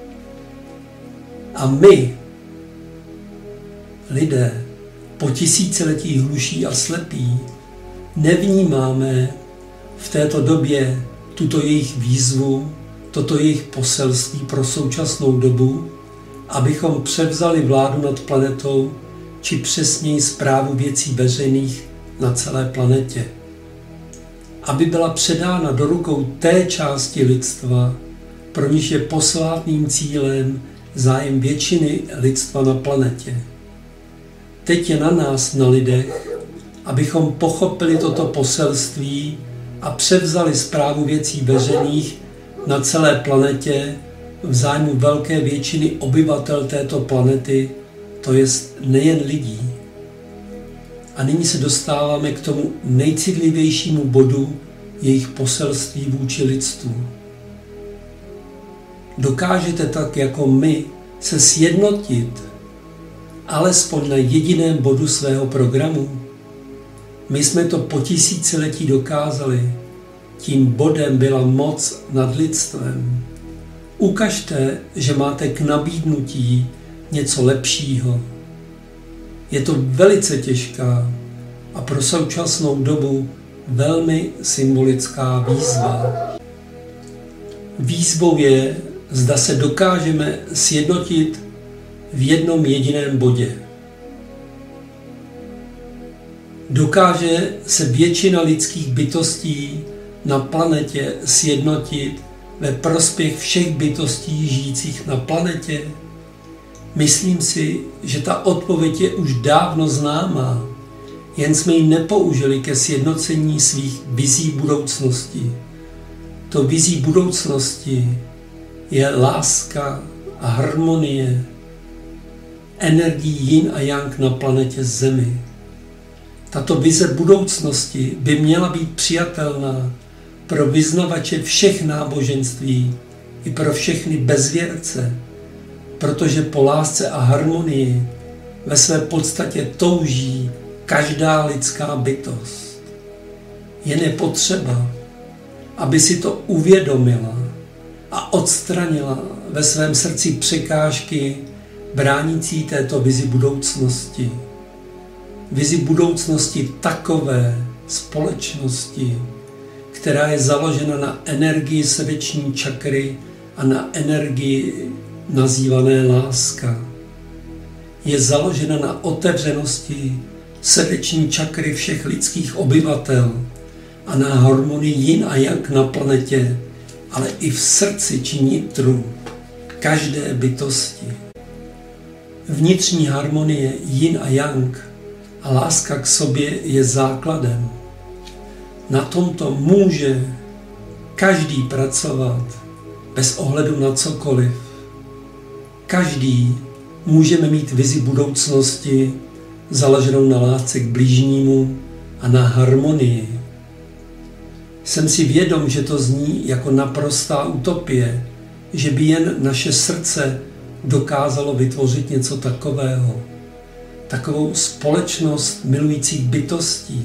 A my, lidé, po tisíciletí hluší a slepí, nevnímáme v této době tuto jejich výzvu, toto jejich poselství pro současnou dobu, abychom převzali vládu nad planetou, či přesněji správu věcí veřejných na celé planetě. Aby byla předána do rukou té části lidstva, pro níž je posvátným cílem zájem většiny lidstva na planetě. Teď je na nás, na lidech, abychom pochopili toto poselství a převzali správu věcí veřejných na celé planetě v zájmu velké většiny obyvatel této planety, to jest nejen lidí. A nyní se dostáváme k tomu nejcitlivějšímu bodu jejich poselství vůči lidstvu. Dokážete tak jako my se sjednotit alespoň na jediném bodu svého programu? My jsme to po tisíciletí dokázali. Tím bodem byla moc nad lidstvem. Ukažte, že máte k nabídnutí něco lepšího. Je to velice těžká a pro současnou dobu velmi symbolická výzva. Výzvou je, zda se dokážeme sjednotit v jednom jediném bodě. Dokáže se většina lidských bytostí na planetě sjednotit ve prospěch všech bytostí žijících na planetě? Myslím si, že ta odpověď je už dávno známá, jen jsme ji nepoužili ke sjednocení svých vizí budoucnosti. To vizí budoucnosti je láska a harmonie, energií yin a yang na planetě Zemi. Tato vize budoucnosti by měla být přijatelná pro vyznavače všech náboženství i pro všechny bezvěrce, protože po lásce a harmonii ve své podstatě touží každá lidská bytost. Jen je potřeba, aby si to uvědomila a odstranila ve svém srdci překážky bránící této vizi budoucnosti. Vizi budoucnosti takové společnosti, která je založena na energii srdeční čakry a na energii nazývané láska. Je založena na otevřenosti srdeční čakry všech lidských obyvatel a na harmonii yin a yang na planetě, ale i v srdci či nitru každé bytosti. Vnitřní harmonie yin a yang a láska k sobě je základem. Na tomto může každý pracovat bez ohledu na cokoliv. Každý můžeme mít vizi budoucnosti založenou na lásce k bližnímu a na harmonii. Jsem si vědom, že to zní jako naprostá utopie, že by jen naše srdce dokázalo vytvořit něco takového. Takovou společnost milujících bytostí.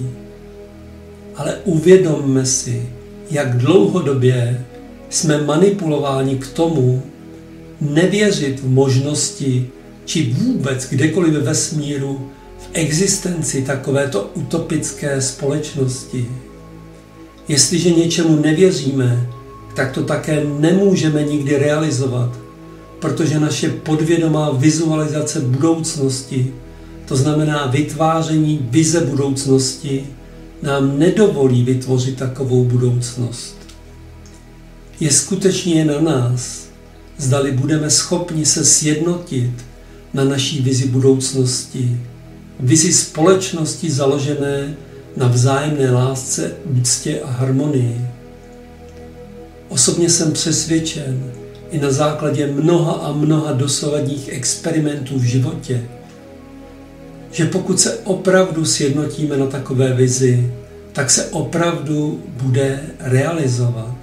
Ale uvědomme si, jak dlouhodobě jsme manipulováni k tomu, nevěřit v možnosti, či vůbec kdekoliv ve vesmíru v existenci takovéto utopické společnosti. Jestliže něčemu nevěříme, tak to také nemůžeme nikdy realizovat, protože naše podvědomá vizualizace budoucnosti, to znamená vytváření vize budoucnosti, nám nedovolí vytvořit takovou budoucnost. Je skutečně na nás, zdali budeme schopni se sjednotit na naší vizi budoucnosti, vizi společnosti založené na vzájemné lásce, úctě a harmonii. Osobně jsem přesvědčen i na základě mnoha a mnoha dosavadních experimentů v životě, že pokud se opravdu sjednotíme na takové vizi, tak se opravdu bude realizovat.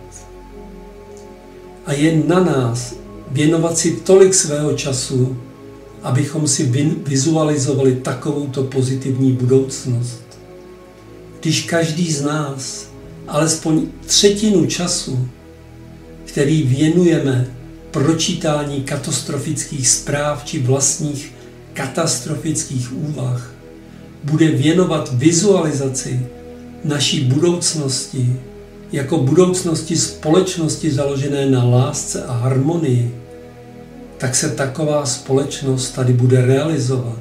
A je na nás věnovat si tolik svého času, abychom si vizualizovali takovouto pozitivní budoucnost. Když každý z nás alespoň třetinu času, který věnujeme pročítání katastrofických zpráv či vlastních katastrofických úvah, bude věnovat vizualizaci naší budoucnosti jako budoucnosti společnosti založené na lásce a harmonii, tak se taková společnost tady bude realizovat.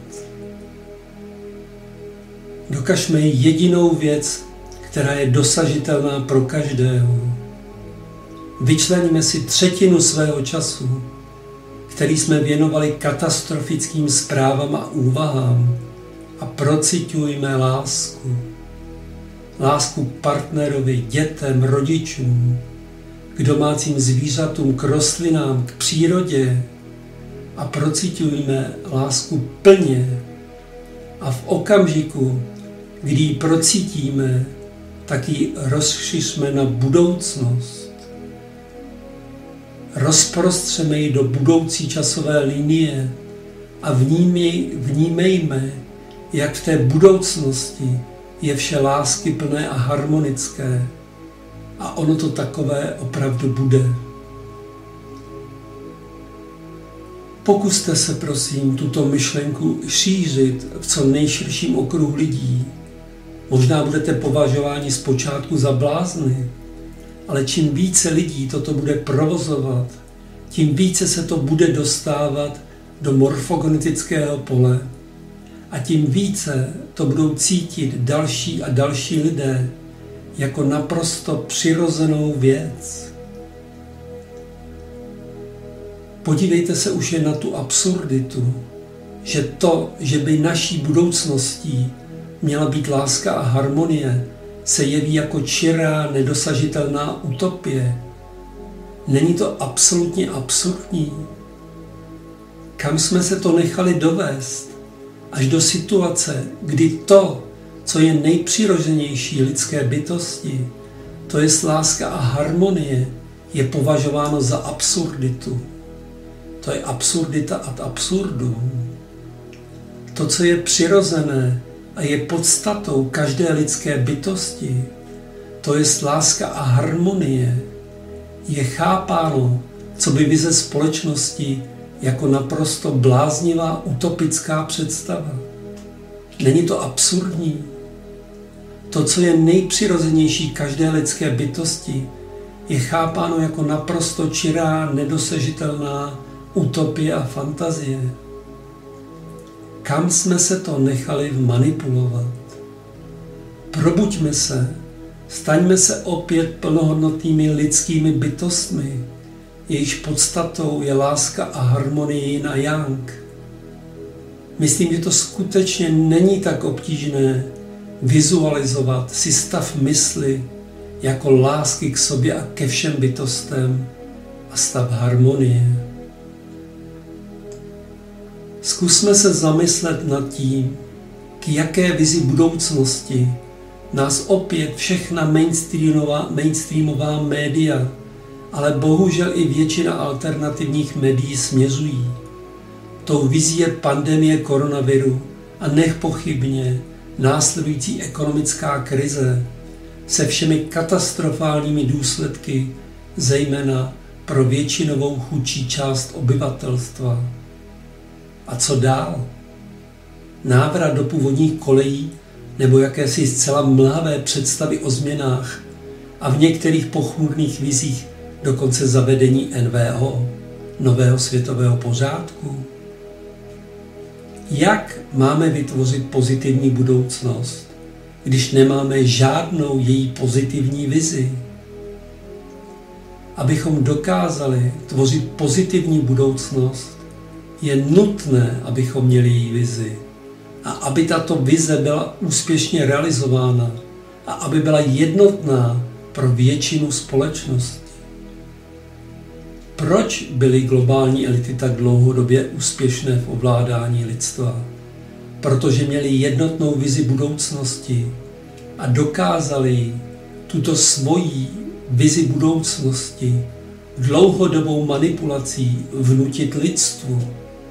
Dokažme jedinou věc, která je dosažitelná pro každého. Vyčleníme si třetinu svého času, který jsme věnovali katastrofickým zprávám a úvahám, a prociťujme lásku. Lásku k partnerovi, dětem, rodičům, k domácím zvířatům, k rostlinám, k přírodě, a prociťujme lásku plně. A v okamžiku, kdy ji procítíme, tak ji rozšiřme na budoucnost. Rozprostřeme ji do budoucí časové linie a vnímej, vnímejme, jak v té budoucnosti je vše láskyplné a harmonické. A ono to takové opravdu bude. Pokuste se, prosím, tuto myšlenku šířit v co nejširším okruhu lidí. Možná budete považováni zpočátku za blázny, ale čím více lidí toto bude provozovat, tím více se to bude dostávat do morfogenetického pole a tím více to budou cítit další a další lidé jako naprosto přirozenou věc. Podívejte se už jen na tu absurditu, že to, že by naší budoucností měla být láska a harmonie, se jeví jako čirá, nedosažitelná utopie. Není to absolutně absurdní? Kam jsme se to nechali dovést? Až do situace, kdy to, co je nejpřirozenější lidské bytosti, to je láska a harmonie, je považováno za absurditu. To je absurdita ad absurdum. To, co je přirozené a je podstatou každé lidské bytosti, to je láska a harmonie, je chápáno, co by vize společnosti, jako naprosto bláznivá utopická představa. Není to absurdní? To, co je nejpřirozenější každé lidské bytosti, je chápáno jako naprosto čirá, nedosažitelná utopie a fantazie. Kam jsme se to nechali manipulovat? Probuďme se, staňme se opět plnohodnotnými lidskými bytostmi, jejichž podstatou je láska a harmonie yin a yang. Myslím, že to skutečně není tak obtížné vizualizovat si stav mysli jako lásky k sobě a ke všem bytostem a stav harmonie. Zkusme se zamyslet nad tím, k jaké vizi budoucnosti nás opět všechna mainstreamová, mainstreamová média, ale bohužel i většina alternativních médií směřují. Tou vizí je pandemie koronaviru a nepochybně následující ekonomická krize se všemi katastrofálními důsledky, zejména pro většinovou chudší část obyvatelstva. A co dál? Návrat do původních kolejí nebo jakési zcela mlhavé představy o změnách a v některých pochmurných vizích dokonce zavedení N V O, nového světového pořádku? Jak máme vytvořit pozitivní budoucnost, když nemáme žádnou její pozitivní vizi? Abychom dokázali tvořit pozitivní budoucnost, je nutné, abychom měli její vizi. A aby tato vize byla úspěšně realizována a aby byla jednotná pro většinu společnosti. Proč byly globální elity tak dlouhodobě úspěšné v ovládání lidstva? Protože měli jednotnou vizi budoucnosti a dokázali tuto svoji vizi budoucnosti dlouhodobou manipulací vnutit lidstvu.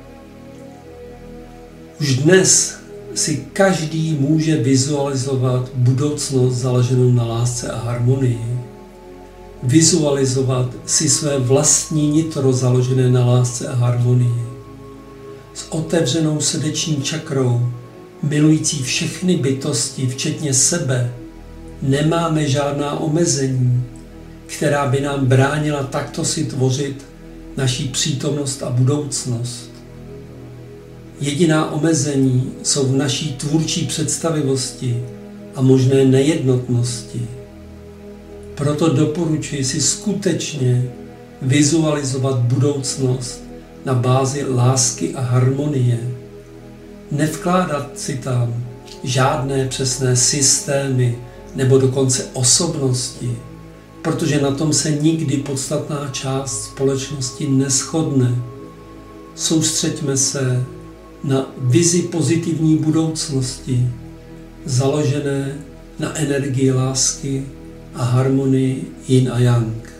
Už dnes si každý může vizualizovat budoucnost založenou na lásce a harmonii. Vizualizovat si své vlastní nitro založené na lásce a harmonii. S otevřenou srdeční čakrou, milující všechny bytosti, včetně sebe, nemáme žádná omezení, která by nám bránila takto si tvořit naší přítomnost a budoucnost. Jediná omezení jsou v naší tvůrčí představivosti a možné nejednotnosti. Proto doporučuji si skutečně vizualizovat budoucnost na bázi lásky a harmonie. Nevkládat si tam žádné přesné systémy nebo dokonce osobnosti, protože na tom se nikdy podstatná část společnosti neshodne. Soustřeďme se na vizi pozitivní budoucnosti, založené na energii lásky a harmonii yin a yang.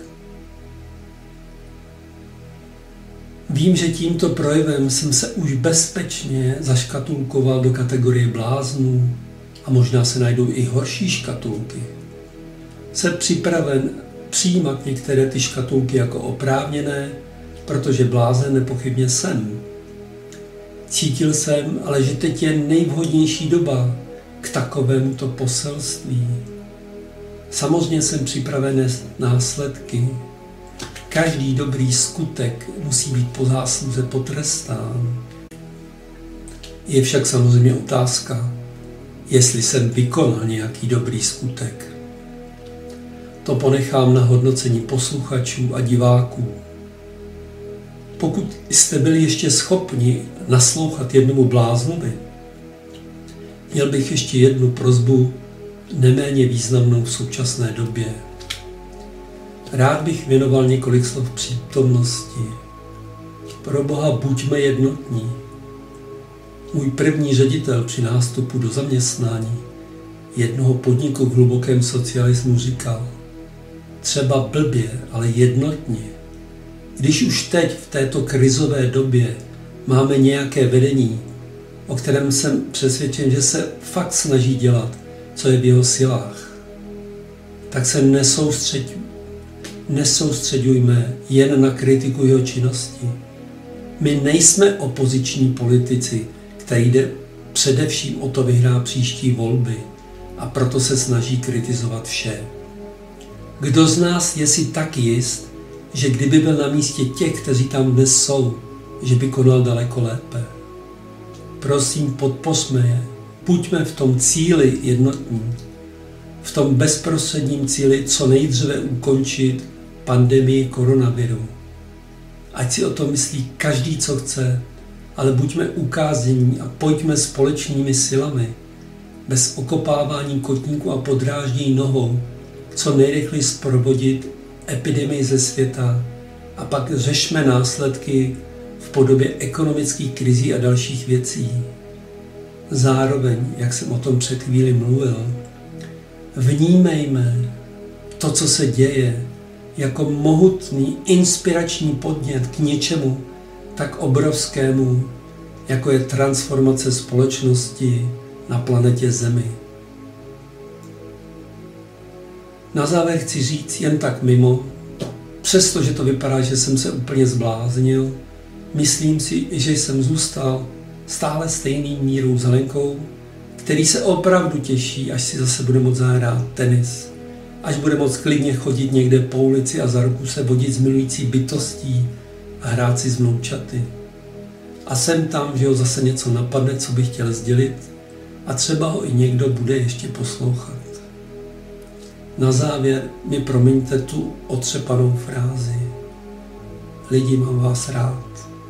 Vím, že tímto projevem jsem se už bezpečně zaškatulkoval do kategorie bláznů a možná se najdou i horší škatulky. Jsem připraven přijímat některé ty škatulky jako oprávněné, protože blázen nepochybně jsem. Cítil jsem, ale že teď je nejvhodnější doba k takovémuto poselství. Samozřejmě jsem připraven nést následky. Každý dobrý skutek musí být po zásluze potrestán. Je však samozřejmě otázka, jestli jsem vykonal nějaký dobrý skutek. To ponechám na hodnocení posluchačů a diváků. Pokud jste byli ještě schopni naslouchat jednomu bláznovi, měl bych ještě jednu prosbu, neméně významnou v současné době. Rád bych věnoval několik slov přítomnosti. Pro Boha buďme jednotní. Můj první ředitel při nástupu do zaměstnání jednoho podniku v hlubokém socialismu říkal: třeba blbě, ale jednotně. Když už teď v této krizové době máme nějaké vedení, o kterém jsem přesvědčen, že se fakt snaží dělat, co je v jeho silách, tak se nesoustřeďujme, nesoustřeďujme jen na kritiku jeho činnosti. My nejsme opoziční politici, který jde především o to vyhrát příští volby a proto se snaží kritizovat vše. Kdo z nás je si tak jist, že kdyby byl na místě těch, kteří tam dnes jsou, že by konal daleko lépe? Prosím, podpořme je. Buďme v tom cíli jednotní. V tom bezprostředním cíli co nejdříve ukončit pandemii koronaviru. Ať si o tom myslí každý, co chce, ale buďme ukáznění a pojďme společnými silami, bez okopávání kotníku a podráždění nohou, co nejrychleji zprovodit epidemii ze světa a pak řešme následky v podobě ekonomických krizí a dalších věcí. Zároveň, jak jsem o tom před chvíli mluvil, vnímejme to, co se děje, jako mohutný inspirační podnět k něčemu tak obrovskému, jako je transformace společnosti na planetě Zemi. Na závěr chci říct jen tak mimo, přestože to vypadá, že jsem se úplně zbláznil, myslím si, že jsem zůstal stále stejný Mírou Zelenkou, který se opravdu těší, až si zase bude moct zahrát tenis, až bude moct klidně chodit někde po ulici a za ruku se vodit s milující bytostí a hrát si s vnoučaty. A jsem tam, že ho zase něco napadne, co bych chtěl sdělit, a třeba ho i někdo bude ještě poslouchat. Na závěr mi promiňte tu otřepanou frázi. Lidi, mám vás rád.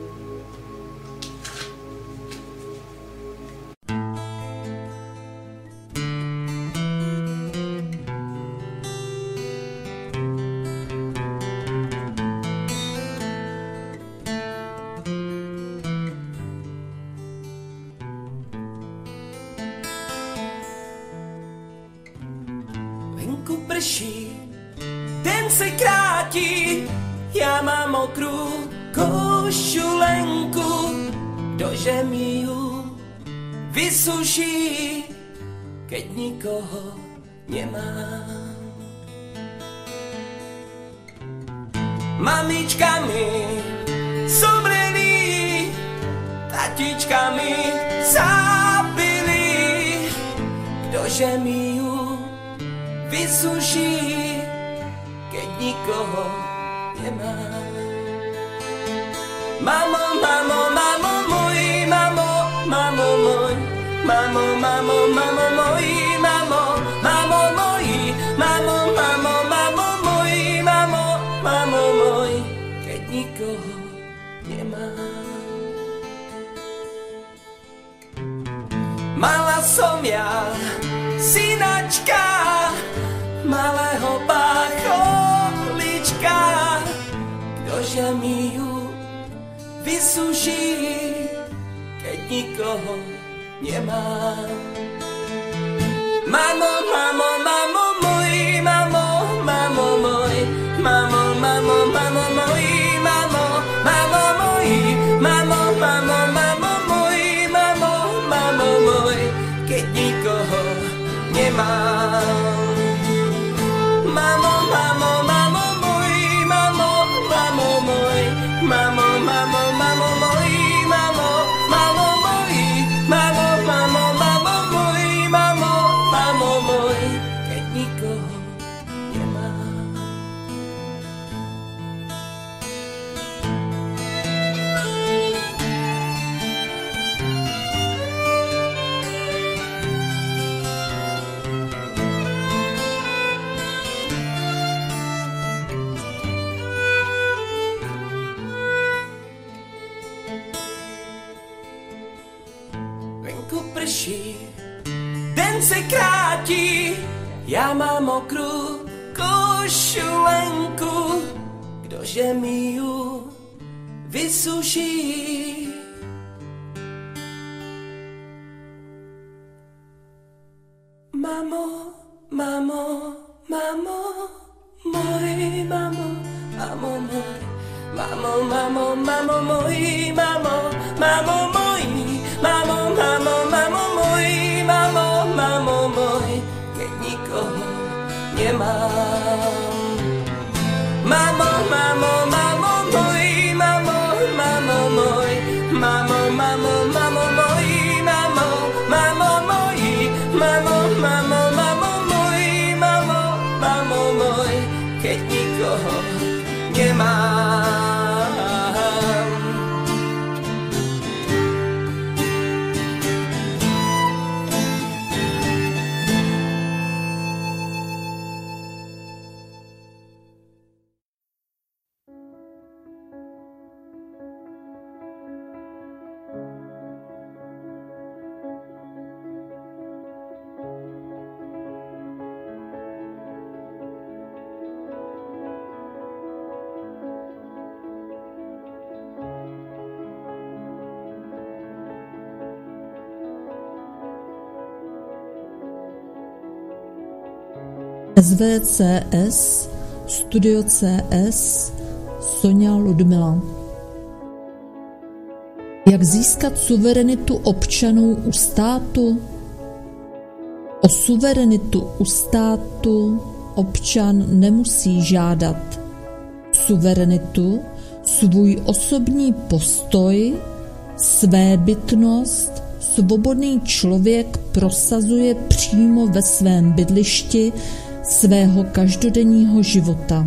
Venku prší, den se krátí, já mám mokrou košulenku, kdože mi ju vysuší, keď nikoho nemám. Mamička mi zomreli, tatička mi zabili, kdože mi ju vysuší, keď nikoho nemám. Mamo, mamo, mamo můj, mamo, mamo můj, mamo, mamo, mamo můj, mamo, mamo můj, mamo, mamo, mamo můj, mamo, mamo můj, keď nikoho nemám. Mala som ja synačka, malého bácholička, kdože mi ju vysuší, keď nikoho nemám. Mamo, mamo, mamo můj, mamo, mamo můj, mamo, mamo, mamo můj, mamo, mamo můj, mamo, mamo, mamo můj, mamo, mamo můj, keď nikoho nemám. Mamo, mamo, mamo můj, mamo, mamo můj, mamo, mamo, mamo můj, mamo, mamo můj, mamo, mamo, mamo můj, mamo, mamo můj, keď nikoho nemám. Venku prší, den se krátí, já mám mokrou košulenku, kdože mi ju vysuší. Mamo, mamo, mamo, můj, mamo, mamo, můj, mamo, mamo, mamo, můj, mamo, mamo, můj, mamo, mamo, mamo, můj, mamo, mamo, můj, keď nikoho nemám. Mamo, mamo, mamo, můj, mamo, mamo, můj, mamo, mamo, mamo, můj, mamo, mamo, můj, mamo, mamo, mamo, můj, mamo, mamo, můj, keď nikoho nemám. S V C S, Studio C S, Sonja Ludmila. Jak získat suverenitu občanů u státu? O suverenitu u státu občan nemusí žádat. Suverenitu, svůj osobní postoj, svébytnost, svobodný člověk prosazuje přímo ve svém bydlišti svého každodenního života.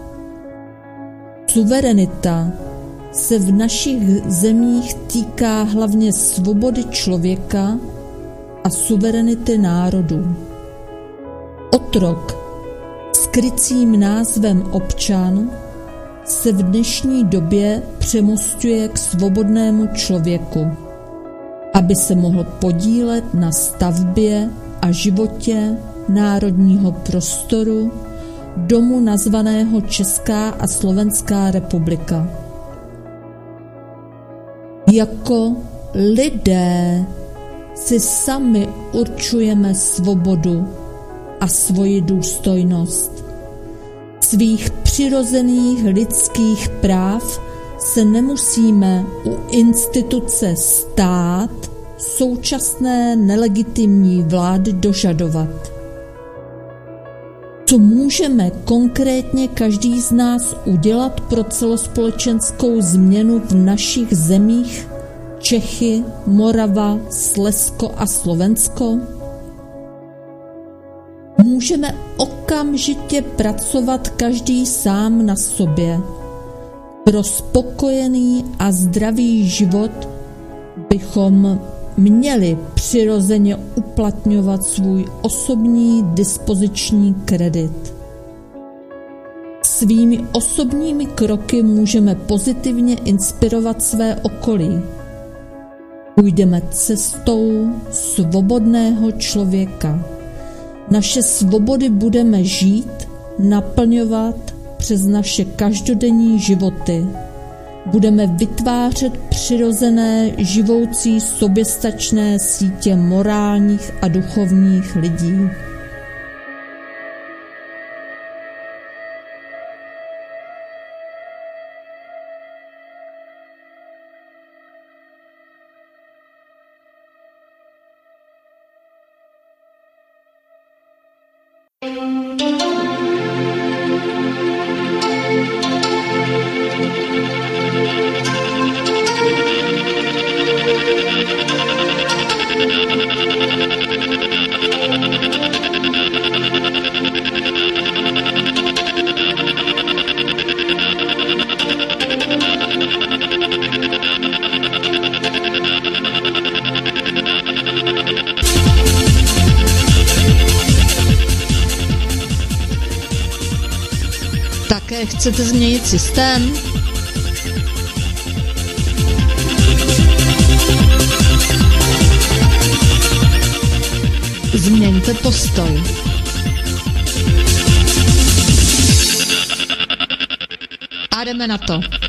Suverenita se v našich zemích týká hlavně svobody člověka a suverenity národů. Otrok krycím názvem občan se v dnešní době přemosťuje k svobodnému člověku, aby se mohl podílet na stavbě a životě národního prostoru domu nazvaného Česká a Slovenská republika. Jako lidé si sami určujeme svobodu a svoji důstojnost. Svých přirozených lidských práv se nemusíme u instituce stát současné nelegitimní vlády dožadovat. Co můžeme konkrétně každý z nás udělat pro celospolečenskou změnu v našich zemích Čechy, Morava, Slezsko a Slovensko? Můžeme okamžitě pracovat každý sám na sobě. Pro spokojený a zdravý život bychom měli přirozeně uplatňovat svůj osobní dispoziční kredit. Svými osobními kroky můžeme pozitivně inspirovat své okolí. Půjdeme cestou svobodného člověka. Naše svobody budeme žít, naplňovat přes naše každodenní životy. Budeme vytvářet přirozené, živoucí, soběstačné sítě morálních a duchovních lidí. Také chcete změnit systém? Změňte postoj. A jdeme na to.